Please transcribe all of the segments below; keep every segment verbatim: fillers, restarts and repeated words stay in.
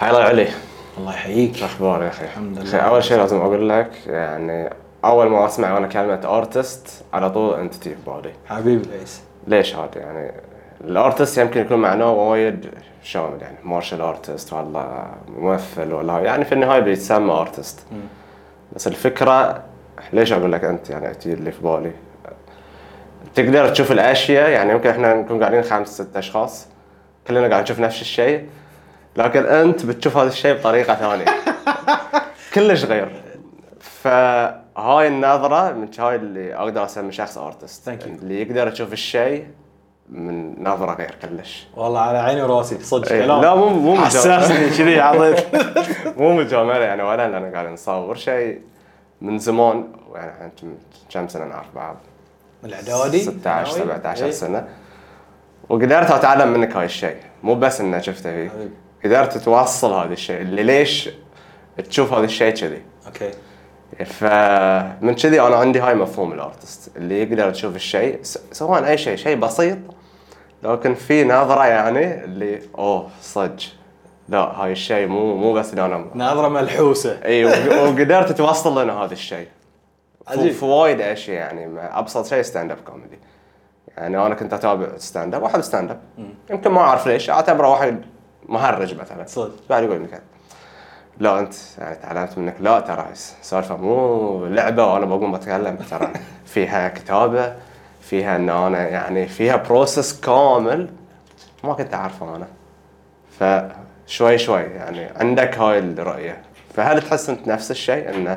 حي الله علي. الله يحييك. شو اخبارك يا اخي؟ الحمد لله. أخي، اول شيء لازم اقول لك يعني اول ما اسمع انا كلمه ارتست على طول انت تجي في بالي. حبيبي ليش؟ ليش هذا يعني الارتست يمكن يكون معناه وايد شامل، يعني مارشال ارتست ولا ممثل ولا يعني في النهايه بيتسمى ارتست. بس الفكره ليش اقول لك انت يعني تجي اللي في بالي؟ تقدر تشوف الاشياء، يعني يمكن احنا نكون قاعدين خمس ست اشخاص كلنا قاعد نشوف نفس الشيء، لكن انت بتشوف هذا الشيء بطريقه ثانيه كلش غير. فهاي النظره من هاي اللي اقدر اسمي شخص ارتست، اللي يقدر يشوف الشيء من نظره غير كلش. والله على عيني وراسي صدق. ايه لا مو مو حساسني كذي عضيت. مو مجامله يعني، ولا انا قاعد نصور شيء من زمان، يعني احنا كم سنه نعرف بعض؟ من الاعدادي ستة عشر سبعة عشر سنه، وقدرت اتعلم منك هاي الشيء، مو بس انه شفته فيه، قدرت توصل هذا الشيء اللي ليش تشوف هذا الشيء كذي. اوكي. فمن كذي انا عندي هاي مفهوم الارتست، اللي يقدر تشوف الشيء سواء اي شيء شيء بسيط لكن في نظره يعني اللي اوه صدق لا هاي الشيء مو مو بس اللي انا نظره ملحوسه. اي وقدرت توصل لنا هذا الشيء عجيب. في وايد اشياء، يعني ابسط شيء ستاند اب كوميدي. يعني انا كنت اتابع ستاند اب واحب ستاند اب، يمكن ما اعرف ليش اعتبره واحد مهرج مثلا صدق. بعد يقول لك لا انت يعني تعلمت منك، لا ترى سالفه مو لعبه وانا بقوم بتكلم، ترى فيها كتابه، فيها ان انا يعني فيها بروسس كامل ما كنت اعرفه انا. فشوي شوي يعني عندك هاي الرؤيه. فهل تحس انت نفس الشيء ان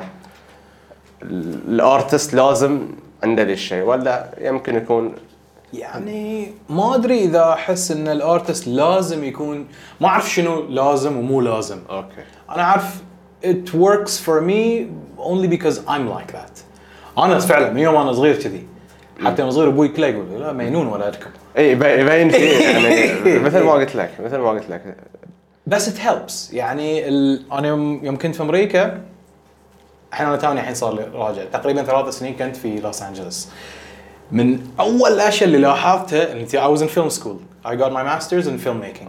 الارتست لازم عنده ذا الشيء، ولا يمكن يكون يعني ما ادري اذا احس ان الارتست لازم يكون، ما اعرف شنو لازم ومو لازم. اوكي. انا عارف it works for me only because I'm like that. انا فعلا من يوم انا صغير كذي، حتى من صغير ابوي كله يقول لا مجنون ولدكم. اي يبين فيه يعني مثل ما قلت لك مثل ما قلت لك بس it helps. يعني ال... انا يوم يوم كنت في امريكا، الحين انا توني الحين صار لي راجع تقريبا ثلاث سنين كنت في لوس أنجلوس. من اول الاشياء اللي لاحظتها ان I was in film school. I got my masters in filmmaking.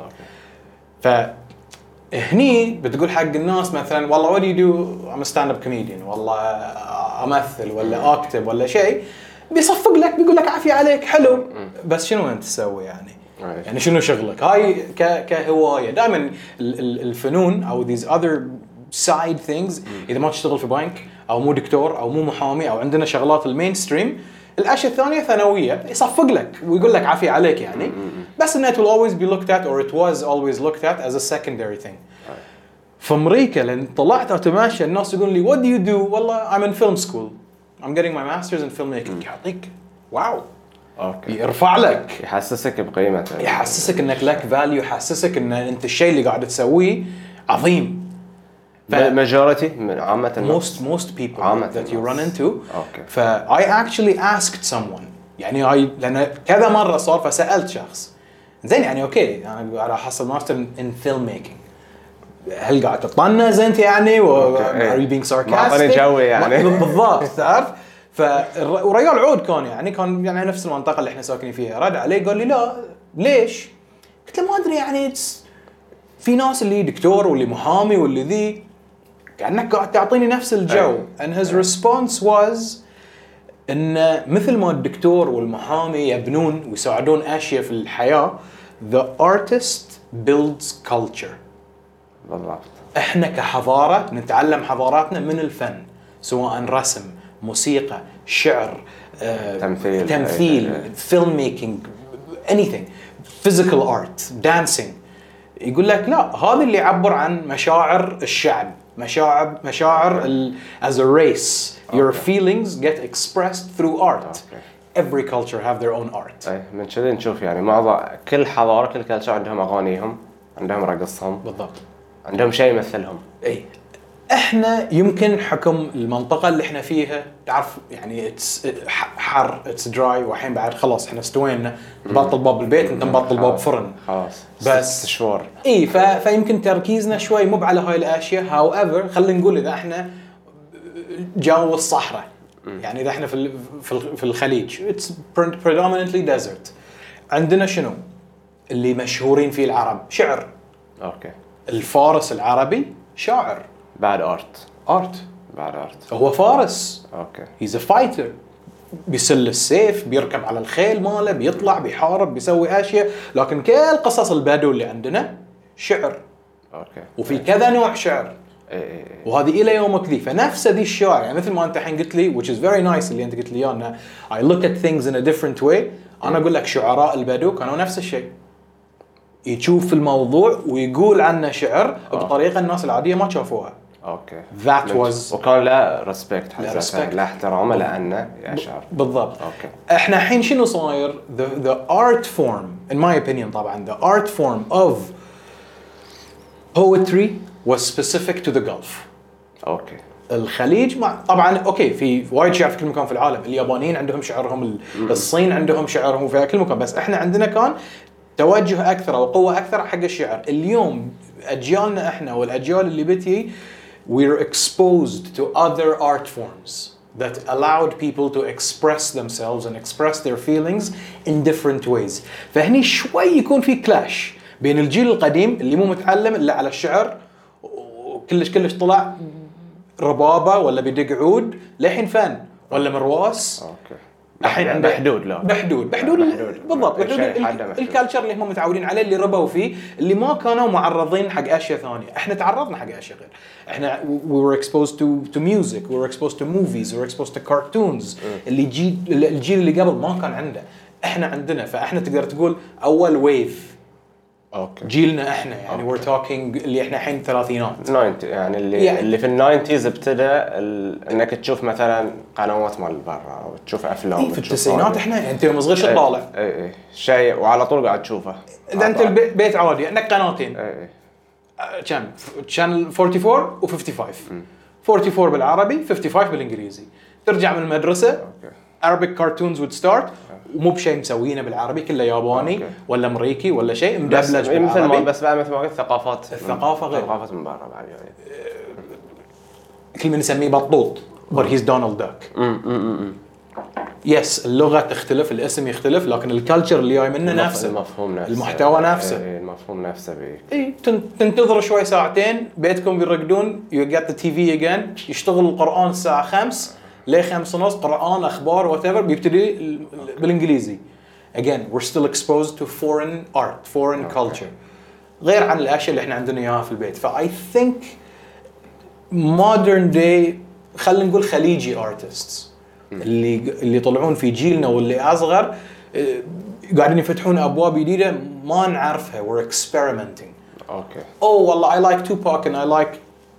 فهني بتقول حق الناس مثلا والله what do you do؟ I'm a stand-up comedian، والله امثل ولا اكتب ولا شيء، بيصفق لك بيقول لك عافية عليك حلو، بس شنو انت تسوي يعني؟ يعني شنو شغلك؟ هاي ك كهوايه. دائما الفنون او these other side things، اذا ما تشتغل في بنك او مو دكتور او مو محامي او عندنا شغلات المين ستريم، الاشياء الثانيه ثانويه، يصفق لك ويقول لك عافيه عليك يعني. بس انه it will always be looked at or it was always looked at as a secondary thing. في امريكا لان طلعت اتماشى الناس يقولون لي what do you do؟ والله I'm in film school. I'm getting my masters in filmmaking. يعطيك واو. اوكي. يرفع لك، يحسسك بقيمته، يحسسك انك لك فاليو، يحسسك ان انت الشيء اللي قاعد تسويه عظيم. majority من عامة most most people عامة that you run into. اوكي. ف I actually asked someone، يعني هاي لان كذا مره صار، فسالت شخص زين يعني اوكي انا على حصل ماستر in filmmaking، هل قاعد تطنز انت يعني و are you being sarcastic؟ ما اعطاني جوي يعني بالضبط تعرف. فالرجال عود كان يعني كان يعني نفس المنطقه اللي احنا ساكنين فيها، رد علي قال لي لا ليش؟ قلت له ما ادري يعني في ناس اللي دكتور واللي محامي واللي ذي، كأنك قاعد تعطيني نفس الجو. and his response was ان مثل ما الدكتور والمحامي يبنون ويساعدون اشياء في الحياه، the artist builds culture. بالضبط. احنا كحضاره نتعلم حضاراتنا من الفن، سواء رسم، موسيقى، شعر، آه، تمثيل تمثيل فيلم ميكينج، anything، physical art، dancing. يقول لك لا هذا اللي يعبر عن مشاعر الشعب، مشاعر مشاعر ال as a race. your okay. feelings get expressed through art. okay. every culture have their own art. اي من كذا نشوف يعني معظم كل حضاره كل كلتشر عندهم اغانيهم، عندهم رقصهم، بالضبط، عندهم شيء يمثلهم. اي احنا يمكن حكم المنطقه اللي احنا فيها تعرف يعني اتس حر، اتس دراي، والحين بعد خلاص احنا استوينا، نبطل باب البيت انت مبطل باب فرن خلاص بس ست شهور. اي ف... فيمكن تركيزنا شوي مو على هاي الاشياء. هاو ايفر خلينا نقول اذا احنا جو الصحراء، يعني اذا احنا في في الخليج اتس predominantly desert، عندنا شنو اللي مشهورين فيه العرب؟ شعر. اوكي. الفارس العربي شاعر بعد ارت ارت بعد ارت هو فارس اوكي هيز ا فايتر بيسل السيف بيركب على الخيل ماله بيطلع بيحارب بيسوي اشياء لكن كل قصص البدو اللي عندنا شعر اوكي وفي كذا نوع شعر اي اي وهذه الى يومك ذي فنفس ذي الشعر يعني مثل ما انت الحين قلت لي which is very nice اللي انت قلت لي اياه I look at things in a different way انا اقول لك شعراء البدو كانوا نفس الشيء يشوف الموضوع ويقول عنه شعر بطريقه الناس العاديه ما شافوها اوكي that was وكان لا ريسبكت لا respect. لا احترامه لانه يشعر بالضبط اوكي احنا الحين شنو صاير the the art form in my opinion طبعا the art form of poetry was specific to the Gulf اوكي الخليج مع طبعا اوكي في وايد شعر في كل مكان في العالم اليابانيين عندهم شعرهم الصين عندهم شعرهم في كل مكان بس احنا عندنا كان توجه اكثر او قوه اكثر حق الشعر اليوم اجيالنا احنا والاجيال اللي بتي we're exposed to other art forms that allowed people to express themselves and express their feelings in different ways فهني شوي يكون في كلاش بين الجيل القديم اللي مو متعلم الا على الشعر وكلش كلش طلع ربابه ولا بيدق عود لحين فن ولا مرواس اوكي الحين عنده بحدود لا بحدود بحدود بالضبط بحدود الكالتشر اللي هم متعودين عليه اللي ربوا فيه اللي ما كانوا معرضين حق اشياء ثانيه احنا تعرضنا حق اشياء غير احنا we were exposed to to music we were exposed to movies we were exposed to cartoons اللي جيل الجيل اللي قبل ما كان عنده احنا عندنا فاحنا تقدر تقول اول ويف اوكي جيلنا احنا يعني we're talking اللي احنا الحين ثلاثينات تسعين يعني اللي يعني اللي في الناينتيز ابتدى ال... انك تشوف مثلا قنوات مال برا او تشوف افلام إيه في التسعينات احنا انت يوم صغير شو طالع اي اي شيء وعلى طول قاعد تشوفه اذا انت البيت عادي عندك قناتين اي اي كم شانل أربعة وأربعين و خمسة وخمسين أربعة وأربعين بالعربي خمسة وخمسين بالانجليزي ترجع من المدرسه اوكي Arabic cartoons would start ومو بشيء مسوينه بالعربي كله ياباني أوكي. ولا امريكي ولا شيء بس مدبلج مثل ما بالعربي بس بعد مثل ما قلت ثقافات الثقافة غير. ثقافات من برا بعد يعني كل من نسميه بطوط but he's Donald Duck يس اللغه تختلف الاسم يختلف لكن الكالتشر اللي جاي منه نفسه المفهوم نفسه المحتوى نفسه اي المفهوم نفسه بيك اي تنتظر شوي ساعتين بيتكم بيرقدون you get the تي في again يشتغل القرآن الساعة خمسة ليه خمسة ونص قرآن أخبار whatever بيبتدي بالإنجليزي again we're still exposed to foreign art foreign okay. culture غير عن الأشياء اللي احنا عندنا إياها في البيت ف I think modern day خلينا نقول خليجي artists اللي اللي يطلعون في جيلنا واللي أصغر قاعدين يفتحون أبواب جديدة ما نعرفها we're experimenting اوكي oh والله I like Tupac and I like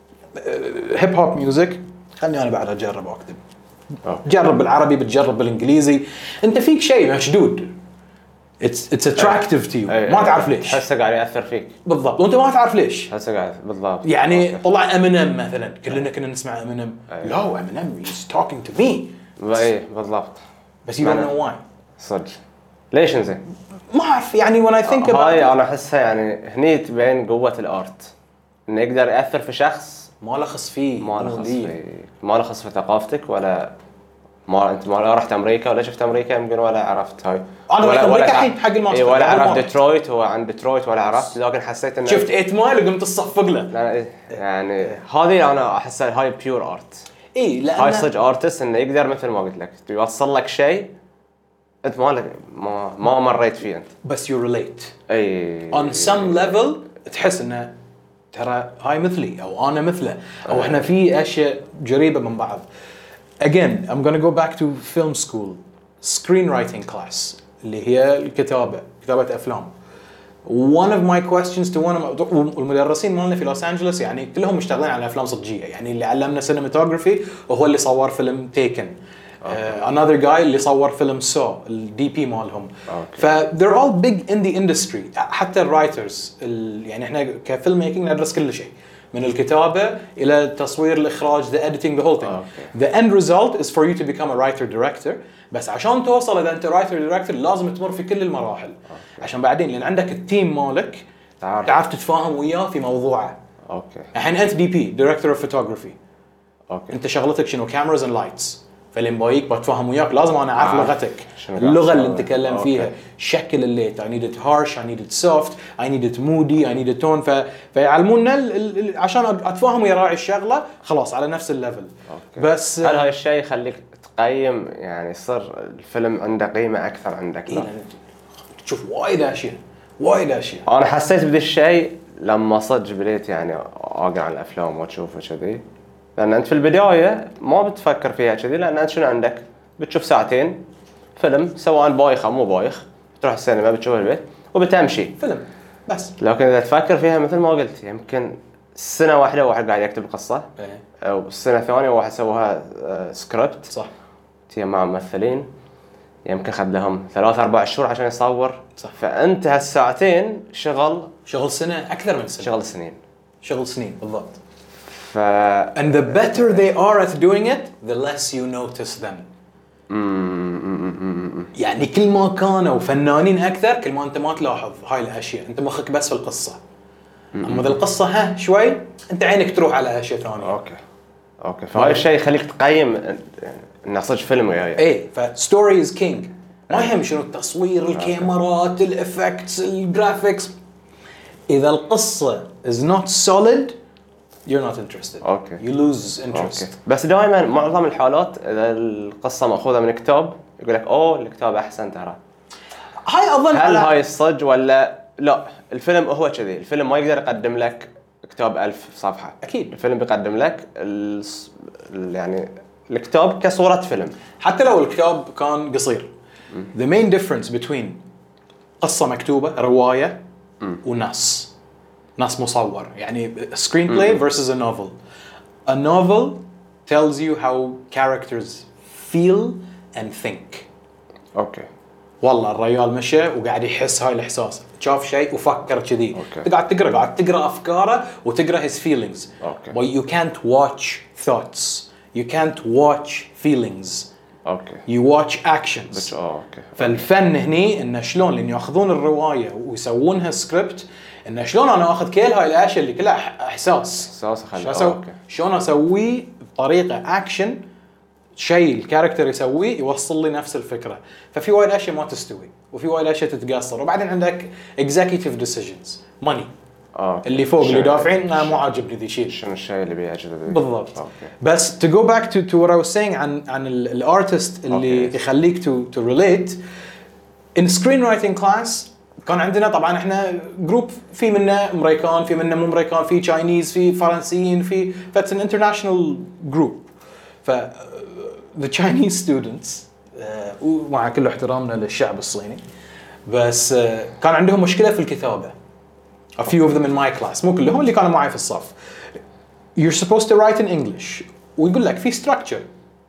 uh, hip hop music خلني أنا بعد أجرب وأكتب أوكي. جرب بالعربي بتجرب بالإنجليزي أنت فيك شيء مشدود it's it's attractive to you أي ما أي تعرف ليش تحسه قاعد ياثر فيك بالضبط وأنت ما تعرف ليش تحسه قاعد بالضبط يعني أوكي. طلع امينيم مثلا كلنا كنا نسمع امينيم أي. لا امينيم he's talking to me اي بالضبط بس you don't know why صدق ليش انزين ما أعرف يعني when I think about هاي it انا احسها يعني هني تبين قوه الارت انه يقدر ياثر في شخص ما لخص فيه ما له مو خص ليه. في ما له خص في ثقافتك ولا ما انت ما رحت امريكا ولا شفت امريكا يمكن ولا عرفت هاي أنا ولا رحت أمريكا تع- الحين حق الماستر إيه ولا قبل ما عرفت أروح. ديترويت هو عن ديترويت ولا عرفت لكن حسيت انه شفت ثمانية مايل وقمت تصفق له لا إيه، يعني هذه انا احسها هاي بيور ارت اي لان هاي صدق ارتست انه يقدر مثل ما قلت لك يوصل لك شيء انت ما لك ما ما مريت فيه انت بس you relate اي on some level تحس انه ترى هاي مثلي او انا مثله او احنا في اشياء قريبه من بعض. Again I'm gonna go back to film school screenwriting class اللي هي الكتابه كتابه افلام. One of my questions to one of my المدرسين مالنا في لوس أنجلوس يعني كلهم مشتغلين على افلام صجيه يعني اللي علمنا سينماتوجرافي وهو اللي صور فيلم تيكن. Uh, another guy اللي صور فيلم سو الدي بي مالهم ف they're all big in the industry حتى الرايترز يعني احنا كفيلم ميكينج ندرس كل شيء من الكتابه الى التصوير الاخراج the editing the whole thing okay. the end result is for you to become a writer director بس عشان توصل اذا انت writer director لازم تمر في كل المراحل okay. عشان بعدين لان عندك التيم مالك تعرف, تعرف تتفاهم وياه في موضوعه اوكي الحين انت دي بي director of photography اوكي انت شغلتك شنو cameras and lights فلين بايك بتفهم وياك لازم انا اعرف آه. لغتك، شنو اللغه قاعد اللي تسوي؟ نتكلم فيها، أوكي. شكل الليت. I need it harsh, I need it soft, I need it moody, I need it tone. ف... فيعلمونا ال... ال... عشان اتفاهم ويا راعي الشغله خلاص على نفس الليفل. أوكي. بس هل هاي الشيء يخليك تقيم يعني يصير الفيلم عنده قيمة أكثر عندك؟ إيه لا. لأن تشوف وايد اشياء وايد اشياء. أنا حسيت بذا الشيء لما صدق بديت يعني أقرأ عن الأفلام وأشوفها كذي، لأن أنت في البداية ما بتفكر فيها كذي، لأن أنت شنو عندك؟ بتشوف ساعتين فيلم سواء بايخ أو مو بايخ، بتروح السينما بتشوف البيت وبتمشي فيلم بس. لكن إذا تفكر فيها مثل ما قلت يمكن سنة واحدة واحد قاعد يكتب قصة، إيه. أو السنة الثانية واحد سواها آه، سكريبت صح تي مع ممثلين يمكن خد لهم ثلاث أربع شهور عشان يصور. صح. فأنت هالساعتين شغل شغل سنه اكثر من سنه، شغل سنين. شغل سنين بالضبط. ف And the better they are at doing it, the less you notice them. يعني كل ما كانوا فنانين اكثر كل ما انت ما تلاحظ هاي الاشياء، انت مخك بس في القصه. اما اذا القصه ها شوي انت عينك تروح على اشياء ثانيه. اوكي اوكي فهاي الشيء يخليك تقيم يعني انه صدق فيلم وياي. ايه فستوري از كينج، ما يهم شنو التصوير، الكاميرات، الافكتس، الجرافيكس. اذا القصه is not solid you're not interested. اوكي you lose interest. اوكي بس دائما معظم الحالات اذا القصه ماخوذه من كتاب يقول لك اوه الكتاب احسن ترى. هاي اظن هل على هاي الصج ولا لا؟ الفيلم هو كذي، الفيلم ما يقدر يقدم لك كتاب ألف صفحه. اكيد الفيلم بيقدم لك ال... يعني الكتاب كصوره فيلم حتى لو الكتاب كان قصير. the main difference between قصه مكتوبه روايه ونص نص مصور، يعني screenplay versus a novel. A novel tells you how characters feel and think. اوكي والله الرجال مشى وقاعد يحس هاي الاحساس، شاف شيء وفكر كذي. أوكي. انت قاعد تقرا قاعد تقرا افكاره وتقرا his feelings. أوكي. But you can't watch thoughts, you can't watch feelings, اوكي you watch actions. بس اه اوكي فالفن هني انه شلون لان ياخذون الروايه ويسوونها سكريبت، انه شلون انا اخذ كل هاي الاشياء اللي كلها إح- احساس احساس اخلي شلون أسوي؟ اوكي شلون اسويه بطريقه اكشن، شيء الكاركتر يسويه يوصل لي نفس الفكره. ففي وايد اشياء ما تستوي وفي وايد اشياء تتقصر. وبعدين عندك executive decisions money اه اللي فوق اللي شنو- دافعين أنا مو عاجبني ذي شيء. شنو الشيء اللي بيعجبك بالضبط. اوكي بس to go back to to what I was saying عن عن الارتست اللي أوكي. يخليك to to relate in screenwriting class. كان عندنا طبعا احنا جروب في منا امريكان في منا مو امريكان في تشاينيز في فرنسيين في فاتس ان انترناشونال جروب. ف the Chinese students آه، ومع كل احترامنا للشعب الصيني بس آه، كان عندهم مشكله في الكتابه. a few of them in my class مو كلهم اللي كانوا معي في الصف. you're supposed to write in English ويقول لك في structure.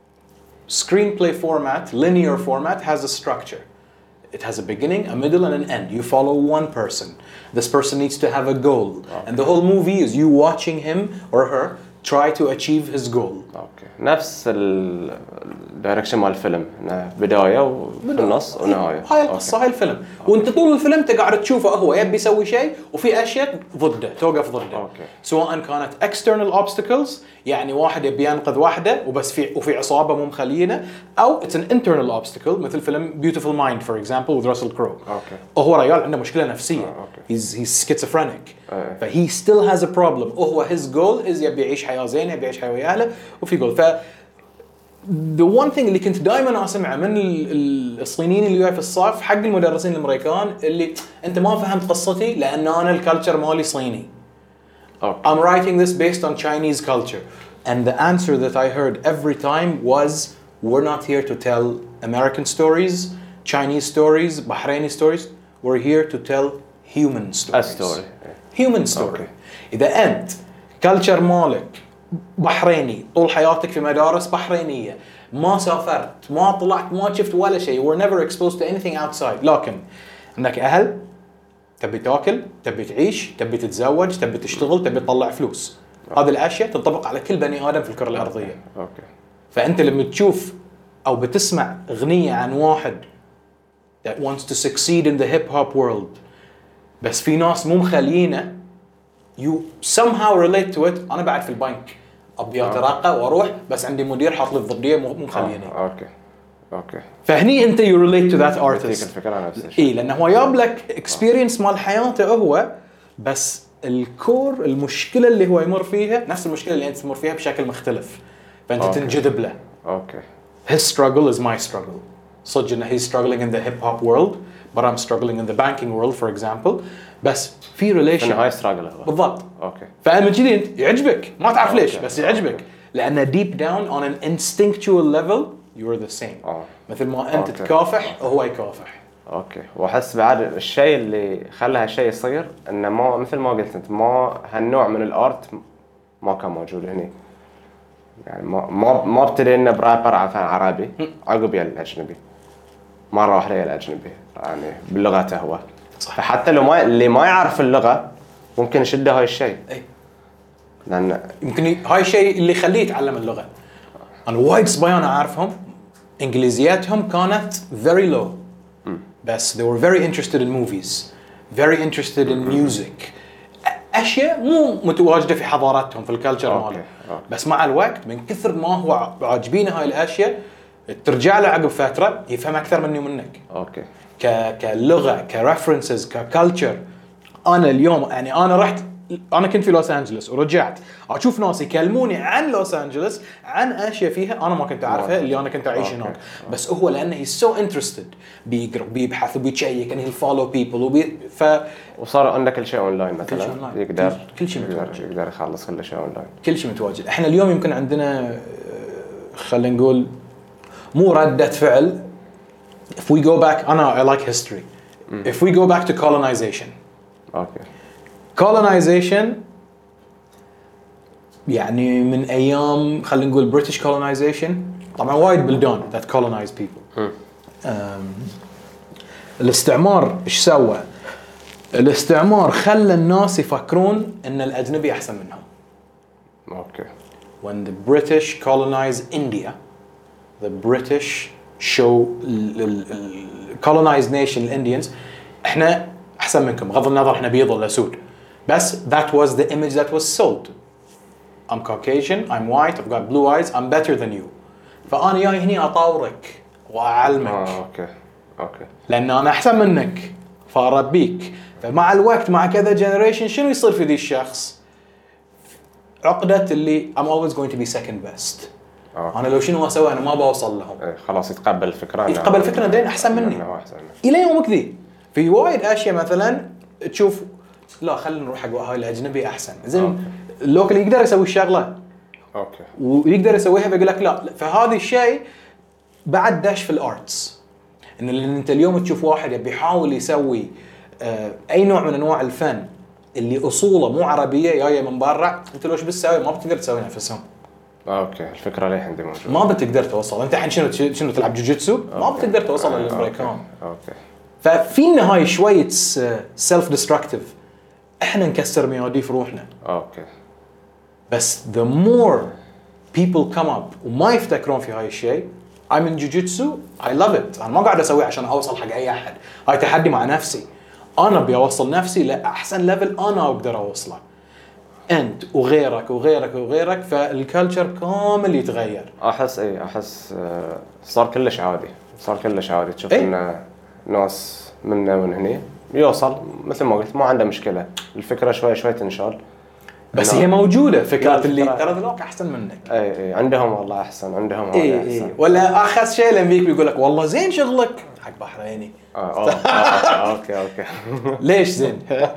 Screenplay format, linear format has a structure. It has a beginning, a middle and an end. You follow one person. This person needs to have a goal. Okay. And the whole movie is you watching him or her try to achieve his goal. اوكي نفس الدايركشن مال الفيلم إنه بدايه وفي النص ونهايه. هاي القصه هاي الفيلم. وانت طول الفيلم تقعد تشوفه هو يبي يسوي شيء وفي اشياء ضده توقف ضده. أوكي. سواء كانت external obstacles يعني واحد يبي ينقذ واحده وبس في وفي عصابه مو مخلينه، او it's an internal obstacle مثل فيلم Beautiful Mind for example with Russell Crowe. اوكي هو رجال عنده مشكله نفسيه. آه، أوكي. he's he's schizophrenic. إيه. فهي still has a problem. وهو his goal is يبي يعيش حياه زينه يبي يعيش حياه ويا اهله وفي goal. ف the one thing اللي كنت دائما اسمعه من ال- ال- الصينيين اللي وياي في الصف حق المدرسين الامريكان اللي انت ما فهمت قصتي لان انا الكالتشر مالي صيني. اوكي I'm writing this based on Chinese culture. And the answer that I heard every time was we're not here to tell American stories, Chinese stories, Bahraini stories. We're here to tell human stories. A story. Human story. أوكي. إذا أنت كالتشر مالك بحريني طول حياتك في مدارس بحرينية ما سافرت ما طلعت ما شفت ولا شيء we're never exposed to anything outside لكن عندك أهل تبي تاكل تبي تعيش تبي تتزوج تبي تشتغل تبي تطلع فلوس. هذه الأشياء تنطبق على كل بني آدم في الكرة الأرضية. اوكي فأنت لما تشوف أو بتسمع أغنية عن واحد that wants to succeed in the hip hop world بس في ناس مو مخلينه you somehow relate to it. أنا بعد في البنك ابي اترقى واروح بس عندي مدير حاط لي الضديه مو مو مخليني. آه. اوكي اوكي فهني انت يو ريليت تو ذات تلك ارتست. الفكره نفس الشيء. اي لانه هو جاب لك اكسبيرينس مال حياته هو، بس الكور المشكله اللي هو يمر فيها نفس المشكله اللي انت تمر فيها بشكل مختلف، فانت أوكي. تنجذب له. اوكي His struggle is my struggle. صدق انه he's struggling in the hip hop world but I'm struggling in the banking world for example. بس في relation. انه هاي ستراجل هو. بالضبط. اوكي فمن كذي انت يعجبك ما تعرف ليش أوكي. بس يعجبك أوكي. لان deep down on an instinctual level you're the same. اه مثل ما انت أوكي. تكافح وهو يكافح. اوكي واحس بعد الشيء اللي خلى هالشيء يصير انه ما مثل ما قلت انت ما هالنوع من الارت ما كان موجود هنا. يعني ما ما ما ابتدينا برابر عربي عقب يا الاجنبي مره واحده يا الاجنبي يعني بلغته هو. صح. فحتى لو ما اللي ما يعرف اللغه ممكن يشده هاي الشيء اي لان يمكن ي- هاي الشيء اللي يخليه يتعلم اللغه. انا وايد صبيان اعرفهم انجليزياتهم كانت very low بس they were very interested in movies, very interested in music. أ- اشياء مو متواجده في حضاراتهم في الكالتشر أوكي. مالهم. أوكي. بس مع الوقت من كثر ما هو ع- عاجبينه هاي الاشياء ترجع له عقب فتره يفهم اكثر مني ومنك. اوكي ك كلغه كريفرنسز ككالتشر. انا اليوم يعني انا رحت انا كنت في لوس انجلوس ورجعت اشوف ناس يكلموني عن لوس انجلوس عن اشياء فيها انا ما كنت اعرفها اللي انا كنت اعيش أوكي. هناك. بس هو لانه هي سو انترستد بيقرا بيبحث وبيتشيك انه فولو بيبل وبي ف وصار عندك كل شيء اونلاين مثلا كل شيء أونلاين. يقدر كل- كل شيء يقدر, متواجد. يقدر يخلص كل شيء اونلاين. كل شيء متواجد. احنا اليوم يمكن عندنا آه، خلينا نقول مو ردة فعل. if we go back انا I like history. if we go back to colonization. اوكي colonization يعني من ايام خلينا نقول British colonization طبعا وايد بلدان that colonize people. أم، الاستعمار ايش سوى؟ الاستعمار خلى الناس يفكرون ان الاجنبي احسن منهم. اوكي when the British colonize India the British show ال- ال- ال- colonized nation الإنديانز احنا احسن منكم بغض النظر احنا بيض ولا سود بس that was the image that was sold. I'm Caucasian, I'm white, I've got blue eyes, I'm better than you. فأنا جاي هني أطورك وأعلمك اه اوكي اوكي لأن أنا أحسن منك فأربيك. فمع الوقت مع كذا generation شنو يصير في ذي الشخص؟ عقدة اللي I'm always going to be second best. آه. أنا لو شنو أسوي أنا ما بوصل لهم. إيه، خلاص يتقبل الفكره إنه- يتقبل الفكرة دين أحسن مني. إنه هو احسن مني. إلى يومك ذي في وايد أشياء مثلا تشوف لا خلينا نروح حق هاي الأجنبي أحسن. زين اللوكل يقدر يسوي الشغلة اوكي ويقدر يسويها بيقول لك لا. فهذا الشيء بعد داش في الارتس ان اللي انت اليوم تشوف واحد يبي يحاول يسوي آه، اي نوع من انواع الفن اللي اصوله مو عربيه جايه من برا انت لو ايش بتسوي ما بتقدر تسوي نفسهم. اوكي الفكره ليه عندي موجوده ما بتقدر توصل انت الحين شنو شنو تلعب جوجيتسو ما أوكي. بتقدر توصل آه، للامريكان. اوكي اوكي ففي النهايه شويه سيلف ديستركتيف احنا نكسر مياديف روحنا. اوكي بس the more people come up وما يفتكرون في هاي الشيء I'm in jiu-jitsu I love it. أنا ما قاعد أسويه عشان أوصل حق أي أحد. هاي تحدي مع نفسي. أنا أبي أوصل نفسي لأحسن ليفل أنا أقدر أوصله. أنت وغيرك وغيرك وغيرك فالكالتشر كامل يتغير. احس اي احس آه، صار كلش عادي صار كلش عادي تشوف إيه. ان ناس منا من هني يوصل مثل ما قلت ما عنده مشكله الفكره شوي شوي تنشال بس إنه- هي موجودة فكرة لا، اللي الفكرة- ترى ذولاك أحسن منك. اي اي عندهم والله احسن عندهم هذا إيه احسن إيه ولا أخس شيء الأمريكي بيقول لك والله زين شغلك حق بحريني. آه، آه، آه، اوكي اوكي ليش زين؟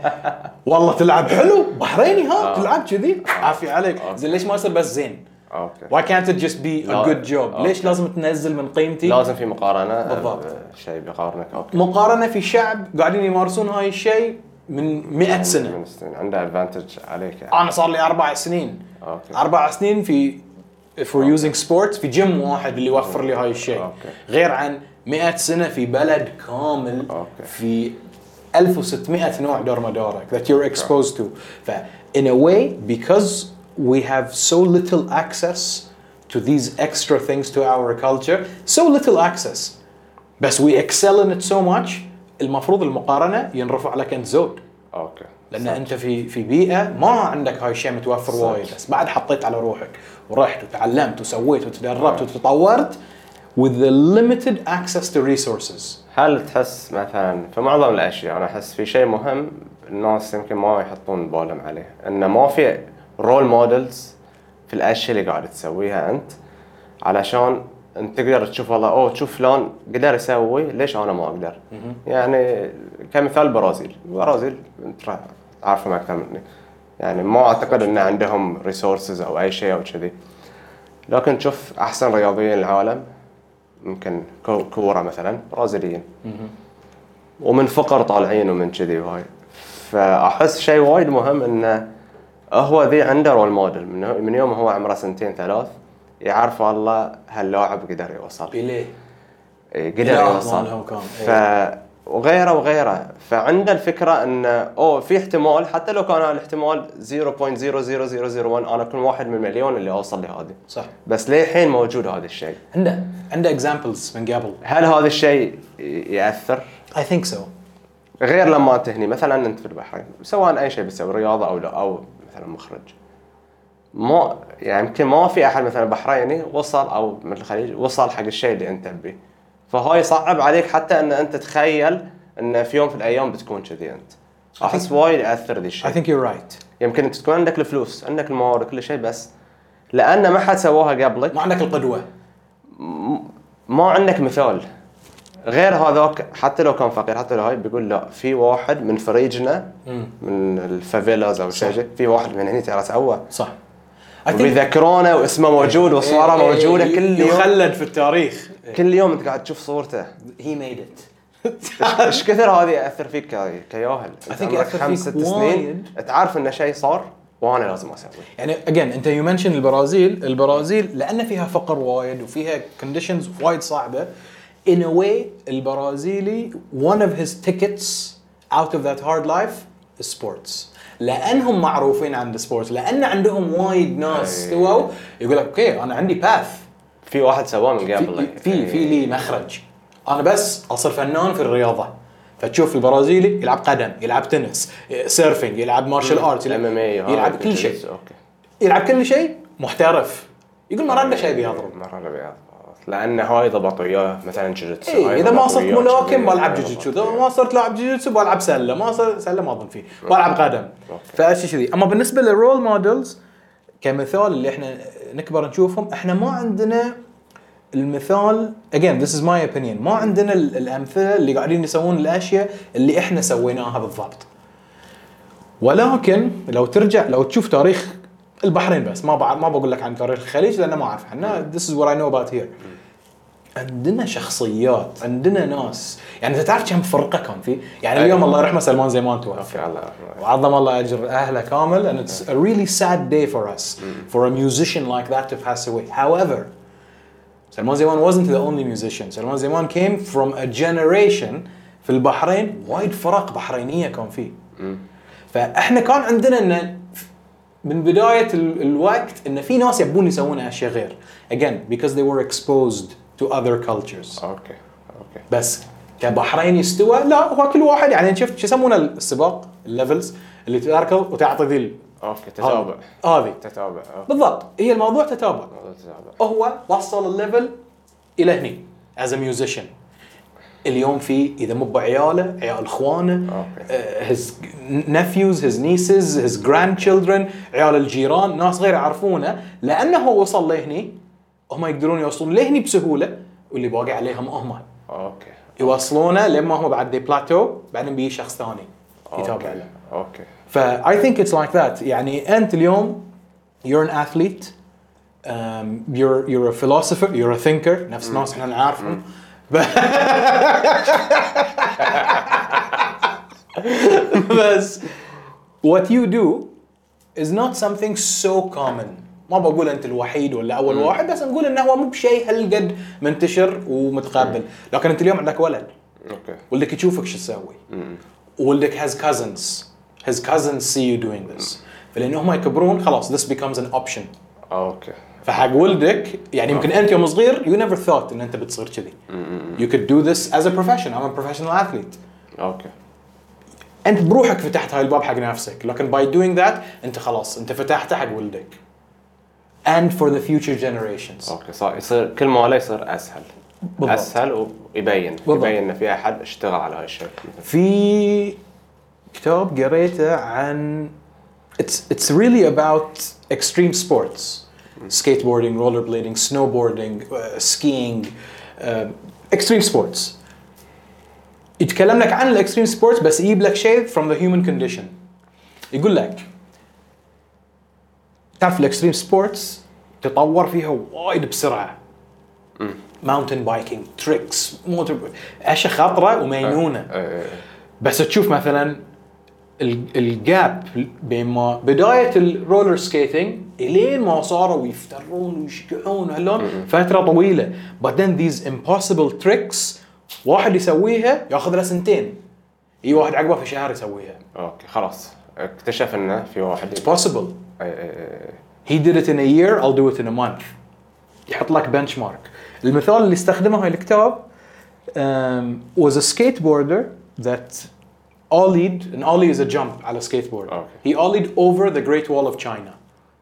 والله تلعب حلو بحريني ها آه. تلعب كذي عافية عليك. زين ليش ما يصير بس زين؟ اوكي Why can't it just be a لا. good job؟ أوكي. ليش لازم تنزل من قيمتي؟ لازم في مقارنه آه، بالضبط. شيء بيقارنك اوكي مقارنة في شعب قاعدين يمارسون هاي الشيء من مئة سنة. من السنين عنده ادفانتج عليك يعني. أنا صار لي أربع سنين. اوكي أربع سنين في if we're using sports في جيم واحد اللي يوفر لي هاي الشيء. أوكي. غير عن مئة سنة في بلد كامل أوكي. في ألف وستمئة نوع دار مدارك that you're exposed to. ف in a way because we have so little access to these extra things to our culture so little access بس we excel in it so much المفروض المقارنة ينرفع لك أنت زود. اوكي لان صح. انت في في بيئه ما عندك هاي الشيء متوفر صح. وايد، بس بعد حطيت على روحك ورحت وتعلمت وسويت وتدربت وتطورت with the limited access to resources. هل تحس مثلا في معظم الاشياء انا احس في شيء مهم الناس يمكن ما يحطون بالهم عليه، انه ما في رول مودلز في الاشياء اللي قاعد تسويها انت، علشان انت تقدر تشوف والله اوه تشوف فلان قدر يسوي ليش انا ما اقدر. يعني كمثال البرازيل، البرازيل انت راح تعرفهم اكثر مني، يعني ما اعتقد ان عندهم ريسورسز او اي شيء او كذي، لكن تشوف احسن رياضيين العالم ممكن كورة مثلا برازيليين ومن فقر طالعين ومن كذي وهاي. فاحس شيء وايد مهم انه هو ذي عنده رول موديل من, من يوم هو عمره سنتين ثلاث يعرف والله هاللاعب قدر يوصل بيليه قدر يوصل ف وغيره وغيره. فعنده الفكرة انه اوه في احتمال حتى لو كان الاحتمال صفر فاصلة صفر صفر صفر صفر واحد انا كل واحد من مليون اللي اوصل لهذه. صح. بس ليه حين موجود هذا الشيء؟ عنده عنده examples من قبل. هل هذا الشيء يأثر؟ I think so. غير لما تهني مثلا انت في البحرين سواء اي شيء بتسوي رياضة او لا او مثلا مخرج، ما يعني يمكن ما في احد مثلا بحريني وصل او من الخليج وصل حق الشيء اللي انت تبيه، فهاي صعب عليك حتى ان انت تتخيل ان في يوم في الايام بتكون كذي. انت احس وايد ياثر ذي الشيء. I think you're right. يمكن انت تكون عندك الفلوس عندك الموارد كل شيء، بس لان ما حد سواها قبلك ما عندك القدوه، ما عندك مثال غير هذاك. حتى لو كان فقير حتى لو هاي بيقول لا في واحد من فريجنا من الفافيلاز او شيء، في واحد من هنا ترى سوى. صح. وبيذكرونه واسمه موجود وصوره موجوده كل يوم يخلد في التاريخ. كل يوم انت قاعد تشوف صورته. he made it. ايش كثر هذه ياثر فيك كياهل؟ I think ياثر خمس ست سنين تعرف ان شيء صار وانا لازم اسوي. يعني again انت you mention البرازيل، البرازيل لان فيها فقر وايد وفيها conditions وايد صعبه. in a way البرازيلي one of his tickets out of that hard life is sports. لانهم معروفين عند السبورتس، لان عندهم وايد ناس سووا يقول لك اوكي انا عندي باث، في واحد سواه من قبل، في في لي مخرج، انا بس اصير فنان في الرياضه. فتشوف البرازيلي يلعب قدم، يلعب تنس، سيرفينج، يلعب مارشال ارت، يلعب, يلعب كل شيء، يلعب كل شيء محترف. يقول ما عنده شيء بيضرب، ما عنده بيضرب لان هاي ضبطوا اياه مثلا جوجيتسو. إيه اذا ما صرت ملاكم بلعب جوجيتسو، اذا ما صرت لاعب جوجيتسو بلعب سله، ما صرت سله ما اظن فيه بلعب قدم. فاشي كذي. اما بالنسبه للرول مودلز كمثال اللي احنا نكبر نشوفهم، احنا ما عندنا المثال again this is my opinion، ما عندنا الامثله اللي قاعدين يسوون الاشياء اللي احنا سويناها بالضبط. ولكن لو ترجع لو تشوف تاريخ البحرين بس، ما بعد ما بقول لك عن تاريخ الخليج لانه ما اعرف عنه، this is what I know about here. عندنا شخصيات، عندنا ناس، يعني انت تعرف كم فرقه كان في؟ يعني اليوم الله يرحمه سلمان زيمان توفى وعظم الله اجر اهله كامل، and it's a really sad day for us for a musician like that to pass away. However, سلمان زيمان wasn't the only musician. سلمان زيمان came from a generation في البحرين وايد فرق بحرينيه كان فيه. فاحنا كان عندنا ان من بدايه الوقت ان في ناس يبون يسوون اشياء غير again because they were exposed to other cultures. اوكي اوكي. بس كبحرين يستوى لا، هو كل واحد يعني شفت شو يسمونه السباق الليفلز اللي تركض وتعطي ذي اوكي تتابع هذه تتابع بالضبط. هي الموضوع تتابع. تتابع. هو وصل الليفل الى هني as a musician. اليوم في اذا مو بعياله عيال اخوانه، uh, his nephews his nieces his grandchildren، عيال الجيران، ناس غير يعرفونه لانه هو وصل لهني، هم يقدرون يوصلون لهني بسهوله، واللي باقي عليهم هم اوكي يوصلونه لما هم بعد دي بلاتو، بعدين بيجي شخص ثاني يتابع له. اوكي. ف I think it's like that. يعني انت اليوم you're an athlete, um, you're you're a philosopher, you're a thinker، نفس ناس احنا نعرفهم. بس what you do is not something so common. ما بقول انت الوحيد ولا اول واحد، بس نقول انه هو مو بشيء هالقد منتشر ومتقبل. لكن انت اليوم عندك ولد، اوكي، ولدك يشوفك شو تسوي، ولدك has cousins his cousins see you doing this، فلأنه هم يكبرون خلاص this becomes an option. اوكي. فحق ولدك يعني يمكن انت يوم صغير you never thought ان انت بتصير كذي. You could do this as a profession. I'm a professional athlete. اوكي. انت بروحك فتحت هاي الباب حق نفسك، لكن by doing that انت خلاص انت فتحته حق ولدك and for the future generations. اوكي صار يصير كل ما لا يصير اسهل. بالضبط. اسهل ويبين بالضبط. يبين ان في احد اشتغل على هاي الشيء. في كتاب قريته عن it's it's really about extreme sports, skateboarding, rollerblading, snowboarding, uh, skiing, uh, extreme sports. يتكلم لك عن الاكستريم سبورتس بس يجيب لك شيء from the human condition. يقول لك تعرف الاكستريم سبورتس تطور فيها وايد بسرعه. ماونتن بايكينج، تريكس، موتور، اشياء خطره ومينونه. بس تشوف مثلا الجاب بين ما بدايه الرولر سكيتنج الين ما صاروا يفترون ويشقعون هاللون فتره طويله. but then these impossible tricks واحد يسويها ياخذ له سنتين، اي واحد عقبه في شهر يسويها. اوكي خلاص اكتشف انه في واحد it's possible. he did it in a year, I'll do it in a month. يحط لك bench mark. المثال اللي استخدمه هاي الكتاب um, was a skateboarder that ollied, and ollie is a jump على skateboard. Okay. He ollied over the Great Wall of China.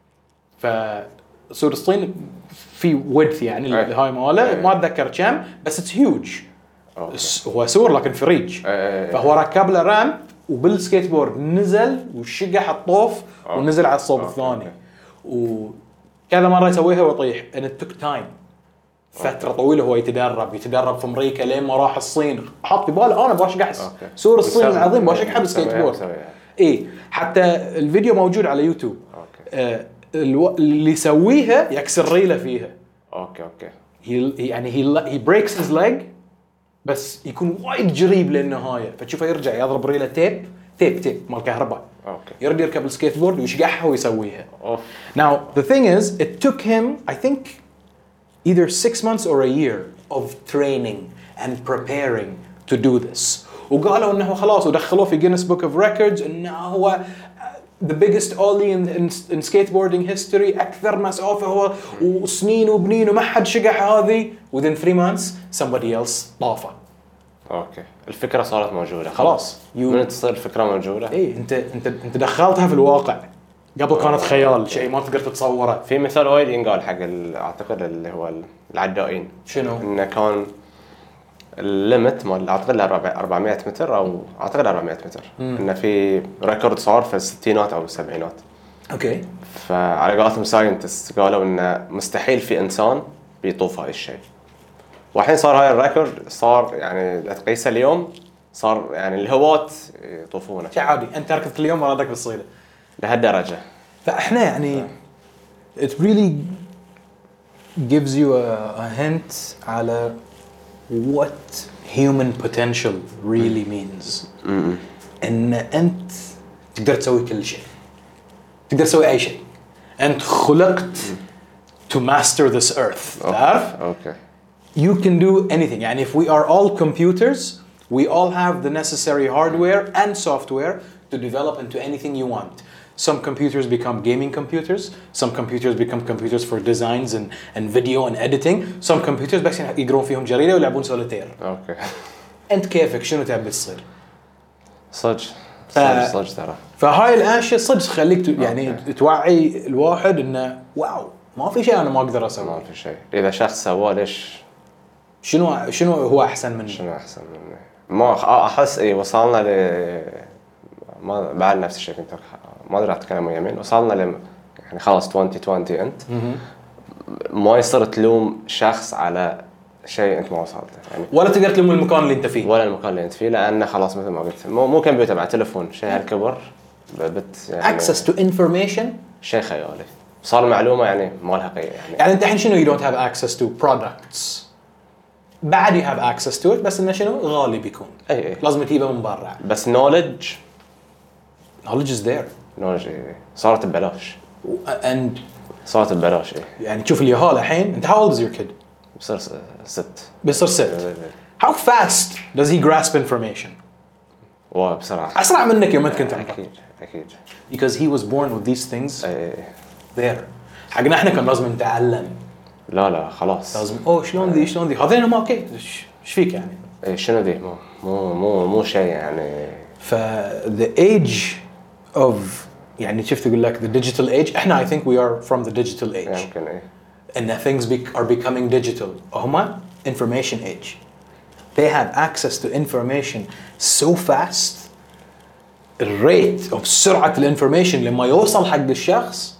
فسور الصين في width يعني okay. هاي ماله okay. ما اتذكر كم بس it's huge. Okay. هو سور لكن في ريج. okay. فهو ركب له رامب وبالسكيت بورد نزل وشقح الطوف okay. ونزل على الصوب okay. الثاني. okay. وكذا مرة يسويها ويطيح and it took time. فترة طويلة هو يتدرب يتدرب في أمريكا لين ما راح الصين. حط في باله أنا بشقح سور الصين العظيم بشقح بالسكيت بورد. إيه حتى الفيديو موجود على يوتيوب. آه اللي يسويها يكسر ريله فيها. أوكي أوكي. he يعني he he breaks his leg بس يكون وايد قريب للنهاية فتشوفه يرجع يضرب ريله تيب تيب تيب مال كهرباء. أوكي. يرد يركب السكيت بورد ويشقحها ويسويها. أوف. Now the thing is it took him I think either six months or a year of training and preparing to do this. وقالوا انه خلاص ودخلوه في Guinness Book of Records انه هو the biggest ollie in, in, in skateboarding history. اكثر مسافه هو وسنين وبنين وما حد شقح هذه. within three months somebody else طافه. اوكي الفكره صارت موجوده خلاص. من تصير الفكره موجوده. اي انت انت انت دخلتها في الواقع. قبل كانت خيال شيء ما تقدر تتصوره. في مثال وايد ينقال حق اعتقد اللي هو العدائين. شنو؟ انه كان الليمت مال اعتقد أربعمية متر او اعتقد أربعمية متر. انه في ريكورد صار في الستينات او السبعينات. اوكي. فعلى قولتهم ساينتست قالوا انه مستحيل في انسان بيطوف هاي الشيء. والحين صار هاي الريكورد صار يعني تقيسه اليوم صار يعني الهواة يطوفونه. شيء عادي انت ركضت اليوم ورادك بالصيله. لهالدرجة. فاحنا يعني it really gives you a, a hint على what human potential really means. ان انت تقدر تسوي كل شيء. تقدر تسوي اي شيء. انت خلقت to master this earth. تعرف؟ okay. You can do anything. يعني if we are all computers, we all have the necessary hardware and software to develop into anything you want. Some computers become gaming computers. Some computers become computers for designs and, and video and editing. Some computers بس يقرون فيهم جريدة ويلعبون سوليتير. أوكي. أنت كيفك شنو تبي تصير؟ صدق. صدق صدق ترى. فهاي الأشياء صدق تخليك يعني توعي الواحد إنه واو ما في شيء أنا ما أقدر أسويه. ما في شيء. إذا شخص سواه ليش؟ شنو شنو هو أحسن مني؟ شنو أحسن مني؟ ما أحس إيه وصلنا ل ما بعد نفس الشيء كنت ما أدري أتكلم ويا مين. وصلنا ل يعني خلاص عشرين عشرين أنت ما يصير تلوم شخص على شيء أنت ما وصلت يعني. ولا تقدر تلوم المكان اللي أنت فيه. ولا المكان اللي أنت فيه لأنه خلاص مثل ما قلت مو مو كمبيوتر مع تلفون شيء هالكبر بت يعني. Access to information. شيء خيالي. صار معلومة يعني ما لها قيمة يعني. يعني أنت الحين شنو you don't have access to products. بعد you have access to it بس إنه شنو غالي بيكون. أي أي. لازم تجيبه من برا. بس knowledge. knowledge is there. knowledge صارت ببلاش. and صارت ببلاش إيه. يعني تشوف اليهال الحين أنت how old is your kid؟ بصير ست. بصير ست. how fast does he grasp information؟ واو بسرعة. أسرع منك يوم أنت كنت عمرك. أكيد أكيد. because he was born with these things. أي. there. حقنا إحنا كان لازم نتعلم. لا لا خلاص. لازم أوه شلون ذي شلون ذي هذين ما أوكي إيش فيك يعني؟ إيه شنو ذي مو مو مو مو شيء يعني. ف the age of يعني شفت يقول لك the digital age احنا I think we are from the digital age يمكن ايه and things be, are becoming digital هما information age they have access to information so fast الريت of سرعة الانفورميشن لما يوصل حق الشخص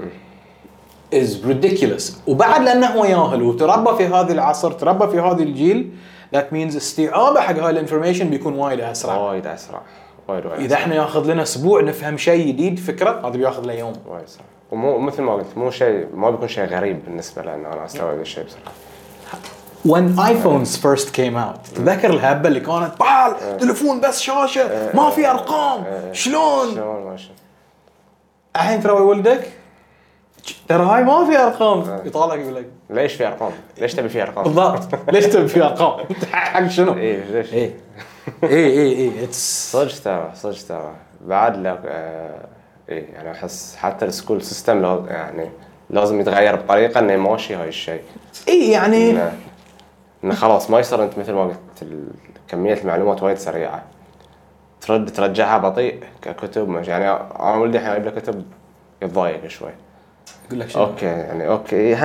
is ridiculous وبعد لأنه هو ياهل وتربى في هذا العصر تربى في هذا الجيل that means استيعابه حق هاي الانفورميشن بيكون وايد أسرع وايد أسرع وايد وايد إذا احنا ياخذ لنا أسبوع نفهم شيء جديد فكرة هذا بياخذ له يوم وايد أسرع ومو مثل ما قلت مو شيء ما بيكون شيء غريب بالنسبة لأنه أنا أستوعب الشيء بسرعة. when iPhones first came out تذكر الهبة اللي كانت بال تلفون بس شاشة ما في أرقام شلون شلون ماشي الحين ترى ولدك ترى هاي ما في أرقام يطالعك يقول لك ليش في أرقام ليش تبي في أرقام بالضبط ليش تبي في أرقام حق شنو إيه ليش إيه إيه إيه إيه it's صدق ترى صدق ترى بعد لك آه إيه يعني أحس حتى السكول سيستم لو يعني لازم يتغير بطريقة إنه ماشي هاي الشيء إيه يعني إنه, إنه خلاص ما يصير أنت مثل ما قلت كمية المعلومات وايد سريعة ترد ترجعها بطيء ككتب ماشي يعني أنا ولدي الحين أجيب له كتب يتضايق شوي يقول لك شنو اوكي يعني اوكي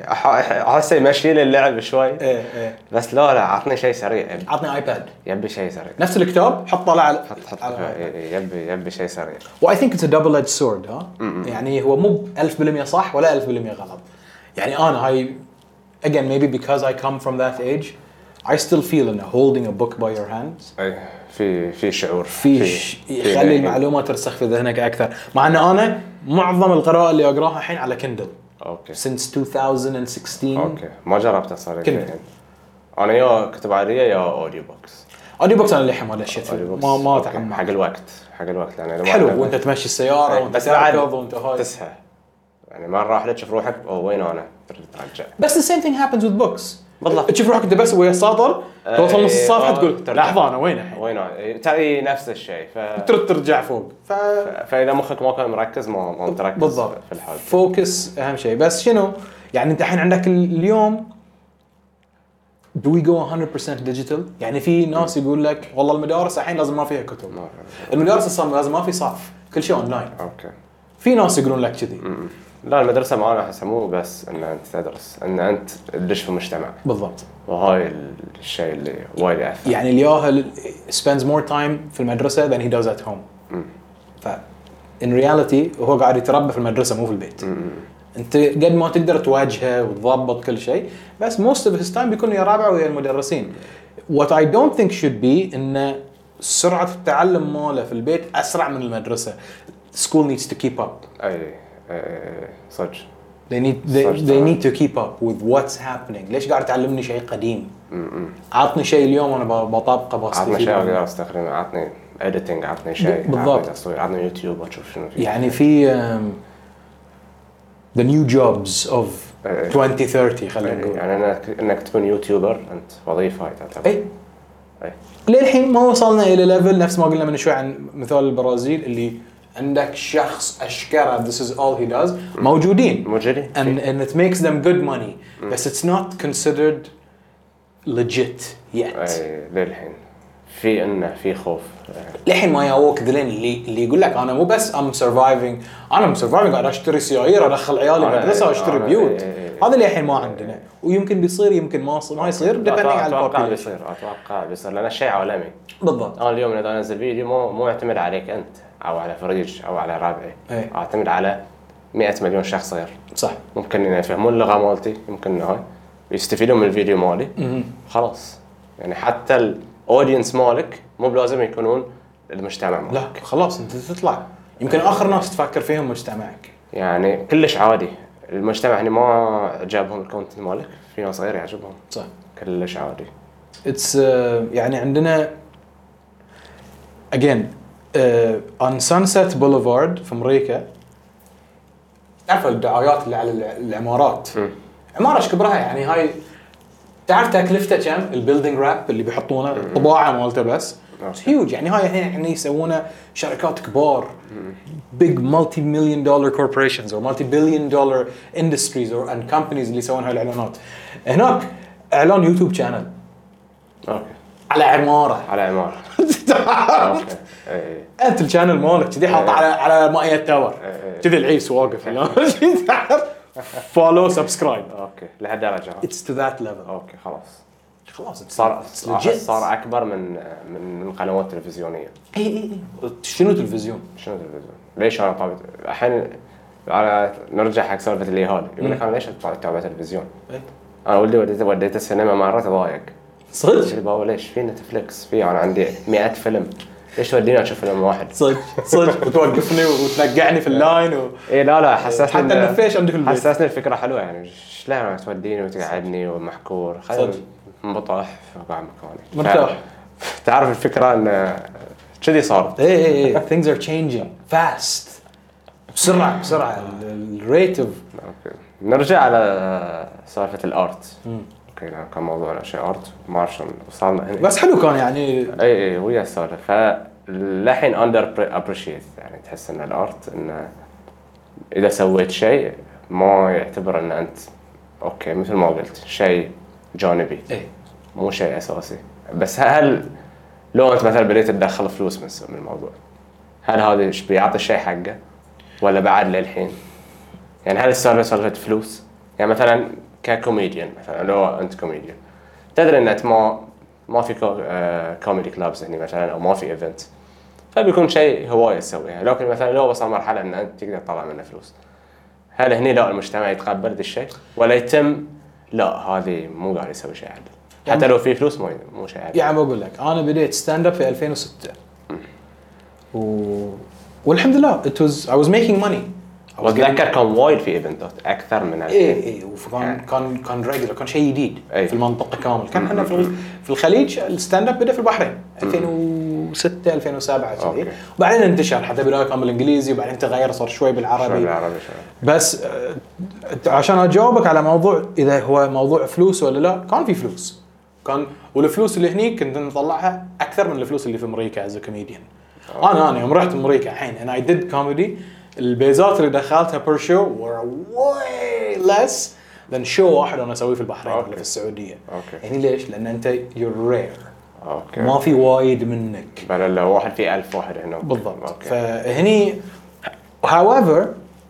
ها احس يمشي لي اللعب شوي ايه ايه بس لا لا عطني شيء سريع عطني ايباد يبي شيء سريع نفس الكتاب حطه على حط حط يبي يبي شيء سريع و I think it's a double edged sword ها يعني هو مو ألف بالمية صح ولا ألف بالمية غلط يعني انا هاي again maybe because I come from that age I still feel in holding a book by your hands اي في في شعور في يخلي المعلومات ترسخ في ذهنك اكثر مع ان انا معظم القراءه اللي اقراها الحين على كندل اوكي since two thousand sixteen اوكي ما جربت صار الحين انا يا كتب عاديه يا اوديو بوكس اوديو بوكس انا للحين ما دشيت ما ما تحمل حق الوقت حق الوقت يعني حلو وانت تمشي السياره وانت تركض وانت هاي تسهى يعني مره واحده تشوف روحك او وين انا ترجع بس the same thing happens with books بالضبط تشوف روحك انت بس ويا السطر توصل نص الصفحه تقول لحظه انا وين الحين وين انا ترى نفس الشيء ف ترد ترجع فوق ف... فاذا مخك ما كان مركز ما ما تركز بالضبط في الحال فوكس اهم شيء بس شنو يعني انت الحين عندك اليوم do we go one hundred percent digital يعني في ناس يقول لك والله المدارس الحين لازم ما فيها كتب المدارس اصلا لازم ما في صف كل شيء اونلاين اوكي في ناس يقولون لك كذي لا المدرسه معانا احسها مو بس ان انت تدرس ان انت تدش في المجتمع بالضبط وهاي الشيء اللي وايد يأثر يعني الياهل spends more time في المدرسه than he does at home ف in reality هو قاعد يتربى في المدرسه مو في البيت م- انت قد ما تقدر تواجهه وتضبط كل شيء بس most of his time بيكون ويا رابعه ويا المدرسين what I don't think should be ان سرعه التعلم ماله في البيت اسرع من المدرسه school needs to keep up اي صدق they need they, they need to keep up with what's happening ليش قاعد تعلمني شيء قديم عطني شيء اليوم انا بطابقه بستفيد عطني شيء اقدر استخدمه عطني editing عطني شيء بالضبط عطني يوتيوب واشوف شنو فيه يعني في um, the new jobs of twenty thirty خلينا نقول يعني انك انك تكون يوتيوبر انت وظيفه هاي تعتبر اي اي للحين ما وصلنا الى ليفل نفس ما قلنا من شوي عن مثال البرازيل اللي عندك شخص اشكره this is all he does موجودين موجودين and, and it makes them good money بس it's not considered legit yet اي للحين في انه في خوف للحين ما ياوك ذلين اللي اللي يقول لك انا مو بس I'm surviving انا I'm surviving قاعد اشتري سيارة ادخل عيالي مدرسة واشتري بيوت هذا اللي الحين ما عندنا ويمكن بيصير يمكن ما ما يصير depending على اتوقع بيصير اتوقع بيصير لان الشيء عالمي بالضبط انا اليوم اذا انزل فيديو مو مو يعتمد عليك انت او على فريج او على ربعي اعتمد على مئة مليون شخص غير صح ممكن ان يفهمون اللغه مالتي ممكن هاي يستفيدون من الفيديو مالي خلاص يعني حتى الاودينس مالك مو بلازم يكونون المجتمع مالك لا خلاص انت تطلع يمكن اخر ناس تفكر فيهم مجتمعك يعني كلش عادي المجتمع يعني ما عجبهم الكونتنت مالك في ناس غير يعجبهم صح كلش عادي اتس uh, يعني عندنا again uh, on Sunset Boulevard في امريكا تعرف الدعايات اللي على العمارات م. عماره ايش كبرها يعني هاي تعرف تكلفته كم البيلدينج راب اللي بيحطونه طباعه مالته بس هيوج يعني هاي الحين احنا يسوونه شركات كبار big multi million dollar corporations or multi billion dollar industries or and companies اللي يسوون هاي الاعلانات هناك اعلان يوتيوب channel اوكي على عماره على عماره اوكي اي انت الشانل مالك كذي حاط على على مائة تاور كذي العيس واقف فولو سبسكرايب. اوكي لهالدرجه. اتس تو ذات ليفل. اوكي خلاص خلاص صار صار اكبر من من من قنوات تلفزيونيه. اي اي شنو تلفزيون؟ شنو تلفزيون؟ ليش انا طابت الحين على نرجع حق سالفه اليهال يقول لك انا ليش اتابع تلفزيون؟ إيه؟ انا ولدي وديته وديته السينما مرات ضايق صدق؟ اللي بابا ليش في نتفليكس في انا عندي مئة فيلم ليش توديني اشوف فيلم واحد؟ صدق صدق وتوقفني وتنقعني في اللاين و... اي لا لا حسسني حتى النفيش عندك البيت حسسني الفكره حلوه يعني شلون توديني وتقعدني ومحكور خلينا منبطح وقاعد مكاني مرتاح. تعرف الفكره ان كذي صار. اي اي اي things are changing fast بسرعه بسرعه الريت اوف. اوكي نرجع على سالفه الارت. اوكي كان موضوعنا شيء ارت ما اعرف شلون وصلنا هنا بس حلو كان يعني. اي اي ويا السالفه فالحين اندر ابريشيت يعني تحس ان الارت انه اذا سويت شيء ما يعتبر ان انت اوكي مثل ما قلت شيء جانبي اي مو شيء اساسي. بس هل لو انت مثلا بديت تدخل فلوس من الموضوع هل هذا ايش بيعطي الشيء حقه ولا بعد للحين؟ يعني هل السالفه سالفه فلوس؟ يعني مثلا ككوميديان مثلا لو انت كوميديان تدري ان انت ما ما في كو آه كوميدي كلابز هنا مثلا او ما في ايفنت فبيكون شيء هوايه تسويها. لكن مثلا لو وصل مرحله ان انت تقدر تطلع منه فلوس هل هني لا المجتمع يتقبل ذا الشيء ولا يتم لا هذه مو قاعد يسوي شيء عدل حتى لو في فلوس مو مو شيء عدل؟ يعني بقول لك انا بديت ستاند اب في ألفين وستة و... والحمد لله it was I was making money. واتذكر كان وايد في ايفنتات اكثر من الحين. اي اي وكان كان كان ريجولر كان شيء جديد أي. في المنطقه كامل. كان احنا في في الخليج الستاند اب بدا في البحرين ألفين وستة ألفين وسبعة كذي وبعدين انتشر حتى بدايه كان بالانجليزي وبعدين تغير صار شوي بالعربي. شوي بالعربي شوي. بس عشان اجاوبك على موضوع اذا هو موضوع فلوس ولا لا كان في فلوس كان والفلوس اللي هني كنت نطلعها اكثر من الفلوس اللي في امريكا از كوميديان. انا انا يوم رحت امريكا الحين and I did comedy البيزات اللي دخلتها بير شو were way less than show واحد انا اسويه في البحرين ولا في السعوديه. أوكي. يعني ليش؟ لان انت you're rare. اوكي. ما في وايد منك. بل لو واحد في ألف واحد هنا. بالضبط. أوكي. فهني however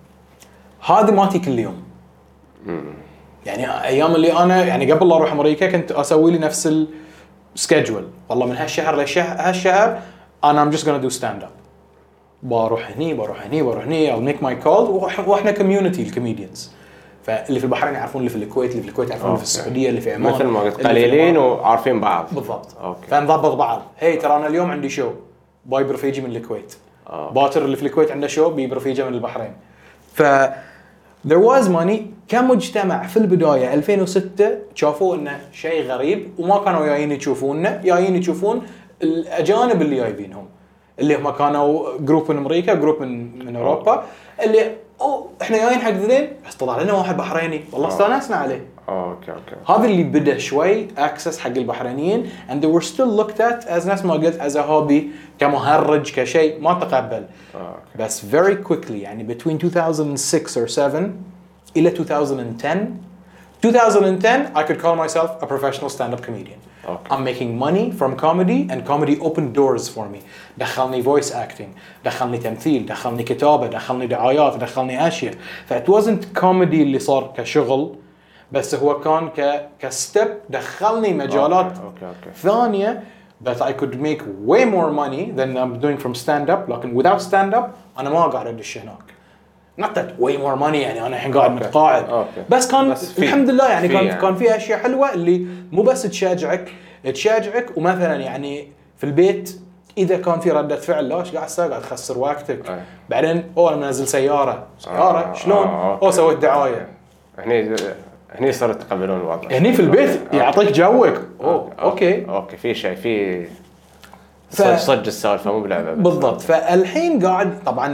هذه ماتي كل يوم. مم. يعني ايام اللي انا يعني قبل لا اروح امريكا كنت اسوي لي نفس السكيدجول والله من هالشهر للشهر هالشهر انا I'm just gonna do stand up. بروح هني بروح هني بروح هني I'll make my call واحنا كوميونتي الكوميديانز فاللي في البحرين يعرفون اللي في الكويت اللي في الكويت يعرفون اللي في السعوديه اللي في عمان مثل ما قلت قليلين وعارفين بعض. بالضبط. اوكي فنضبط بعض. هي ترى انا اليوم عندي شو باي برفيجي من الكويت أوكي. باكر اللي في الكويت عنده شو بي برفيجه من البحرين. ف there was money كمجتمع في البدايه ألفين وستة شافوا انه شيء غريب وما كانوا جايين يشوفوننا جايين يشوفون الاجانب اللي جايبينهم اللي هم كانوا جروب من امريكا جروب من من اوروبا اللي او احنا جايين حق ذين بس طلع لنا واحد بحريني والله استانسنا عليه. اوكي اوكي هذا اللي بدا شوي اكسس حق البحرينيين and they were still looked at as ناس ما قلت as a hobby كمهرج كشيء ما تقبل. أوكي. بس very quickly يعني between two thousand six or seven الى two thousand ten twenty ten I could call myself a professional stand-up comedian. Okay. I'm making money from comedy and comedy opened doors for me. دخلني voice acting, دخلني تمثيل, دخلني كتابة, دخلني دعايات, دخلني أشياء. ف it wasn't comedy اللي صار كشغل بس هو كان ك كستيب دخلني مجالات okay, okay, okay. ثانية that I could make way more money than I'm doing from stand-up. لكن without stand-up أنا ما قاعد أدش هناك. not that way more money يعني أنا الحين قاعد متقاعد. okay. بس كان بس الحمد لله يعني كان يعني. كان في أشياء حلوة اللي مو بس تشجعك تشجعك ومثلا يعني في البيت إذا كان في ردة فعل لا إيش قاعد تسوي قاعد تخسر وقتك. أي. بعدين أو أنا منزل سيارة سيارة آه شلون آه أو سويت دعاية. هني هني صاروا يتقبلون الوضع. هني في البيت يعطيك جوك. أوه أوكي. أوكي في شيء في ف... صج السالفة مو بلعبة. بالضبط. فالحين قاعد طبعا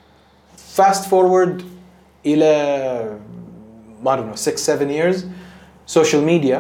fast forward إلى ما أدري six seven years social media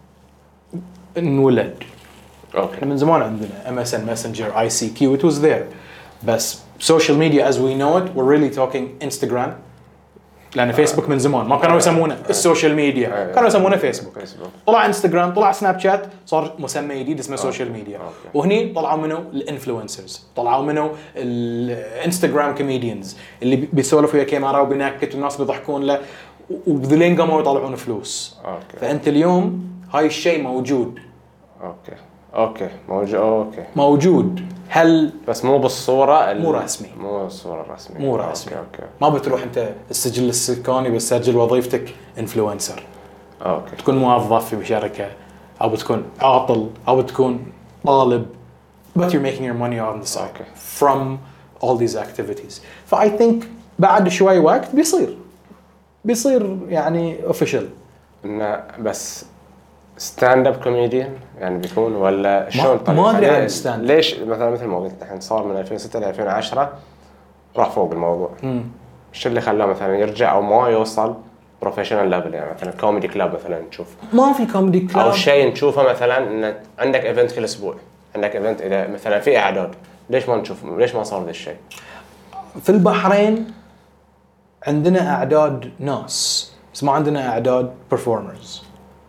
انولد. اوكي من زمان عندنا إم إس إن Messenger آي سي كيو it was there بس social media as we know it we're really talking Instagram لان فيسبوك من زمان ما كانوا يسمونه السوشيال ميديا، كانوا يسمونه فيسبوك. فيسبوك. طلع انستغرام، طلع سناب شات، صار مسمى جديد اسمه سوشيال ميديا. أوكي. وهني طلعوا منه الانفلونسرز، طلعوا منه الانستغرام كوميديانز اللي بيسولفوا ويا كاميرا وبينكت والناس بيضحكون له، وبذلين قاموا يطلعون فلوس. أوكي. فانت اليوم هاي الشيء موجود. اوكي اوكي موجود. اوكي موجود. هل بس مو بالصوره ال... مو رسمي. مو الصوره الرسميه. مو رسمي. اوكي اوكي ما بتروح انت السجل السكاني بتسجل وظيفتك انفلونسر، اوكي تكون موظف في شركه، او بتكون عاطل، او بتكون طالب، but you're making your money on the side Okay. from all these activities. فاي ثينك بعد شوي وقت بيصير بيصير يعني official. انه بس ستاند اب كوميديان يعني بيكون ولا شلون؟ طيب ما أدري عن ليه- stand up. ليش مثلا مثل ما قلت الحين صار من ألفين وستة ل ألفين وعشرة راح فوق الموضوع. مم. ايش اللي خلاه مثلا يرجع او ما يوصل بروفيشنال ليفل؟ يعني مثلا كوميدي كلاب مثلا نشوف، ما في كوميدي كلاب او شيء نشوفه مثلا ان عندك ايفنت كل اسبوع، عندك ايفنت اذا مثلا في اعداد، ليش ما نشوف؟ ليش ما صار ذا الشيء؟ في البحرين عندنا اعداد ناس بس ما عندنا اعداد performers.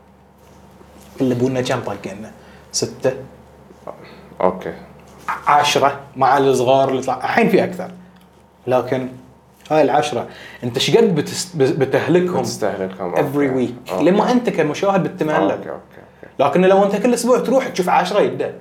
اللي بونا كم طاقنا؟ ستة اوكي عشرة مع الصغار اللي طلع الحين في اكثر، لكن هاي العشرة انت ايش قد بتست... بتهلكهم تستهلكهم every week لما انت كمشاهد بتملك. اوكي اوكي اوكي لكن لو انت كل اسبوع تروح تشوف عشرة يبدا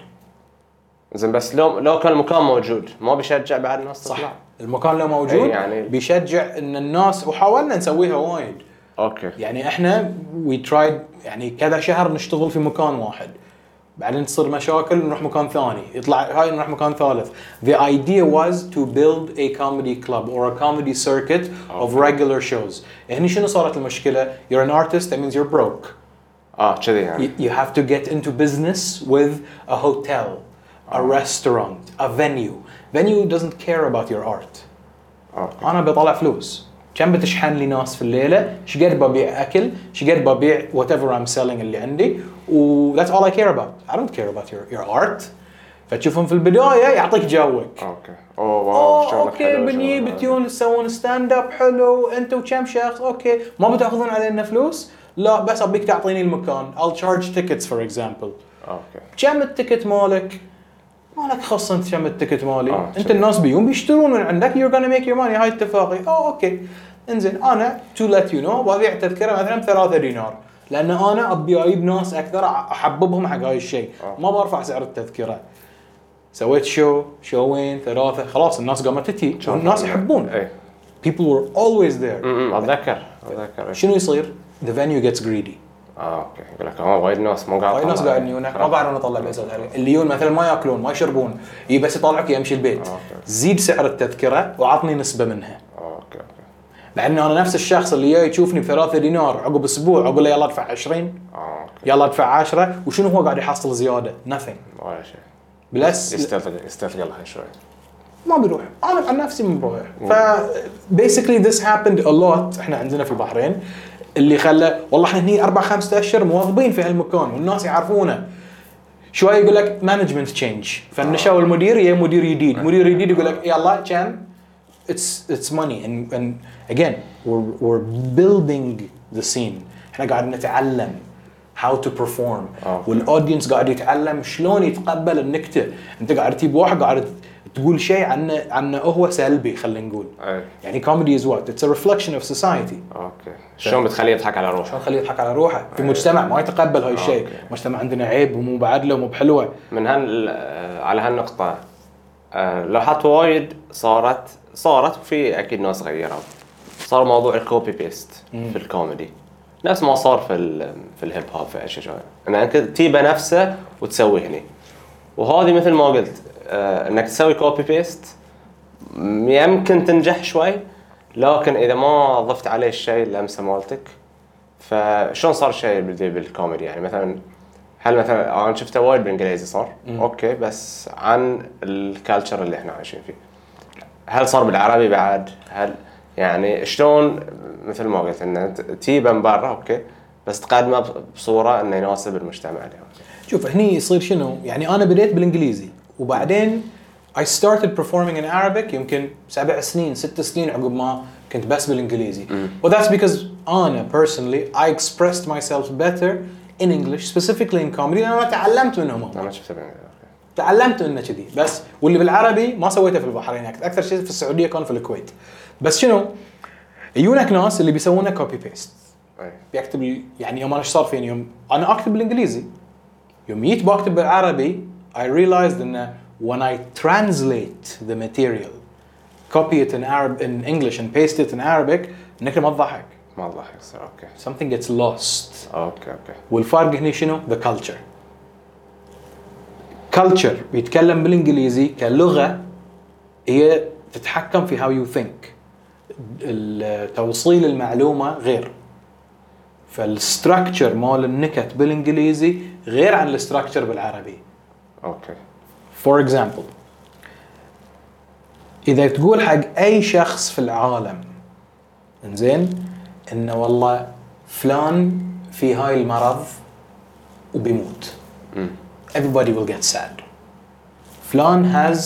زين. بس لو لو كان المكان موجود ما بيشجع بعد الناس تطلع؟ صح. المكان لو موجود أي يعني- بيشجع ان الناس، وحاولنا نسويها وايد. اوكي يعني احنا وي ترايد يعني كذا شهر نشتغل في مكان واحد، بعدين تصير مشاكل نروح مكان ثاني، يطلع هاي نروح مكان ثالث. The idea was to build a comedy club or a comedy circuit of regular shows. يعني شنو صارت المشكلة؟ You're an artist, that means you're broke. اه كذي يعني. You, you have to get into business with a hotel, a restaurant, a venue. Venue doesn't care about your art. اوكي انا بطلع فلوس، كم بتشحن لي ناس في الليله، ايش قد ببيع اكل، ايش قد ببيع whatever I'm selling اللي عندي، و that's all I care about. I don't care about your your art. فتشوفهم في البدايه يعطيك جوك. اوكي اوه واو اوه شغلك اوكي حلو، بني شغلك بتيون تسوون ستاند اب حلو انت وكم شخص، اوكي ما بتاخذون علينا فلوس؟ لا بس ابيك تعطيني المكان. I'll charge tickets for example. اوكي كم التيكت مالك؟ مالك خص انت كم التيكت مالي. آه، انت شوف. الناس بيهم بيشترون من عندك. you're gonna make your money. هاي اتفاقي. اوه اوكي انزين انا to let you know ببيع تذكره مثلا بثلاثة دينار، لان انا ابي اجيب ناس اكثر احببهم حق هاي الشيء. آه. ما برفع سعر التذكره. سويت شو شوين ثلاثه خلاص الناس قامت تجي والناس يحبون. اي people were always there. امم اتذكر اتذكر شنو يصير؟ the venue gets greedy. اه اوكي يقول لك اه وايد ناس مو قاعد هاي ناس قاعدين يجون ما قاعدين نطلع بأساس اللي يجون مثلا ما ياكلون ما يشربون، يجي بس يطلعك يمشي البيت. أوكي. زيد سعر التذكره وعطني نسبه منها. اوكي اوكي لان انا نفس الشخص اللي جاي يشوفني بثلاثة دينار عقب اسبوع اقول له يلا ادفع عشرين، اه اوكي يلا ادفع عشرة، وشنو هو قاعد يحصل زياده؟ nothing. ولا شيء. بلس يستثقل يستثقل هاي شوي. ما بيروح. انا عن نفسي ما بروح. ف basically this happened a lot. احنا عندنا في البحرين اللي خلى والله احنا هني اربع خمسة اشهر مواظبين في هالمكان والناس يعرفونه. شوي يقول لك مانجمنت تشينج، فنشوا المدير يا مدير جديد، مدير جديد يقول لك يلا كم it's it's money and and again we're we're building the scene. احنا قاعد نتعلم how to perform okay. والاودينس قاعد يتعلم شلون يتقبل النكته. انت قاعد تجيب واحد قاعد تقول شيء عنه عنه هو سلبي خلينا نقول. اي يعني comedy is what? It's a reflection of society. اوكي شلون بتخليه يضحك على روحه؟ شلون نخليه يضحك على روحه في مجتمع ما يتقبل هاي الشيء. أوكي. مجتمع عندنا عيب ومو بعدله ومو بحلوه. من هال على هالنقطة آه، لوحات وايد صارت صارت وفي اكيد ناس غيروا. صار موضوع الكوبي بيست في الكوميدي نفس ما صار في ال في الهيب هوب في اشياء شويه، انك تجيبه نفسه وتسويه هني. وهذه مثل ما قلت آه، انك تسوي كوبي بيست يمكن تنجح شوي، لكن اذا ما ضفت عليه الشيء اللمسه مالتك. فشلون صار شيء بالكوميدي؟ يعني مثلا هل مثلا انا شفته وايد بالانجليزي صار مم. اوكي، بس عن الكالتشر اللي احنا عايشين فيه هل صار بالعربي بعد؟ هل يعني شلون مثل ما قلت ان تجيبه من برا اوكي بس تقدمه بصوره انه يناسب المجتمع اليوم؟ شوف هني يصير شنو؟ يعني انا بديت بالانجليزي وبعدين I started performing in Arabic يمكن سبع سنين ست سنين عقب ما كنت بس بالإنجليزي. Well that's because أنا personally I expressed myself better in English specifically in comedy لأن أنا تعلمت منهم. أنا شفت بين. تعلمت منه كذي بس واللي بالعربي ما سويته في البحرين أكثر شيء في السعودية كان في الكويت. بس شنو؟ يجونك ناس اللي بيسوونه كوبي بيست. بيكتب يعني يوم أنا إيش صار فيني يوم أنا أكتب بالإنجليزي يوم جيت بكتب بالعربي I realized إنه when I translate the material copy it in Arab in English and paste it in Arabic إنك ما تضحك. ما تضحك صار أوكي. Something gets lost. أوكي أوكي. والفرق هنا شنو؟ The culture. Culture بيتكلم بالإنجليزي كلغة هي تتحكم في how you think. توصيل المعلومة غير. فالستراكشر مال النكت بالإنجليزي غير عن الستراكشر بالعربي. أوكي. For example إذا تقول حق أي شخص في العالم إنزين إنه والله فلان في هاي المرض وبيموت. م. Everybody will get sad. فلان has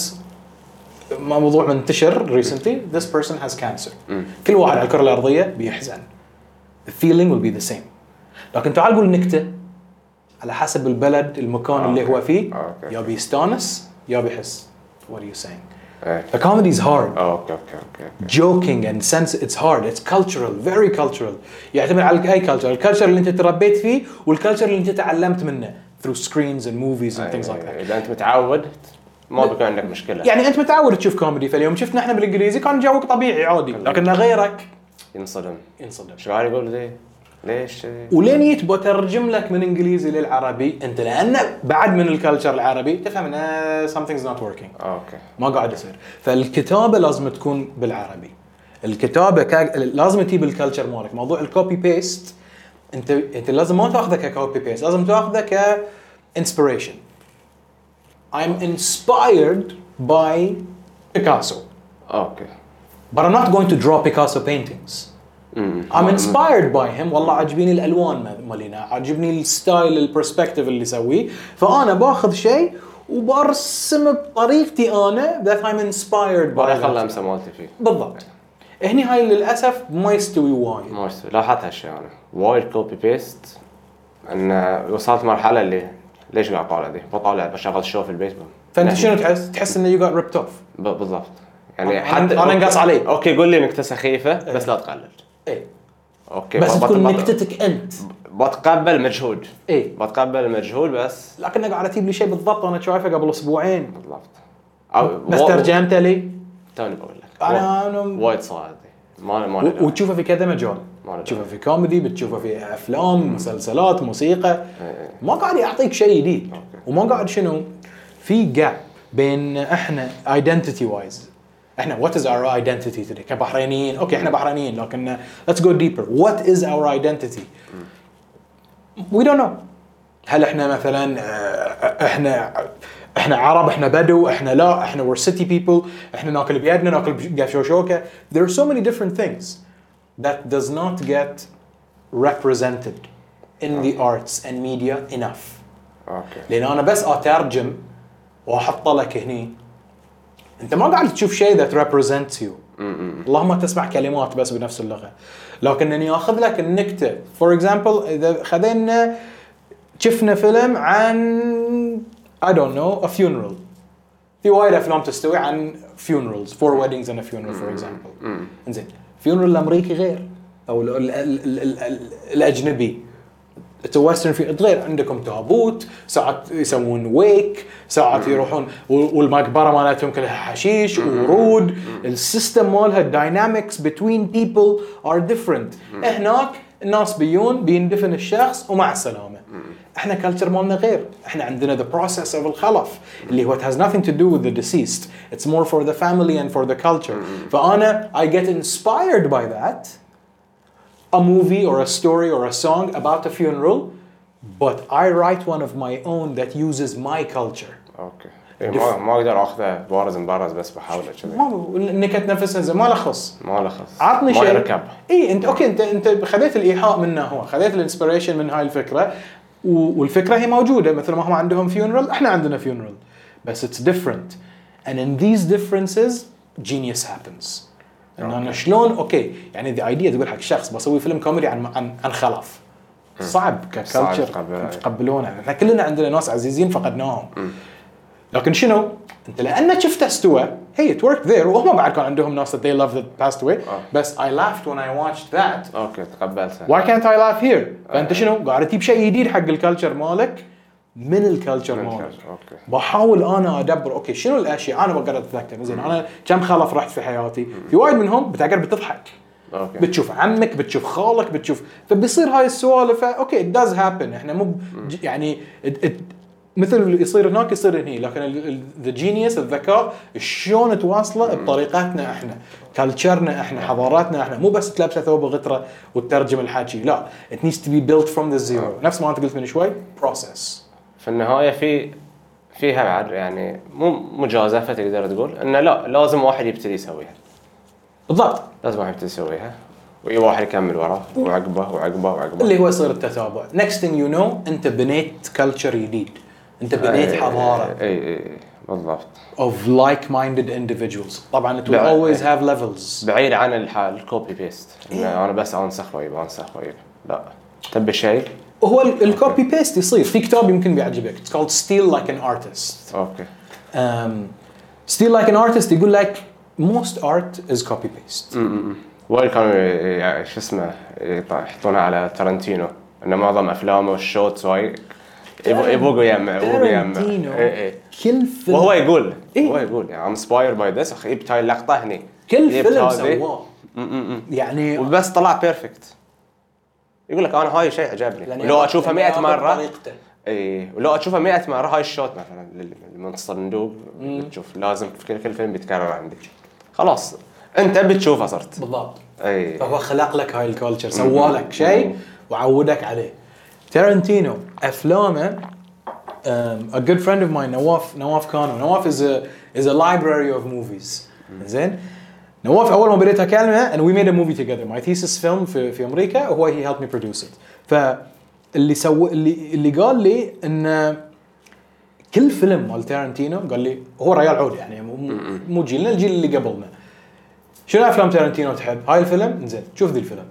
موضوع منتشر recently this person has cancer. م. كل واحد على الكرة الأرضية بيحزن. The feeling will be the same. لكن تعال قول نكتة على حسب البلد المكان أوكي. اللي هو فيه أوكي. يا بيستانس يا بيحس. What are you saying? إيه. The comedy is hard. أوكي أوكي أوكي. Joking and sense it's hard. It's cultural, very cultural. يعتمد على أي culture. الكالتشر اللي أنت تربيت فيه والكالتشر اللي أنت تعلمت منه through screens and movies and things like that. إذا أنت متعود ما بيكون عندك مشكلة. يعني أنت متعود تشوف كوميدي فاليوم شفنا إحنا بالإنجليزي كان جوك طبيعي عادي. لكن غيرك ينصدم. ينصدم. شو قاعد يقول ليه؟ ليش؟ ولين يتبى ترجم لك من انجليزي للعربي انت لان بعد من الكالتشر العربي تفهم ان something's not working. اوكي. ما قاعد يصير. فالكتابه لازم تكون بالعربي. الكتابه كا... لازم تجيب الكالتشر مالك. موضوع الكوبي بيست انت انت لازم ما تاخذه ككوبي بيست لازم تاخذه ك inspiration. I'm inspired by Picasso. اوكي. But I'm not going to draw Picasso paintings. I'm inspired by him. والله عجبيني الألوان مالينا عجبني الستايل البرسبكتيف اللي يسويه فأنا باخذ شيء وبرسم بطريقتي أنا that I'm inspired by. ما خلى أمسى مالتي فيه. بالضبط. هني هاي للأسف ما يستوي وايد. ما يستوي. لاحظت هالشيء أنا وايد كوبي بيست إن وصلت مرحلة اللي ليش قاعد طالع دي بطالع بشغل شو في البيت. فأنت شنو تحس؟ تحس إنه you got ripped off. بالضبط. يعني حتى أنا انقص علي. أوكي قول لي نكتة سخيفة بس لا تقلل. إيه. اوكي بس تكون نكتتك انت. بتقبل مجهود. ايه بتقبل المجهود بس لكنك قاعد تجيب لي شيء بالضبط انا شايفه قبل اسبوعين. بالضبط. أو بس ترجمته لي توني بقول لك انا انا وايد صعب ما ما و... وتشوفه في كذا مجال. تشوفه في كوميدي بتشوفه في افلام مسلسلات موسيقى. ما قاعد يعطيك شيء جديد وما قاعد شنو في جاب بين احنا identity wise. احنا what is our identity today كبحرينيين. اوكي احنا بحرينيين لكن let's go deeper. What is our identity? We don't know. هل احنا مثلا احنا احنا عرب احنا بدو احنا لا احنا we're city people احنا ناكل بيدنا ناكل بقشوشوكه. There are so many different things that does not get represented in the arts and media enough. اوكي. لان انا بس اترجم واحط لك هني انت ما قاعد تشوف شيء that represents you. اللهم تسمع كلمات بس بنفس اللغة. لكنني اخذ لك النكتة for example اذا خذينا شفنا فيلم عن I don't know a funeral. في وايد افلام تستوي عن funerals four weddings and a funeral for example. انزين funeral الامريكي غير او ال ال ال ال ال الاجنبي. الويسترن في غير عندكم تابوت ساعات يسوون ويك ساعات يروحون والمقبره مالتهم كلها حشيش ورود. السيستم مالها الداينامكس between people are different. هناك الناس بيون بيندفن الشخص ومع السلامه. احنا كلتشر مالنا غير. احنا عندنا the process of الخلف اللي هو it has nothing to do with the deceased. It's more for the family and for the culture. فانا I get inspired by that. A movie or a story or a song about a funeral, but I write one of my own that uses my culture. اوكي. إيه ما ما اقدر اخذه بارز مبارز بس بحاول كذا. ما النكت نفسها زي ما لخص. ما لخص. عطني شيء. ما يركب. اي انت اوكي انت انت خذيت الايحاء منه هو خذيت الانسبيريشن من هاي الفكره والفكره هي موجوده مثل ما هم عندهم funeral احنا عندنا funeral بس it's different. and in these differences genius happens. إن أنا شلون أوكي يعني the idea تقول حق شخص بسوي فيلم كوميدي عن عن عن خلف صعب ككلتشر تقبلونه. احنا كلنا عندنا ناس عزيزين فقدناهم. لكن شنو انت لأنك شفته استوى هي it worked there وهم بعد كان عندهم ناس that they loved that passed away بس I laughed when I watched that. اوكي تقبلته. why can't I laugh here؟ فانت شنو قاعد تجيب شيء جديد حق الكلتشر مالك من الكلتشر مالك. بحاول انا ادبر اوكي شنو الاشياء انا بقدر اتذكر زين انا كم خلف رحت في حياتي في وايد منهم بتقدر بتضحك. أوكي. بتشوف عمك بتشوف خالك بتشوف فبيصير هاي السوالف اوكي it does happen. احنا مو يعني it, it مثل اللي يصير هناك يصير هنا لكن the genius الذكاء شلون تواصله بطريقتنا احنا كلتشرنا احنا حضاراتنا احنا مو بس تلبسه ثوب الغتره وتترجم الحكي لا it needs to be built from the zero. نفس ما انت قلت من شوي process. في النهايه في فيها بعد يعني مو مجازفه تقدر تقول انه لا لازم واحد يبتدي يسويها. بالضبط لازم واحد يبتدي يسويها واي واحد يكمل وراه وعقبه وعقبه وعقبه اللي هو يصير التتابع. next thing you know انت بنيت كلتشر جديد انت بنيت حضاره. اي اي بالضبط of like-minded individuals. طبعا it will always have levels. بعيد عن الحال الكوبي بيست إيه؟ انا بس انسخ ويب انسخ ويب لا تبي شيء هو الكوبي بيست يصير في كتاب يمكن بيعجبك it's called Steal Like an Artist. اوكي um, Steal Like an Artist يقول لك most art is copy paste. وايد كانوا يعني شو اسمه يحطونها على تارنتينو ان معظم افلامه والشوتس واي يبغوا يجمع يبغوا يجمع اي كل فيلم وهو يقول إيه؟ هو يقول يعني I'm inspired by this اخي جبت هاي اللقطه هني كل فيلم سواه يعني وبس طلع بيرفكت. يقول لك انا هاي شيء عجبني ولو اشوفها مئة مره اي ولو اشوفها مئة مره هاي الشوت مثلا من الصندوق بتشوف لازم في كل كل فيلم بيتكرر عندك خلاص انت بتشوفها صرت بالضبط. اي فهو خلق لك هاي الكولتشر سوالك شيء وعودك عليه. تارنتينو افلامه um, a good friend of mine نواف نواف كانو نواف is a is a library of movies. زين نواف اول ما بديت اكلمه and we made a movie together my thesis film في في امريكا وهو he helped me produce it. فاللي سو اللي اللي قال لي ان كل فيلم مال تارنتينو قال لي هو ريال عود يعني مو جيلنا الجيل اللي قبلنا شنو افلام تارنتينو تحب هاي الفيلم زين شوف ذي الفيلم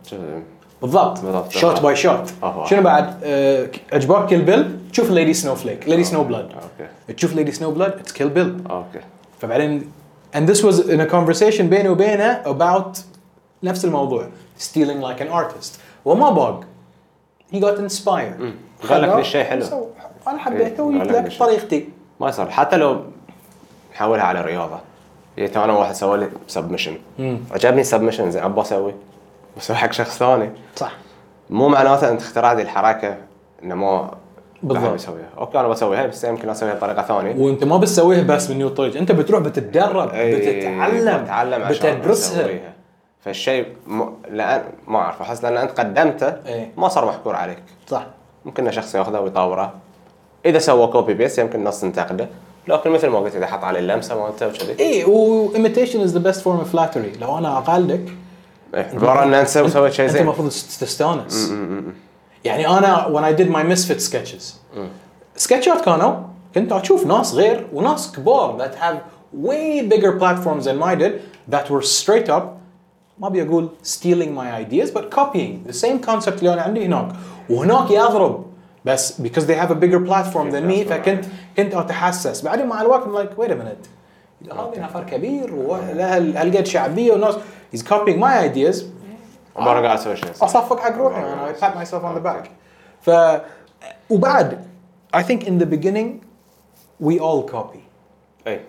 بالضبط شوت باي شوت. شنو بعد أه عجبك كيل بيل تشوف ليدي سنو فليك ليدي سنو بلاد تشوف ليدي سنو بلاد اتس كيل بيل. اوكي فبعدين and this was in a conversation بيني وبينه about نفس الموضوع stealing like an artist وما باق he got inspired قال لك الشيء حلو انا حبيته وجبت لك طريقتي ما يصير حتى لو نحولها على رياضه جيت انا واحد سوى لي سبمشن عجبني سبمشن زين ابغى اسوي بسوي حق شخص ثاني صح مو معناته انت اخترعت هذه الحركه انه ما بالضبط بسويها اوكي انا بسويها بس يمكن اسويها بطريقه ثانيه وانت ما بتسويها بس من نيو طريق انت بتروح بتتدرب بتتعلم بتتعلم بتدرسها. فالشيء م... لان ما اعرف احس لان انت قدمته ايه؟ ما صار محكور عليك صح ممكن شخص ياخذه ويطوره اذا سوى كوبي بيست يمكن الناس تنتقده لكن مثل ما قلت اذا حط عليه اللمسه مالته وكذي اي و imitation is the best form of flattery لو انا اقلدك عباره ان انت سويت شيء زين انت المفروض تستانس. يعني انا when I did my misfit sketches سكتشات كانوا كنت اشوف ناس غير وناس كبار that have way bigger platforms than mine did that were straight up ما بيقول stealing my ideas but copying the same concept اللي انا عندي هناك وهناك يضرب بس because they have a bigger platform than me فكنت كنت اتحسس بعدين مع الوقت I'm like wait a minute هذا نفر كبير وله هالقد شعبيه والناس he's copying my ideas وبرا قاعد اسوي شيء اصفق حق روحي انا I pat myself on the back. ف وبعد I think in the beginning we all copy. اي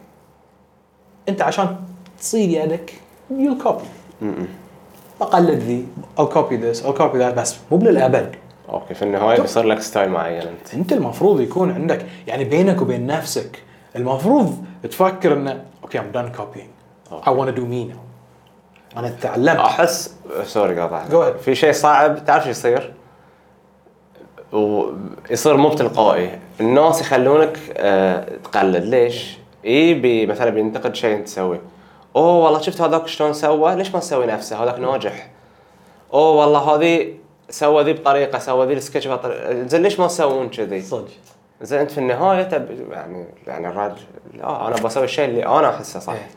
انت عشان تصير يدك you'll copy بقلد ذي I'll copy this I'll copy that بس مو للأبد. اوكي في النهايه بيصير لك ستايل معين انت انت المفروض يكون عندك يعني بينك وبين نفسك المفروض تفكر انه اوكي I'm done copying I want to do me now. انا تعلمت احس سوري قاطع في شيء صعب تعرف شو يصير ويصير مو تلقائي الناس يخلونك أه تقلد ليش اي مثلا بينتقد شيء انت تسويه اوه والله شفت هذاك شلون سوى ليش ما تسوي نفسه هذاك ناجح اوه والله هذه سوى ذي بطريقه سوى ذي السكتش بطريقه زين ليش ما تسوون كذي صدق زين انت في النهايه تب يعني يعني الراجل لا انا بسوي الشيء اللي انا احسه صح. إيه.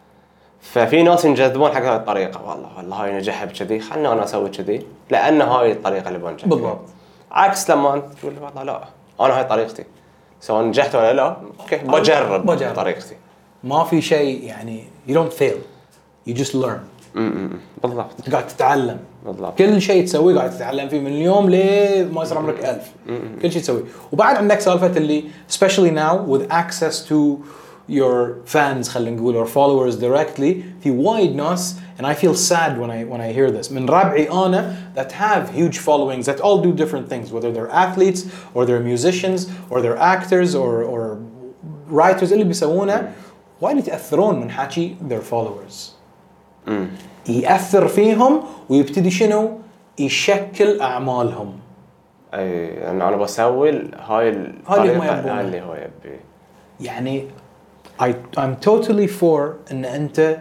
ففي ناس ينجذبون حق هاي الطريقه، والله والله هاي نجحها بكذي خلنا انا اسوي كذي لان هاي الطريقه اللي بنجح بالضبط. عكس لما انت تقول والله لا انا هاي طريقتي سواء نجحت ولا لا اوكي بجرب, بجرب. طريقتي. ما في شيء يعني you don't fail you just learn. امم بالضبط قاعد تتعلم بالضبط. كل شيء تسويه قاعد تتعلم فيه من اليوم ليه ما يصير عمرك ألف. كل شيء تسويه. وبعد عندك سالفة اللي especially now with access to your fans خلينا نقول or followers directly في وايد ناس and I feel sad when I when I hear this من ربعي أنا that have huge followings that all do different things whether they're athletes or they're musicians or they're actors or or writers اللي بيسوونه وايد يتأثرون من حكي their followers. امم يأثر فيهم ويبتدي شنو يشكل أعمالهم. اي يعني انا بسوي هاي الطريقه هاي اللي هو يبي. يعني I I'm totally for ان انت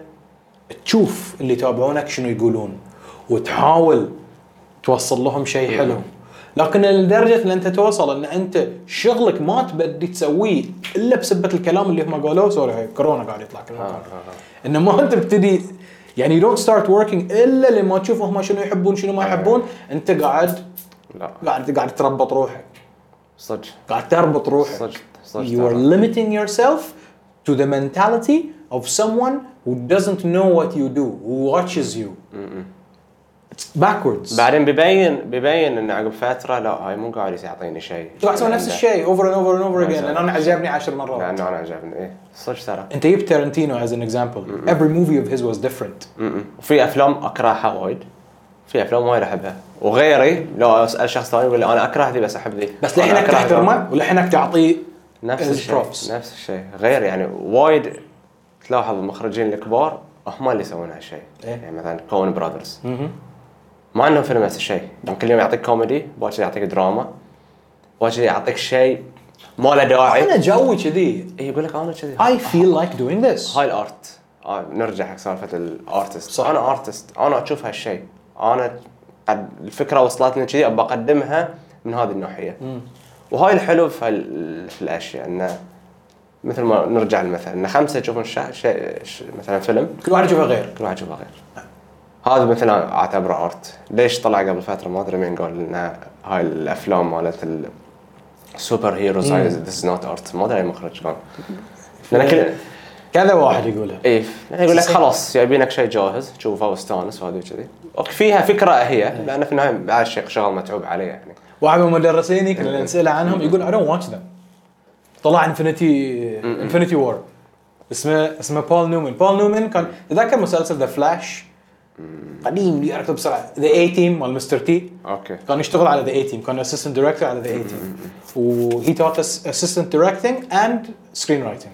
تشوف اللي يتابعونك شنو يقولون وتحاول توصل لهم شيء حلو، لكن لدرجه ان انت توصل ان انت شغلك ما تبدي تسويه الا بسبه الكلام اللي هم قالوه. سوري هاي كورونا قاعد يطلع كل مكان. انه ما انت بتبتدي يعني you don't start working الا لما تشوفهم شنو يحبون شنو ما يحبون. انت قاعد لا قاعد قاعد تربط روحك صدق قاعد تربط روحك. صدق صدق you are limiting yourself to the mentality of someone who doesn't know what you do who watches you. It's backwards. بعدين بيبين بيبين ان عقب فتره لا هاي مو قاعد يعطيني شيء قاعد تسوي نفس الشيء over and over and over again لان انا عجبني عشر مرات. لانه انا عجبني ايه صدق ترى. انت جبت تارنتينو as an example. every movie of his was different. وفي افلام اكرهها وايد في افلام وايد احبها وغيري لو اسال شخص ثاني يقول لي انا اكره ذي بس احب ذي بس لحينك تحترمه ولحينك تعطيه نفس الشيء نفس الشيء غير يعني وايد تلاحظ المخرجين الكبار هم اللي يسوون هالشيء. إيه؟ يعني مثلا كون براذرز ما عندهم فيلم نفس الشيء. كل يوم يعطيك كوميدي باكر يعطيك دراما باكر يعطيك شيء ما له داعي. انا جوي كذي. اي يقول لك انا كذي I feel like doing this. هاي الارت. آه نرجع حق سالفه الارتست. انا ارتست انا اشوف هالشيء انا قد الفكره وصلتني كذي ابى اقدمها من هذه الناحيه. وهاي الحلو في, في الاشياء انه مثل ما نرجع المثل ان خمسه يشوفون شيء مثلا فيلم كل واحد يشوفه غير كل واحد يشوفه غير. هذا مثلا اعتبره ارت. ليش طلع قبل فتره ما ادري مين قال لنا هاي الافلام مالت السوبر هيروز هاي ذس نوت ارت ما ادري اي مخرج كان لان كل كذا واحد يقولها. ايه يقول لك خلاص يبينك شيء جاهز تشوفه واستانس وهذا كذي. اوكي فيها فكره هي لان في النهايه بعد شيء شغل متعوب عليه. يعني واحد من مدرسيني كنا نسأله عنهم يقول I don't watch them. طلع انفينيتي انفينيتي وور اسمه اسمه بول نيومان. بول نيومان كان تذكر مسلسل ذا فلاش قديم اللي يعرفه بسرعه ذا اي تيم مال مستر تي. اوكي كان يشتغل على ذا اي تيم كان اسيستنت دايركتور على ذا اي تيم وهي توت اس اسيستنت دايركتنج اند سكرين رايتنج.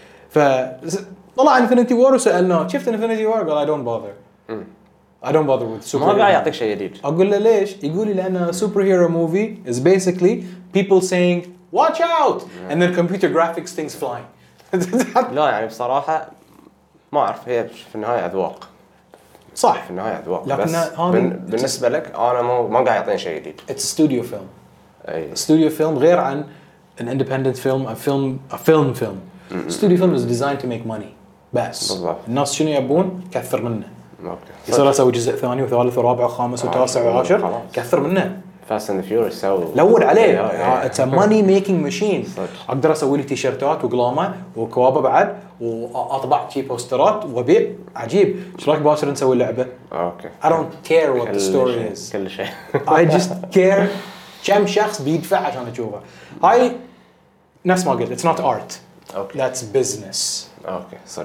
فطلع انفينيتي وور وسالناه شفت انفينيتي وور قال I don't bother. I don't bother with super. ما قاعد يعطيك شيء جديد. اقول له ليش؟ يقول لي لان super hero movie is basically people saying watch out and then computer graphics things flying. لا يعني بصراحه ما اعرف هي في النهايه اذواق. صح في النهايه اذواق لكن بس هذا بالنسبه لك انا ما ما قاعد يعطيني شيء جديد. it's a studio film. اي studio film غير عن an independent film a film a film film. studio film is designed to make money بس. بالضبط. الناس شنو يبون كثر منه. اوكي يصير اسوي جزء ثاني وثالث ورابع وخامس وتاسع وعاشر كثر منه. فاست اند فيوريوس سووا لود عليه. اتس ا ماني ميكينج ماشين. اقدر اسوي لي تيشيرتات وقلامه وكوابه بعد واطبع شي بوسترات وبيع عجيب. ايش رايك باكر نسوي لعبه؟ اوكي I don't care what the story is. كل شيء I just care كم شخص بيدفع عشان اشوفه. هاي نفس ما قلت it's not art. اوكي that's business. اوكي صدق.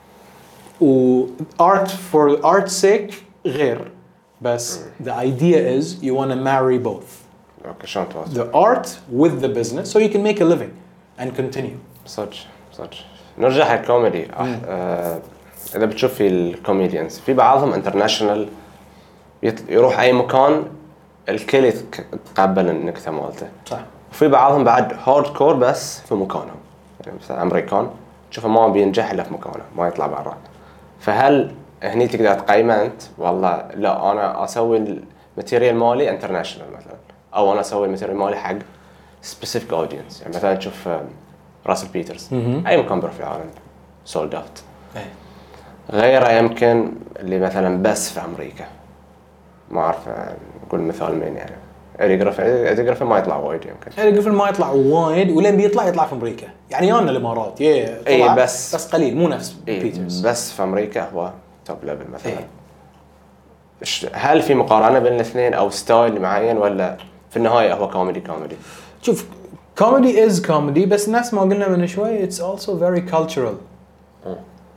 و art for art's sake غير بس the idea is you want to marry both. اوكي شلون توازن؟ The art with the business so you can make a living and continue. صدق صدق. نرجع حق الكوميدي. آه اذا بتشوف في الكوميديانز في بعضهم انترناشونال يروح اي مكان الكل يتقبل النكته مالته. صح. وفي بعضهم بعد هارد كور بس في مكانهم. يعني مثلا امريكان تشوفه ما بينجح الا في مكانه ما يطلع برا. فهل هني تقدر تقيمه انت والله لا انا اسوي الماتيريال مالي انترناشونال مثلا او انا اسوي الماتيريال مالي حق سبيسيفيك اودينس. يعني مثلا تشوف راسل بيترز اي مكان بروح في العالم سولد اوت. غيره يمكن اللي مثلا بس في امريكا، ما اعرف نقول مثال مين يعني. إيدي جريفن إيدي جريفن ما يطلع وايد يمكن. إيدي جريفن ما يطلع وايد، ولين بيطلع يطلع في امريكا. يعني يانا الامارات يا اي بس بس قليل مو نفس إيه بيترز. بس في امريكا هو توب ليفل مثلا. إيه. هل في مقارنه بين الاثنين او ستايل معين، ولا في النهايه هو كوميدي كوميدي؟ شوف كوميدي از كوميدي، بس نفس ما قلنا من شوي it's also very cultural. م.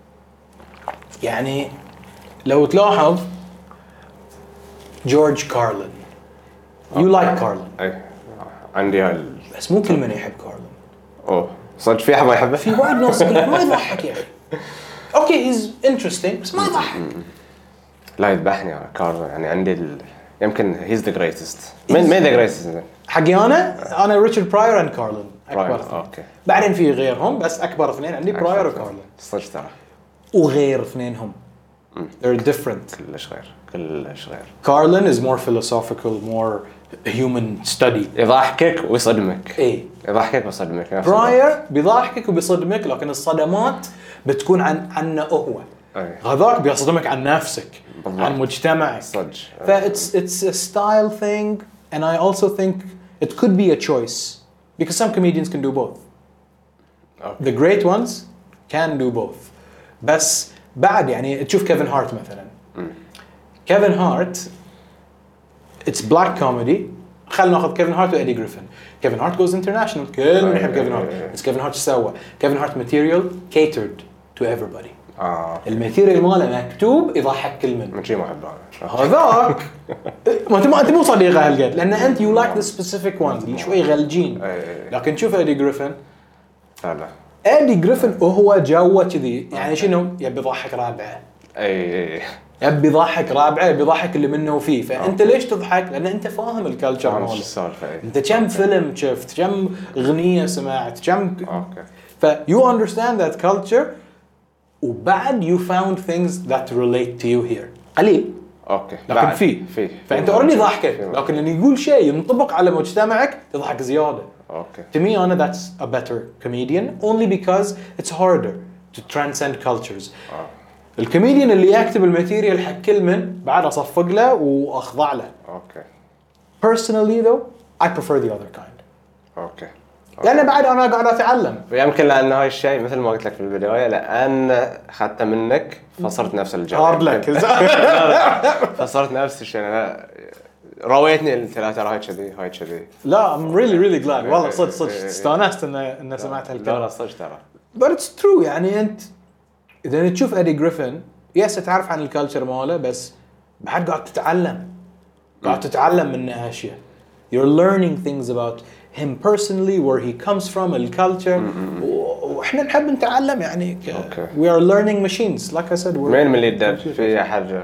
يعني لو تلاحظ جورج كارلين يو لايك كارلين. اي عندي هال بس مو كل من يحب كارلين. اوه صدق في احد ما يحبه؟ في وايد ناس ما يضحك يا اخي. اوكي هيز انترستينج بس ما يضحك. لا يذبحني على كارلين. يعني عندي ال... يمكن هيز ذا جريتست. مين مين ذا جريتست؟ حقي انا انا ريتشارد براير اند كارلين اكبر اثنين. اوكي بعدين في غيرهم بس اكبر اثنين عندي براير وكارلين. صدق ترى. وغير اثنينهم they're different. كلش غير كلش غير. كارلين is more philosophical, more human study. يضحكك ويصدمك. ايه يضحكك ويصدمك. براير بيضحكك وبيصدمك، لكن الصدمات بتكون عن عنه هو. أي. هذاك بيصدمك عن نفسك بالضبط. عن مجتمعك. صدق. ف it's it's a style thing, and I also think it could be a choice because some comedians can do both. Okay. The great ones can do both. بس بعد يعني تشوف كيفن هارت مثلا. كيفن هارت it's black comedy. خلينا ناخذ كيفن هارت وإيدي جريفن. كيفن هارت goes international. كل من يحب كيفن هارت. بس كيفن هارت سوى كيفن هارت material catered to everybody. آه. الماتيريال ماله مكتوب يضحك كل من. من شيء ما أحبه. هذاك ما انت ما انت مو صديقه هالقد، لان انت you like the specific ones اللي شوي غلجين. لكن شوف إيدي جريفن. لا لا. إيدي جريفن وهو جوه كذي، يعني شنو يبي يضحك رابعه. اي يبي يضحك رابعه، يبي يضحك اللي منه وفيه. فانت ليش تضحك؟ لان انت فاهم الكالتشر ماله. انت كم فيلم شفت، كم اغنيه سمعت، كم اوكي. ف you understand that culture، وبعد you found things that relate to you here. قليل اوكي. لكن في في فانت اوريدي ضحكك، لكن لما يقول شيء ينطبق على مجتمعك تضحك زياده. اوكي. To me أنا that's a better comedian only because it's harder to transcend cultures. آه. الكوميديان اللي يكتب الماتيريال حق كل من بعد أصفق له وأخضع له. اوكي. Personally though I prefer the other kind. اوكي. لأن بعد أنا قاعد أتعلم. ويمكن لأن هاي الشيء مثل ما قلت لك في البداية، لأن أخذته منك فصرت نفس الجو. هارد لك. فصرت نفس الشيء. أنا رويتني الثلاثة هاي كذي هاي كذي. لا I'm really really glad. والله صدق صدق استانست إن إن سمعت هالكلام. لا صدق ترى. But it's true. يعني أنت إذا تشوف إيدي جريفن يس تعرف عن الكالتشر ماله، بس بعد قاعد تتعلم. قاعد تتعلم منه أشياء. You're learning things about him personally, where he comes from, الكالتشر. وإحنا نحب نتعلم يعني. We are learning machines. Like I said. مين من اللي يدرب في أحد؟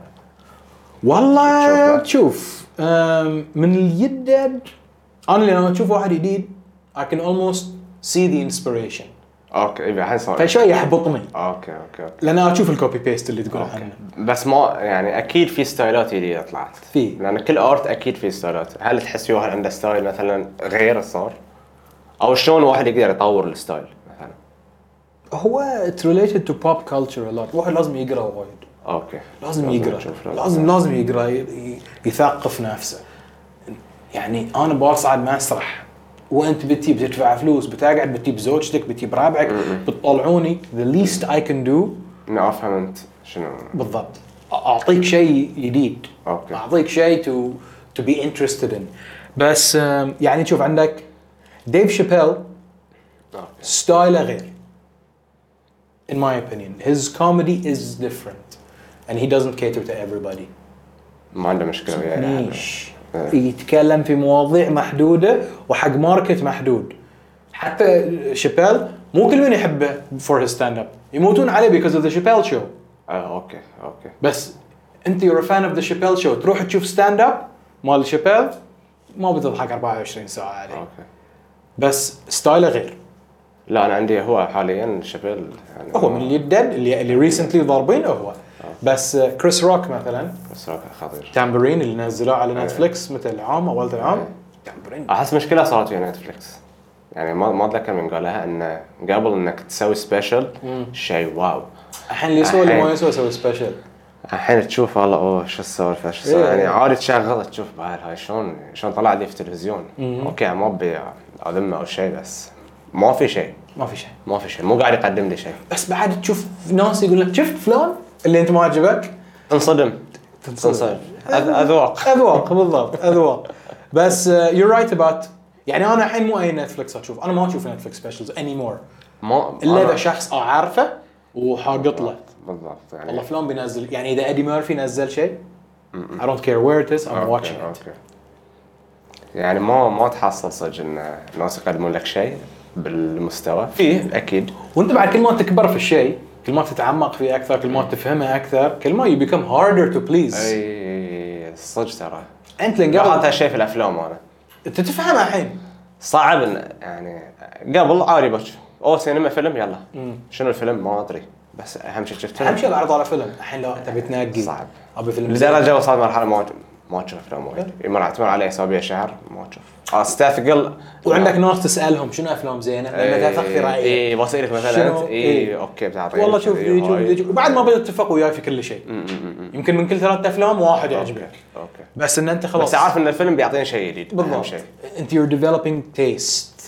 والله تشوف من اليدد أنا لما أشوف واحد جديد I can almost see the inspiration. اوكي يبقى الحين صار فشوي يحبطني. اوكي اوكي اوكي. لان اشوف الكوبي بيست اللي تقول عنه. بس ما يعني اكيد في ستايلات جديده طلعت. في لان كل ارت اكيد في ستايلات. هل تحس في واحد عنده ستايل مثلا غير صار، او شلون واحد يقدر يطور الستايل مثلا؟ هو it's related to pop culture a lot. واحد لازم يقرا وايد. اوكي. لازم يقرا. لازم لازم يقرا يثقف نفسه. يعني انا بصعد مسرح وانت بتجي بتدفع فلوس، بتقعد بتجيب زوجتك، بتجيب رابعك، بتطلعوني. the least I can do اني افهم انت شنو بالضبط. اعطيك شيء جديد. اوكي. اعطيك شيء to to be interested in. بس يعني شوف عندك ديف شابيل ستايله غير. in my opinion his comedy is different and he doesn't cater to everybody. ما عنده مشكله وياه يعني. يتكلم في مواضيع محدودة وحق ماركت محدود. حتى شابيل مو كل من يحبه for his stand-up. يموتون عليه because of the Chappelle show. اه اوكي اوكي. بس انت you're a fan of the Chappelle show تروح تشوف stand-up مال شابيل ما بتضحك أربعة وعشرين ساعة عليه. اوكي. بس ستايله غير. لا انا عندي هو حاليا شابيل يعني هو من اللي الدد اللي اللي recently ضاربين هو. بس كريس روك مثلا. كريس روك خطير. تامبرين اللي نزلوه على نتفليكس متى العام اول العام برنج. احس مشكله صارت في نتفلكس، يعني ما ما اتذكر من قالها انه قبل انك تسوي سبيشل شيء واو، الحين اللي يسوي اللي ما يسوي يسوي سبيشل. الحين تشوف والله اوه شو السالفه شو السالفة. يعني عادي تشغل تشوف بعد هاي شلون شلون طلع لي في التلفزيون. اوكي ما ابي اذمه او شيء، بس ما في شيء ما في شيء ما في شيء مو قاعد يقدم لي شيء. بس بعد تشوف ناس يقول لك شفت فلان اللي انت ما عجبك، تنصدم تنصدم اذواق اذواق بالضبط اذواق. بس يو رايت اباوت، يعني انا الحين مو اي نتفلكس اشوف، انا ما اشوف نتفلكس سبيشلز اني مور ما الا اذا شخص اعرفه وحاقط له بالضبط. يعني والله فلان بينزل، يعني اذا ادي ميرفي نزل شيء I don't care where it is I'm أوكي. watching it. أوكي. يعني ما ما تحصل صدق ان الناس يقدمون لك شيء بالمستوى فيه اكيد، وانت بعد كل ما تكبر في الشيء، كل ما تتعمق فيه اكثر، كل ما تفهمه اكثر، كل ما you become harder to please. اي صدق ترى انت لين قبل قبل هالشيء في الافلام انا انت تفهمها الحين صعب إن يعني قبل عادي بس او سينما فيلم يلا مم. شنو الفيلم ما ادري، بس اهم شيء شفت اهم شيء العرض على فيلم. الحين لو تبي تنقي صعب ابي فيلم لدرجه وصلت مرحله ما ما تشوف افلام وايد، يمر تمر علي اسابيع شهر ما تشوف استثقل. وعندك ناس تسالهم شنو افلام زينه لما تاخذ رايك. اي بسالك مثلا اي اوكي بتعطيني والله شوف ذي شوف ذي بعد ما بتتفق وياي في كل شيء. يمكن من كل ثلاث افلام واحد يعجبك اوكي بس ان انت خلاص بس عارف ان الفيلم بيعطيني شيء جديد. بالضبط شيء انت you're developing taste.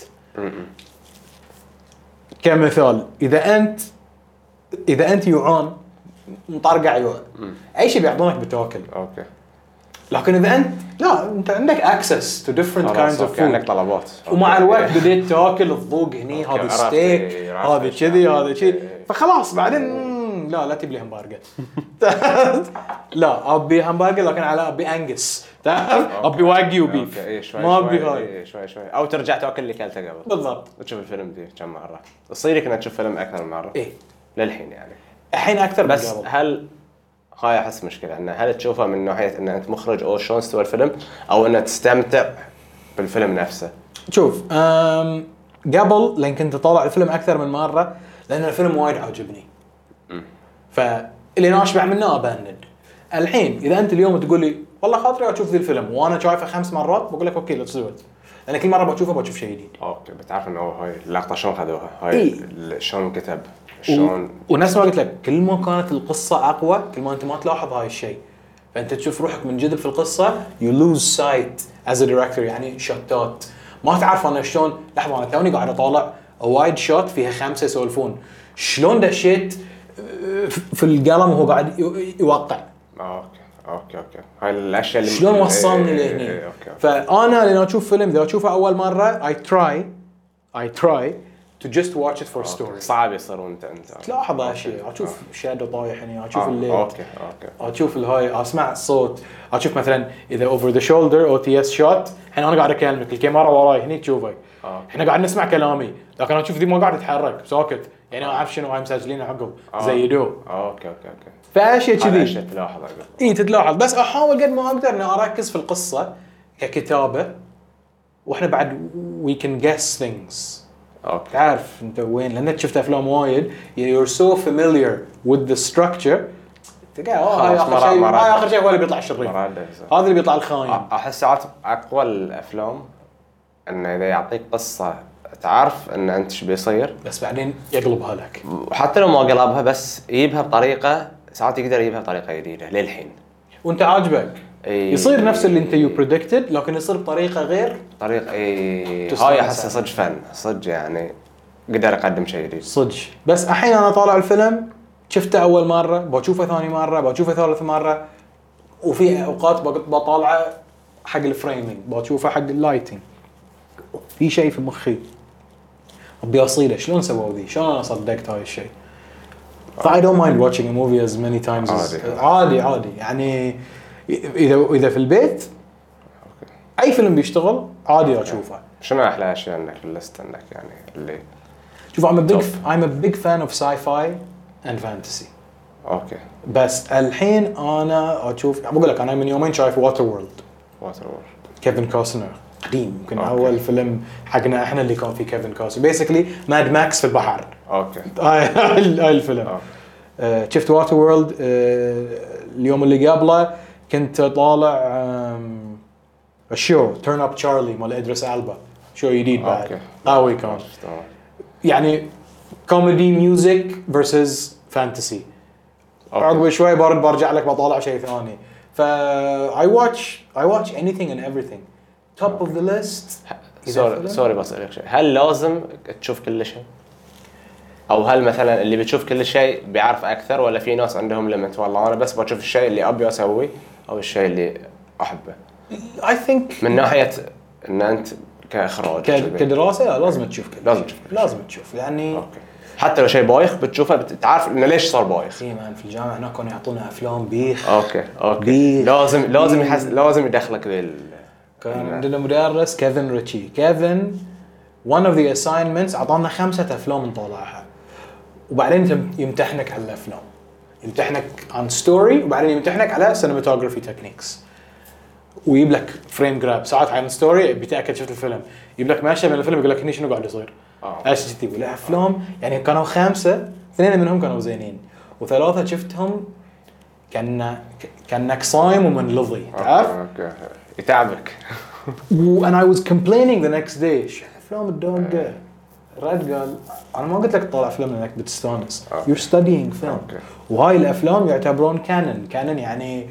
كمثال اذا انت اذا انت يوعان مطرقع يوع اي شيء بيعطونك بتاكل. اوكي لكن اذا انت لا انت عندك access to different kinds of food، عندك طلبات ومع الوقت بديت تاكل الذوق هني هذا ستيك هذا كذي هذا شيء، فخلاص بعدين لا لا تبي لي همبرجر لا ابي همبرجر لكن على ابي انجس تعرف ابي واجيو بيف ما ابي هاي شوي شوي او ترجع تاكل اللي كلته قبل بالضبط وتشوف الفيلم دي كم مره تصير لك انك تشوف فيلم اكثر من مره. ايه للحين يعني الحين اكثر بس من قبل. هل هاي احس مشكله ان هل تشوفها من ناحيه ان انت مخرج او شلون استوى الفيلم او ان تستمتع بالفيلم نفسه؟ شوف أم قبل لان كنت اطالع الفيلم اكثر من مره لان الفيلم وايد عجبني فاللي ناشبع منه ابند. الحين اذا انت اليوم تقول لي والله خاطري اشوف ذي الفيلم وانا شايفه خمس مرات بقول لك اوكي ليتس دو ات، لان كل مره بشوفه بشوف شيء جديد. اوكي بتعرف انه هاي اللقطه شلون خذوها هاي إيه؟ شلون كتب شلون و... ونفس ما قلت لك كل ما كانت القصه اقوى كل ما انت ما تلاحظ هاي الشيء، فانت تشوف روحك من جذب في القصه you lose sight as a director. يعني شوتات ما تعرف انا شلون. لحظه انا توني قاعد اطالع وايد شوت فيها خمسه يسولفون شلون دشيت في القلم وهو قاعد يوقع. اوكي اوكي اوكي هاي الاشياء اللي شلون وصلني لهني. إيه أوكي. فانا لما اشوف فيلم اذا اشوفه اول مره I try I try to just watch it for story. صعب يصير وانت انت تلاحظ هالشيء اشوف شادو طايح هنا اشوف آه. الليل اوكي اوكي اشوف الهاي اسمع الصوت اشوف مثلا اذا over the shoulder او تي اس شوت. الحين انا قاعد اكلمك الكاميرا وراي هني تشوفك آه. احنا قاعد نسمع كلامي لكن انا اشوف ذي ما قاعد يتحرك ساكت يعني ما اعرف شنو هاي مسجلين عقب آه. زي دو. اوكي اوكي اوكي فاشياء كذي اشياء تلاحظ عقب اي تتلاحظ. بس احاول قد ما اقدر اني اركز في القصه ككتابه واحنا بعد we can guess things. اوكي تعرف انت وين لان شفت افلام وايد you're so familiar with the structure تلقى اه هاي اخر شيء هاي اخر شيء هو اللي بيطلع الشرير هذا اللي بيطلع الخاين. احس ساعات اقوى الافلام انه اذا يعطيك قصه تعرف ان انت ايش بيصير بس بعدين يقلبها لك وحتى لو ما قلبها بس يجيبها بطريقه ساعات يقدر يجيبها بطريقه جديده للحين وانت عاجبك إيه يصير نفس اللي انت يو بريدكتد لكن يصير بطريقه غير طريقه اي هاي احس صدق فن صدق يعني قدر يقدم شيء جديد صدق. بس الحين انا طالع الفيلم شفته اول مره بشوفه ثاني مره بشوفه ثالث مره وفي اوقات بطالعه حق الفريمينج بشوفه حق اللايتنج في شيء في مخي ابي اصيله شلون سووا ذي شلون انا صدقت هاي الشيء. ف I don't mind watching a movie as many times عادي. as عادي عادي يعني اذا اذا في البيت اي فيلم بيشتغل عادي اشوفه. شنو احلى اشياء عندك في الليست عندك يعني اللي شوف I'm a big I'm a big fan of sci-fi and fantasy. اوكي بس الحين انا اشوف بقول لك انا من يومين شايف واتر وورلد واتر وورلد كيفن كوستنر قديم يمكن أوكي. اول فيلم حقنا احنا اللي كان فيه كيفن كوستنر بيسكلي ماد ماكس في البحر. اوكي هاي هاي الفيلم. آه شفت واتر وورلد آه اليوم اللي قبله كنت طالع الشو تيرن اب تشارلي مال ادريس البا، شو جديد بعد أوكي. قوي كان. تمام. يعني كوميدي ميوزك فيرسز فانتسي. عقب شوي برد برجع لك بطالع شيء ثاني. ف I watch I watch anything and everything. Top of the list. سوري سوري بسألك شيء، هل لازم تشوف كل شيء؟ أو هل مثلا اللي بتشوف كل شيء بيعرف أكثر، ولا في ناس عندهم ليميت والله أنا بس بشوف الشيء اللي أبي أسويه أو الشيء اللي أحبه؟ I think من ناحية إن أنت كإخراج ك... كدراسة لا لازم تشوف كل لازم شيء. تشوف كل لازم تشوف يعني أوكي. حتى لو شيء بايخ بتشوفه بتعرف إنه ليش صار بايخ. إيه مان في الجامعة هناك كانوا يعطونا أفلام بيخ. أوكي أوكي بيخ. لازم لازم بيخ. يحس لازم يدخلك ذي. كان عندنا مدرس كيفن ريتشي. كيفن one of the assignments أعطانا خمسة أفلام نطالعها، وبعدين يمتحنك على الأفلام، يمتحنك عن ستوري، وبعدين يمتحنك على cinematography techniques، ويجيب لك فريم جراب ساعات عن ستوري بيتأكد شفت الفيلم، يجيب لك ماشي من الفيلم يقول لك هني شنو قاعد يصير. ايش جدي ولا افلام يعني كانوا خمسه، اثنين منهم كانوا زينين وثلاثه شفتهم كان كانك صايم ومنلظي تعرف. اوكي يتعبك. وانا I was complaining the next day شو افلام الدوق. رد قال انا ما قلت لك تطلع فيلم لانك بتستانس، you're studying film. وهاي الافلام يعتبرون كانون. كانون يعني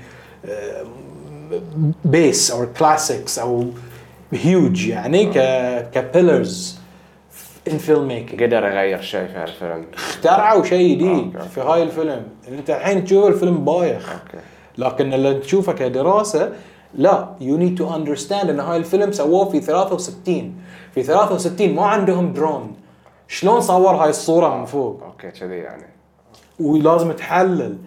بيس او كلاسيكس او هيوج يعني ك كبيلرز in filmmaking. قدر يغير شيء في هالفيلم، اخترعوا شيء جديد في هاي الفيلم. انت الحين تشوف الفيلم بايخ أوكي. لكن اللي تشوفه كدراسة لا you need to understand ان هاي الفيلم سووه في ثلاثة وستين. في ثلاثة وستين ما عندهم درون، شلون صور هاي الصورة من فوق؟ اوكي كذي يعني ولازم تحلل.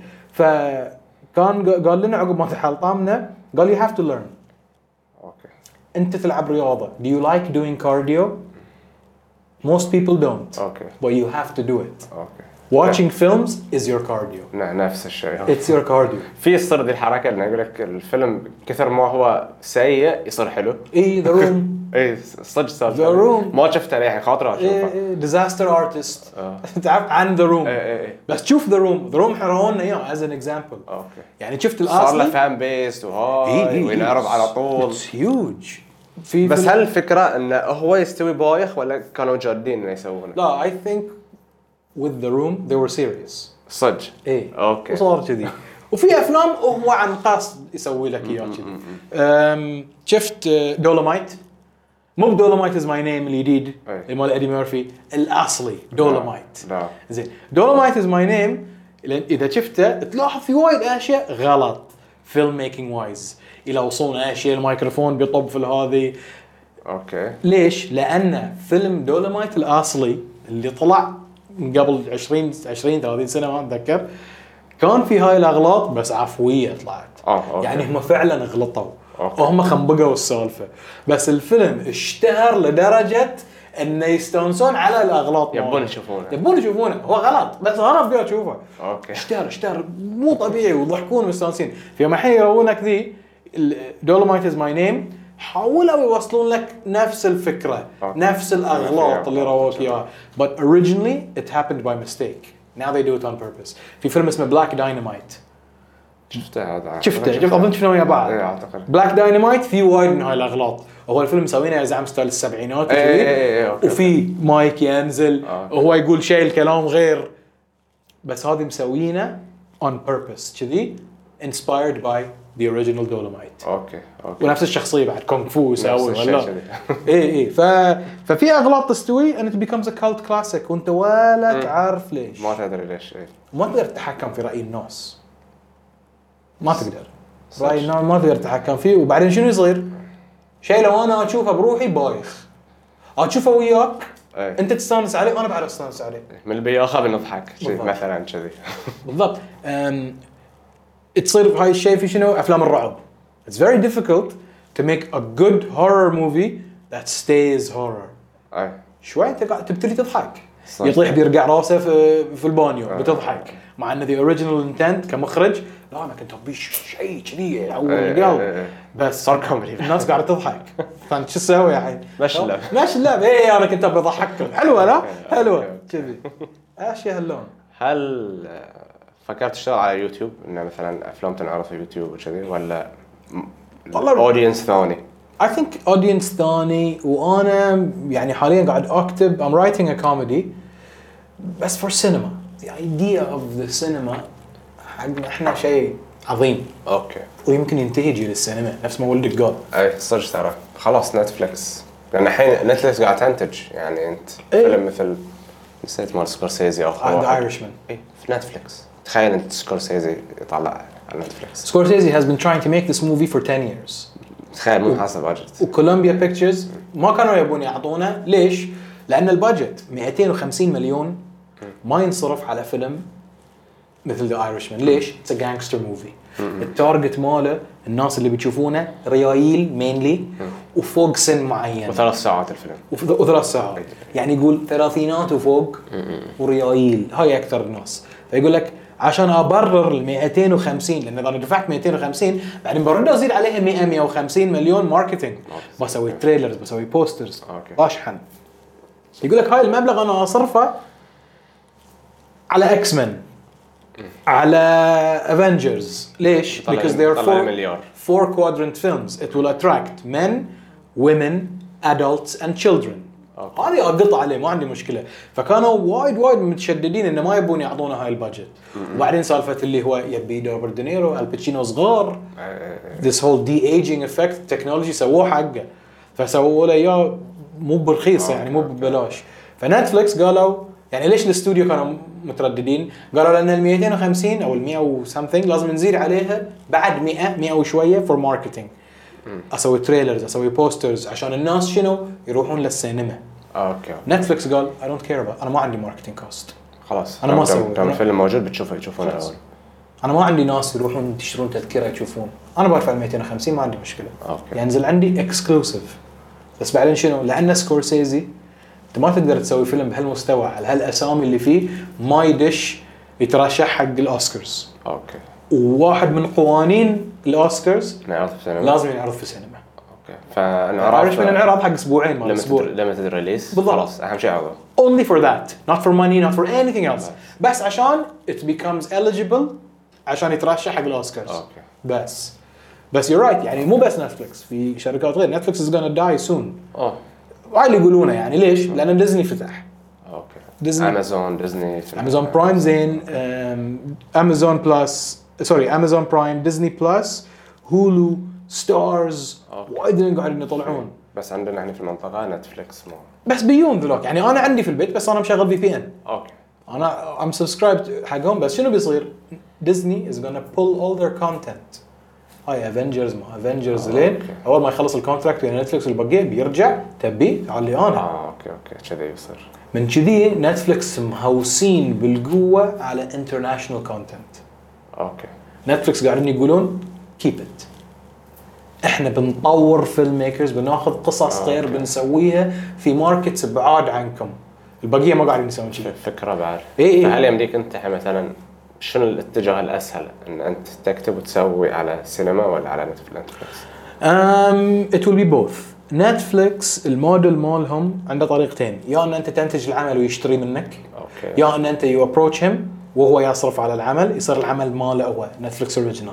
فكان قال لنا عقب ما تحلطمنا قال you have to learn. اوكي انت تلعب رياضة. do you like doing cardio? most people don't. اوكي but you have to do it. اوكي watching films is your cardio. نفس الشيء. it's your cardio. في يصير ذي الحركه اللي يقول لك الفيلم كثر ما هو سيء يصير حلو. ايه the room. ايه صدق صار The Room. ما شفته للحين خاطر اشوفه. إيه disaster artist. تعرف عن the room. إيه إيه. بس شوف the room. the room حرونا اياه as an example. اوكي يعني شفت صار له الاصلي فان بيس وهاي إيه إيه وينعرض على طول. it's huge. في بس فيلم- هل الفكره انه هو يستوي بايخ ولا كانوا جادين انه يسوونه؟ لا I think with the room they were serious. صدق. ايه اوكي وصار كذي. وفي افلام هو عن قصد يسوي لك اياه كذي. أم، شفت دولومايت؟ مو دولومايت از ماي نيم الجديد أي. مال ايدي ميرفي، الاصلي دولومايت. لا زين دولومايت از ماي نيم اذا شفته تلاحظ في وايد اشياء غلط فيلم ميكينج وايز. الى وصلنا اشياء الميكروفون بيطب في هذه. اوكي ليش؟ لان فيلم دولومايت الاصلي اللي طلع من قبل عشرين عشرين ثلاثين سنه ما اتذكر كان في هاي الاغلاط بس عفويه طلعت. اه اوكي يعني هم فعلا غلطوا أوكي. وهم خنبقوا السالفه، بس الفيلم اشتهر لدرجه انه يستانسون على الاغلاط. يبون يشوفونه. يبون يشوفونه. هو غلط بس انا ابي اشوفه. اوكي اشتهر اشتهر مو طبيعي ويضحكون ومستانسين. في يوم الحين يرونك ذي دولومايت از ماي نيم حاولوا يوصلون لك نفس الفكره أوكي. نفس الاغلاط اللي روك اياها. but originally it happened by mistake. now they do it on purpose. في فيلم اسمه بلاك داينامايت شفته هذا شفته شفت اظن شفناه ويا بعض. اي اعتقد بلاك داينامايت في وايد من هاي الاغلاط. هو الفيلم مسوينه يا زعم ستايل السبعينات إيه وكذي. إيه إيه أوكي. وفي مايك ينزل أوكي. وهو يقول شيء الكلام غير، بس هذه مسوينه on purpose كذي inspired by the original Dolomite. اوكي اوكي ونفس الشخصيه بعد كونغ فو يسوي الشيء ولا كذي. اي اي ف... ففي اغلاط تستوي and it becomes a cult classic وانت ولا تعرف ليش. ما تدري ليش. ايه ما تقدر تتحكم في راي الناس، ما تقدر راي الناس ما تقدر تتحكم فيه. وبعدين شنو يصير؟ شيء لو انا اشوفه بروحي بايخ اشوفه وياك ايه انت تستانس عليه وانا بعد استانس عليه. من اللي بياخذ بنضحك شي بالضبط. مثلا كذي. بالضبط. أم... تصير بهاي الشيء في شنو افلام الرعب. It's very difficult to make a good horror movie that stays horror. اي شوي انت قاعد تبتدي تضحك. صح. يطيح بيرجع راسه في في البانيو آه. بتضحك، مع ان the original intent كمخرج لا انا كنت ابي شيء كذي يعور إيه، القلب، إيه، إيه. بس صار كوميدي. الناس قاعده تضحك. فانت شو تسوي الحين؟ ماشي اللعب. ماشي اللعب. ايه انا كنت ابي اضحككم. حلوه لا؟ حلوه أوكي. كذي اشياء هاللون. هل آه، فكرت تشتغل على يوتيوب انه مثلا افلام تنعرض في يوتيوب وكذي ولا والله- اودينس ثاني؟ I think audience ثاني وانا يعني حاليا قاعد اكتب I'm writing a comedy بس for cinema. The idea of the cinema حقنا احنا شيء عظيم اوكي ويمكن ينتهي يجي للسينما نفس ما ولدك قال. اي صدق ترى خلاص نتفلكس لان الحين نتفلكس قاعد تنتج يعني انت إيه؟ فيلم مثل نسيت مال سكورسيزي او ذا ايرشمان اي في نتفلكس تخيل انت سكورسيزي يطلع على نتفلكس. سكورسيزي has been trying to make this movie for ten years. تخيل مو حاسب بادجت. وكولومبيا بيكتشرز ما كانوا يبون يعطونا ليش؟ لان البادجت مئتين وخمسين مليون ما ينصرف على فيلم مثل ذا ايرشمان. ليش؟ اتس ا جانجستر موفي. التارجت ماله الناس اللي بتشوفونه ريايل مينلي وفوق سن معين وثلاث ساعات الفيلم وف- وثلاث ساعات يعني يقول ثلاثينات وفوق وريايل هاي اكثر الناس. فيقول لك عشان ابرر ال مئتين وخمسين لان اذا انا دفعت مئتين وخمسين بعدين برد ازيد عليها مئة مئة وخمسين مليون ماركتينج بسوي تريلرز بسوي بوسترز أوكي. اشحن. يقول لك هاي المبلغ انا اصرفه على اكس مان على افنجرز. ليش؟ طلع- because they are طلع four, مليار. four quadrant films. It will attract men, women, adults and children. أوكي. هذه اقطع عليه ما عندي مشكله. فكانوا وايد وايد متشددين انه ما يبون يعطونا هاي البادجت. وبعدين سالفه اللي هو يبي روبرت دينيرو الباتشينو صغار this whole de-aging effect technology سووه حقه فسووا له اياه مو برخيص يعني مو ببلاش. فنتفلكس قالوا يعني ليش الاستوديو كانوا مترددين؟ قالوا لان ال مئتين وخمسين او ال مئة و something لازم نزيد عليها بعد مئة مئة وشويه for marketing. اسوي تريلرز اسوي بوسترز عشان الناس شنو يروحون للسينما. اوكي نتفلكس قال I don't care about انا ما عندي ماركتينج كوست. خلاص أنا ما دام- أسوي. دام أنا- الفيلم موجود بتشوفه يشوفونه الاول. انا ما عندي ناس يروحون يشترون تذكره يشوفون. انا بدفع مئتين وخمسين ما عندي مشكله. اوكي ينزل عندي اكسكلوسيف. بس بعدين شنو؟ لان سكورسيزي انت ما تقدر تسوي فيلم بهالمستوى على هالاسامي اللي فيه ما يدش يترشح حق الاوسكارز. اوكي وواحد من قوانين الاوسكارز نعرض في السينما. لازم ينعرض في السينما. اوكي فانعرض عارف من انعراض حق اسبوعين ما لما اسبوع. تدري لما تدري ريليس بالضبط. خلاص اهم شيء عرضه. only for that not for money not for anything else. بس عشان it becomes eligible عشان يترشح حق الاوسكارز. اوكي بس بس you're right يعني مو بس نتفلكس في شركات غير. نتفلكس is gonna die soon. اوه وهاي اللي يقولونه يعني ليش؟ لان ديزني فتح. اوكي ديزني امازون ديزني امازون برايم زين امازون بلس سوري امازون برايم ديزني بلس هولو ستارز أوكي. وايد قاعدين يطلعون. بس عندنا احنا في المنطقه نتفلكس مو بس بيون ذولاك يعني انا عندي في البيت بس انا مشغل في بي ان. اوكي انا ام سبسكرايبد حقهم. بس شنو بيصير؟ ديزني از gonna pull all their content. هاي افنجرز ما افنجرز لين أوكي. اول ما يخلص الكونتراكت ويا نتفلكس والبقيه بيرجع تبي تعال لي انا. اه اوكي اوكي كذا يصير. من كذي نتفلكس مهوسين بالقوه على انترناشونال كونتنت. اوكي نتفلكس قاعدين يقولون keep it. احنا بنطور فيلم ميكرز بناخذ قصص غير بنسويها في ماركتس بعاد عنكم. البقيه ما قاعدين يسوون شيء. فكره بعد. إيه إيه. فهل يمديك انت مثلا شنو الاتجاه الاسهل ان انت تكتب وتسوي على سينما ولا على نتفلكس؟ um, it will be both. نتفلكس الموديل مالهم عنده طريقتين. يا ان انت تنتج العمل ويشتري منك اوكي يا ان انت يو ابروتش هيم وهو يصرف على العمل يصير العمل ماله هو نتفلكس اوريجينال.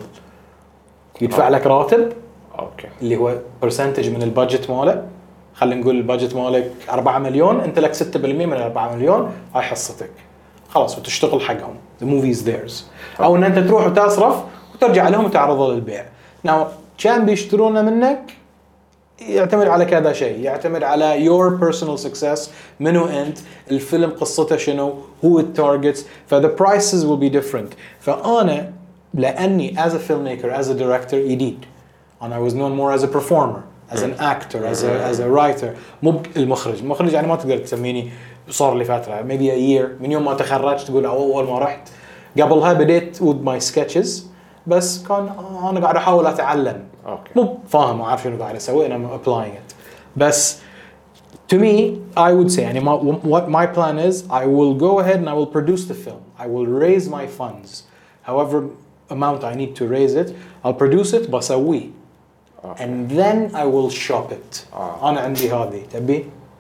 يدفع لك راتب اوكي اللي هو برسنتج من البادجت ماله. خلينا نقول البادجت مالك أربعة مليون انت لك ستة بالمئة من أربعة مليون هاي حصتك خلاص وتشتغل حقهم. the movie is theirs. او ان انت تروح وتصرف وترجع لهم وتعرضه للبيع. now كان بيشترونه منك يعتمد على كذا شيء. يعتمد على your personal success منو انت الفيلم قصته شنو who it targets. فthe prices will be different. فانا لاني as a filmmaker as a director جديد and I was known more as a performer as an actor as a as a writer مو المخرج. المخرج يعني ما تقدر تسميني صار لي فتره maybe a year من يوم ما تخرجت تقول اول ما رحت. قبلها بديت with my sketches بس كان انا قاعد احاول اتعلم اوكي مو فاهم وعارف شنو قاعد اسوي انا applying it. بس to me I would say يعني ما, what my plan is I will go ahead and I will produce the film. I will raise my funds however amount I need to raise it. I'll produce it بسويه and then I will shop it. آه. انا عندي هذه تبي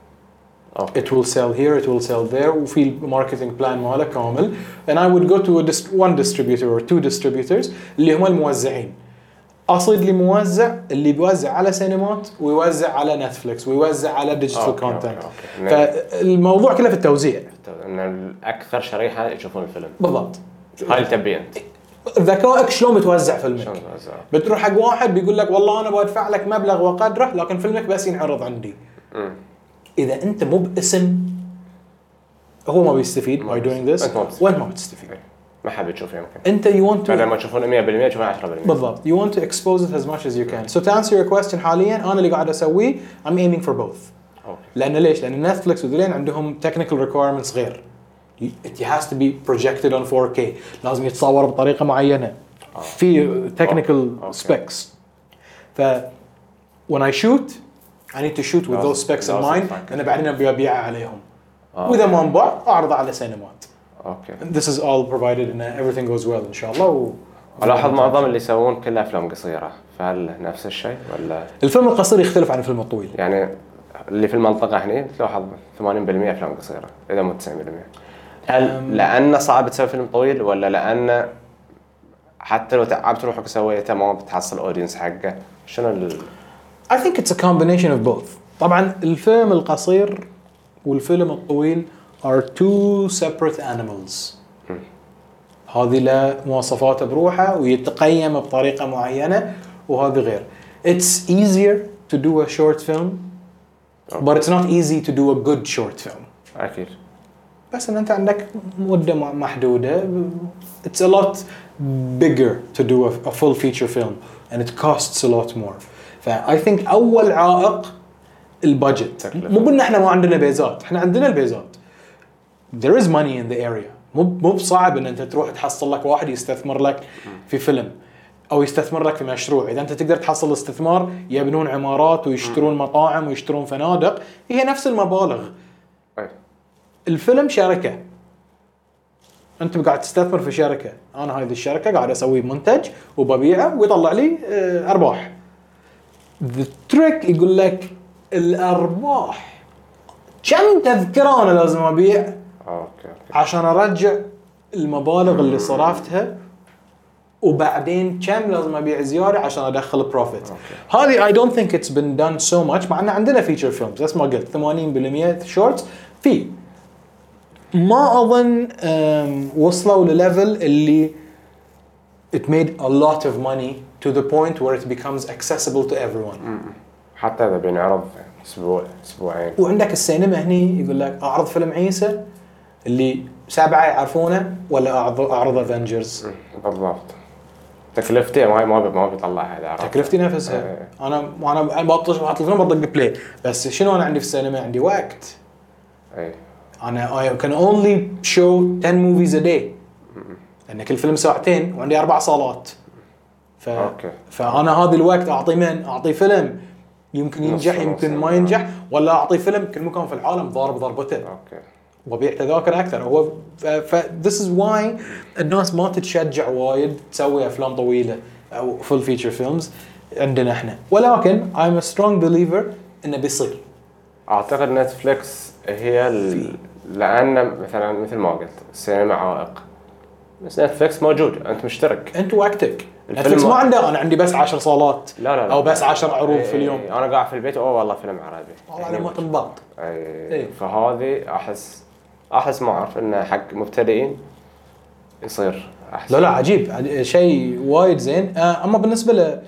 اوكي it will sell here it will sell there وفي marketing plan ماله كامل. and I would go to a dist- one distributor or two distributors اللي هم الموزعين. اصيد لي موزع اللي بيوزع على سينمات ويوزع على نتفليكس ويوزع على ديجيتال كونتنت. فالموضوع كله في التوزيع، ان الاكثر شريحه يشوفون الفيلم. بالضبط. هاي اللي تبي انت ذكائك شلون بتوزع فيلمك. بتروح حق واحد بيقول لك والله انا بدفع لك مبلغ وقدره لكن فيلمك بس ينعرض عندي. م. اذا انت مو باسم هو ما بيستفيد by doing this وين ما بتستفيد. ما حابب تشوف يمكن انت you want to بدل ما تشوفون مية بالمية تشوفون عشرة بالمية. بالضبط. you want to expose it as much as you can. so to answer your question حاليا انا اللي قاعد اسويه I'm aiming for both. okay. لان ليش؟ لان نتفلكس وذلين عندهم technical requirements غير. it has to be projected on four K. لازم يتصور بطريقه معينه. oh. في technical oh. okay. specs. ف when I shoot I need to shoot with those specs in mind. انا بعدين ابي ابيعها عليهم. oh. واذا ما انباع اعرض على سينمات. Okay. This is all provided and everything goes well إن شاء الله. و... ألاحظ معظم اللي يسوون كلها أفلام قصيرة، فهل نفس الشيء ولا؟ الفيلم القصير يختلف عن الفيلم الطويل. يعني اللي في المنطقة هني تلاحظ ثمانين بالمية أفلام قصيرة إذا مو تسعين بالمية. هل لأن صعب تسوي فيلم طويل ولا لأن حتى لو تعبت روحك وسويته ما بتحصل أودينس حقه؟ شنو ال؟ I think it's a combination of both. طبعًا الفيلم القصير والفيلم الطويل are two separate animals. hmm. هذه له مواصفات بروحها ويتقيم بطريقة معينة وهذه غير. It's easier to do a short film, okay. but it's not easy to do a good short film. أكيد. بس إن أنت عندك مدة محدودة. It's a lot bigger to do a, a full feature film and it costs a lot more. ف I think أول عائق البادجت. مو بأن إحنا ما عندنا بيزات، إحنا عندنا البيزات. There is money in the area. مو مو بصعب ان انت تروح تحصل لك واحد يستثمر لك في فيلم او يستثمر لك في مشروع. اذا انت تقدر تحصل استثمار يبنون عمارات ويشترون مطاعم ويشترون فنادق، هي نفس المبالغ. الفيلم شركة، انت قاعد تستثمر في شركة. انا هذه الشركة قاعد اسوي منتج وببيعه ويطلع لي ارباح. The trick يقول لك الارباح كم تذكرة انا لازم ابيع أوكي. عشان أرجع المبالغ اللي صرفتها وبعدين كم لازم أبيع زيادة عشان أدخل بروفيت. هذه I don't think it's been done so much. مع أن عندنا feature films بس ما قلت ثمانين بالمية shorts في ما أظن وصلوا لليفل اللي it made a lot of money to the point where it becomes accessible to everyone. حتى إذا بينعرض أسبوع أسبوعين. وعندك السينما هني يقول لك أعرض فيلم عيسى اللي سبعة يعرفونه ولا أعرض أعرض أفنجرز. بالضبط. تكلفتي ما ما ما بيطلع هذا. تكلفتي نفسها. أيه. أنا أنا بطش بحط الفيلم بطق بلاي. بس شنو أنا عندي في السينما؟ عندي وقت. أي. أنا I can only show ten movies a day. لأن كل فيلم ساعتين وعندي أربع صالات. ف أوكي. فأنا هذا الوقت أعطي من أعطي فيلم يمكن ينجح يمكن ما ينجح، ولا أعطي فيلم كل مكان في العالم ضارب ضربته. أوكي. وبيع تذاكر أكثر. هو ف this is why الناس ما تتشجع وايد تسوي أفلام طويلة أو full feature films عندنا إحنا. ولكن I'm a strong believer إنه بيصير. أعتقد نتفليكس هي ال... لأن مثلا مثل ما قلت السينما عائق، بس نتفليكس موجود، أنت مشترك. أنت وقتك. نتفليكس ما عنده أنا عندي بس عشر صالات. لا لا لا. أو بس عشر عروض في اليوم. أنا قاعد في البيت أوه والله فيلم عربي. والله على ما تنبط. أي. فهذه أحس أحس ما أعرف إنه حق مبتدئين يصير أحسن. لا لا عجيب شيء وايد زين. أما بالنسبة ل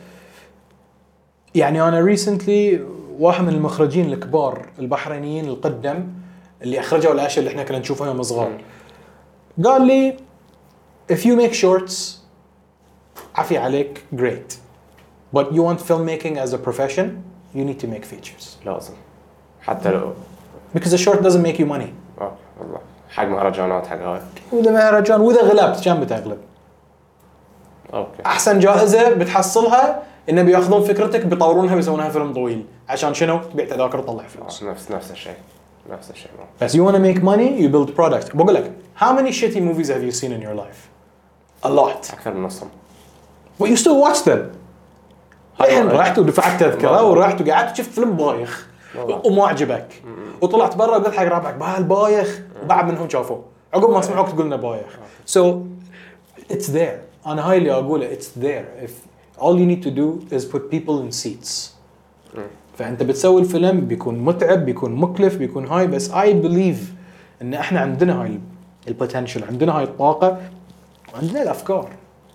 يعني أنا recently واحد من المخرجين الكبار البحرينيين القدم اللي أخرجوا الأشياء اللي إحنا كنا نشوفها يوم صغار قال لي if you make shorts عافية عليك great but you want filmmaking as a profession you need to make features. لازم حتى لو because a short doesn't make you money. أوه والله حق مهرجانات حق هاي. وإذا مهرجان وإذا غلبت كم بتغلب؟ أوكي. أحسن جائزة بتحصلها إنه بيأخذون فكرتك بيطورونها بيسوونها فيلم طويل عشان شنو؟ تبيع تذاكر وتطلع فلوس. نفس نفس الشيء نفس الشيء. بس you wanna make money you build product. بقول لك how many shitty movies have you seen in your life? A lot. أكثر من نصهم. But you still watch them. الحين رحت ودفعت تذكرة ورحت وقعدت شفت فيلم بايخ وما عجبك وطلعت برا وقلت حق رابعك بهالبايخ وبعد منهم شافوه عقب ما سمعوك تقولنا بايخ. So it's there. أنا هاي اللي أقوله it's there. If all you need to do is put people in seats. فأنت بتسوي الفيلم بيكون متعب بيكون مكلف بيكون هاي بس I believe إن إحنا عندنا هاي البوتنشل عندنا هاي الطاقة وعندنا الأفكار.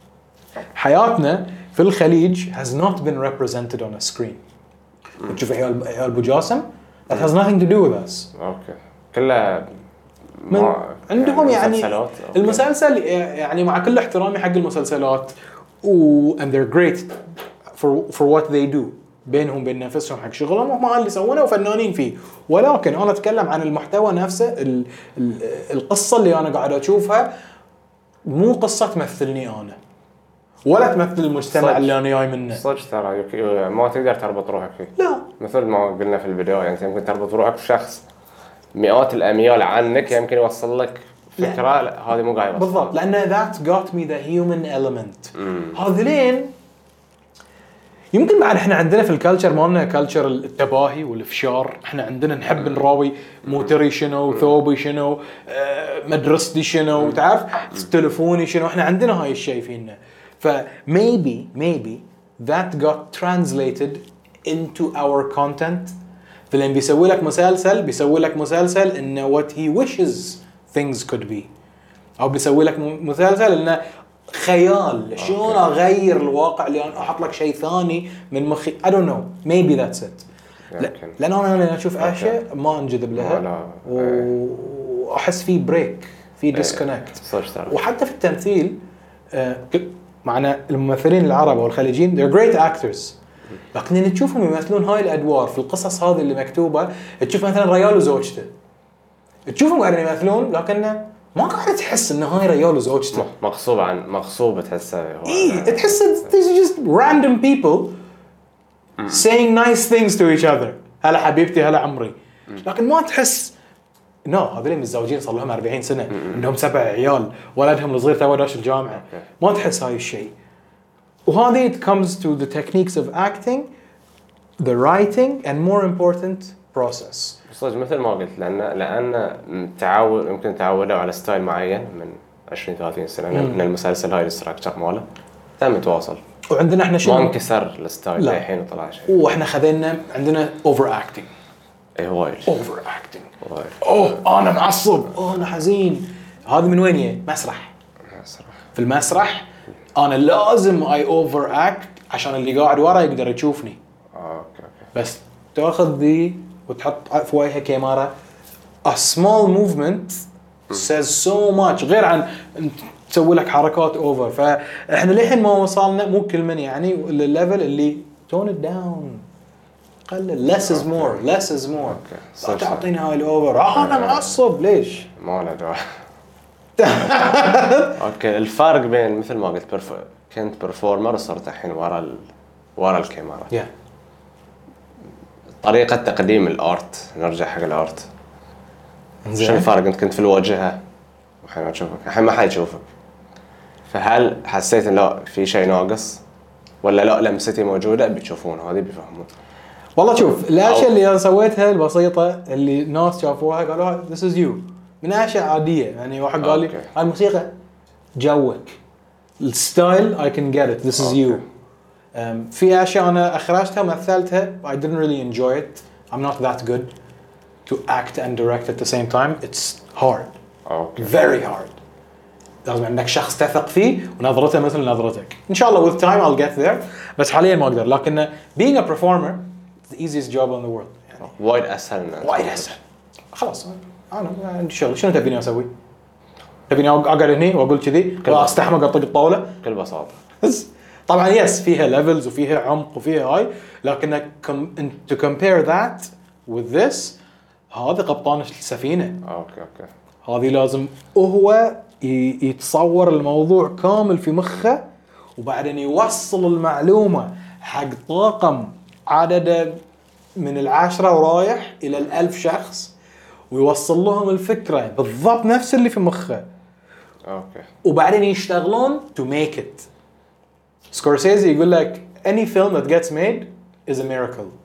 حياتنا في الخليج has not been represented on a screen. تشوف عيال عيال أبو جاسم that has nothing to do with us. اوكي كلها من عندهم يعني مسلسلات. المسلسل يعني مع كل احترامي حق المسلسلات و and they're great for for what they do بينهم بين نفسهم حق شغلهم وهم اللي يسوونه وفنانين فيه ولكن انا اتكلم عن المحتوى نفسه ال ال القصه اللي انا قاعد اشوفها مو قصه تمثلني انا ولا تمثل المجتمع صدق. اللي انا جاي منه. صدق ترى يك- ما تقدر تربط روحك فيه لا مثل ما قلنا في البداية يعني انت يمكن تربط روحك بشخص مئات الاميال عنك يمكن يوصل لك فكره لا هذه مو قاعد يوصل بالضبط لان that got me the human element. هذولين يمكن بعد احنا عندنا في الكالتشر مالنا كالتشر التباهي والافشار احنا عندنا نحب نراوي موتري شنو ثوبي شنو آه مدرستي شنو تعرف تلفوني شنو احنا عندنا هاي الشيء فينا ف maybe maybe that got translated into our content. فلان بيسوي لك مسلسل بيسوي لك مسلسل انه what he wishes things could be او بيسوي لك مسلسل انه خيال شلون اغير الواقع اللي انا احط لك شيء ثاني من مخي I don't know maybe that's it. لان انا لما اشوف اشياء ما انجذب لها واحس في بريك في ديسكونكت. وحتى في التمثيل معنا الممثلين العرب والخليجيين they're great actors لكن اللي تشوفهم يمثلون هاي الادوار في القصص هذه اللي مكتوبه تشوف مثلا ريال وزوجته تشوفهم قاعدين يمثلون لكنه ما قاعد تحس انه هاي ريال وزوجته مغصوب عن مغصوب تحسه اي تحس these just random people saying nice things to each other هلا حبيبتي هلا عمري لكن ما تحس نو no, هذول متزوجين صار لهم أربعين سنه عندهم سبع عيال ولدهم الصغير تو داش الجامعه ما تحس هاي الشيء. وهذه it comes to the techniques of acting the writing and more important process. صدق مثل ما قلت لان لان تعود يمكن تعودوا على ستايل معين من عشرين ثلاثين سنه من المسلسل هاي الاستراكشر ماله تم تواصل وعندنا احنا شنو ما انكسر الستايل الحين وطلع شيء واحنا خذينا عندنا اوفر اكتنج اي وايد اوفر اكتنج اوه انا معصب اوه انا حزين هذا من وين جاي مسرح مسرح في المسرح انا لازم اي اوفر اكت عشان اللي قاعد ورا يقدر يشوفني اوكي اوكي بس تاخذ ذي وتحط في وجهها كاميرا a small movement says so much غير عن تسوي لك حركات اوفر. فاحنا للحين ما وصلنا مو كل من يعني للليفل اللي tone it down قلل less is more less is more لا تعطيني هاي الاوفر آه انا معصب ليش ما له داعي. اوكي الفرق بين مثل ما قلت برف... كنت برفورمر وصرت الحين ورا ال... ورا الكاميرا yeah. طريقة تقديم الارت نرجع حق الارت شو الفرق انت كنت في الواجهة والحين اشوفك الحين ما حد يشوفك فهل حسيت ان لا في شيء ناقص ولا لا لمستي موجودة بتشوفون هذه بيفهمون؟ والله شوف الاشياء اللي انا سويتها البسيطة اللي الناس شافوها قالوا this is you من اشياء عادية يعني واحد قال لي هاي الموسيقى جوك الستايل I can get it this is you. Um, في أشياء أنا أخرجتها مثلتها I didn't really enjoy it I'm not that good to act and direct at the same time it's hard okay. very hard لازم عندك شخص تثق فيه ونظرته مثل نظرتك إن شاء الله with time I'll get there بس حاليا ما أقدر لكن being a performer it's the easiest job in the world يعني وايد أسهل وايد أسهل خلاص أنا عندي شغل شنو تبيني أسوي تبيني أقعد هني وأقول كذي وأستحمق أطق الطاولة بكل بساطة طبعا يس فيها ليفلز وفيها عمق وفيها هاي لكن to compare that with this هذا قبطان السفينة اوكي اوكي هذه لازم وهو يتصور الموضوع كامل في مخه وبعدين يوصل المعلومة حق طاقم عدد من العشرة ورايح إلى الألف شخص ويوصل لهم الفكرة بالضبط نفس اللي في مخه اوكي وبعدين يشتغلون to make it. سكورسيزي يقول لك any film that gets made is a miracle.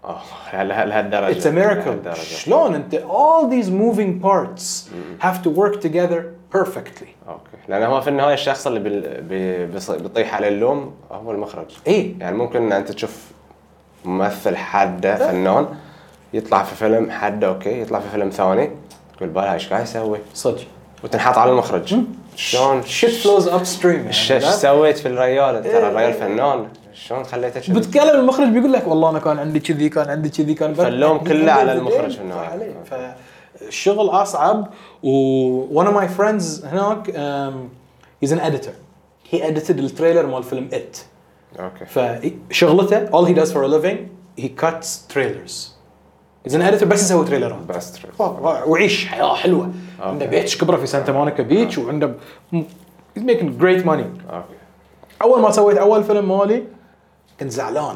اه لهالدرجه It's a miracle. شلون انت all these moving parts have to work together perfectly. اوكي لان هو في النهايه الشخص اللي بي بيطيح على اللوم هو المخرج. اي يعني ممكن انت تشوف ممثل حده فنان يطلع في فيلم حده اوكي يطلع في فيلم ثاني تقول بالها ايش قاعد يسوي صدق وتنحط على المخرج. شلون shit flows upstream. ايش سويت في الريال ترى الريال فنان شلون خليته كذي. بتكلم المخرج بيقول لك والله انا كان عندي كذي كان عندي كذي كان فاللوم كله على المخرج في النهايه. فالشغل اصعب. و one of my friends هناك um, he's an editor. he edited التريلر مال فيلم it. اوكي فشغلته all he does for a living he cuts trailers. he's an editor بس يسوي تريلرات بس تريلر وعيش حياه حلوه. عنده بيتش كبره في سانتا مونيكا بيتش وعنده he's making great money. اوكي اول ما سويت اول فيلم مالي كنت زعلان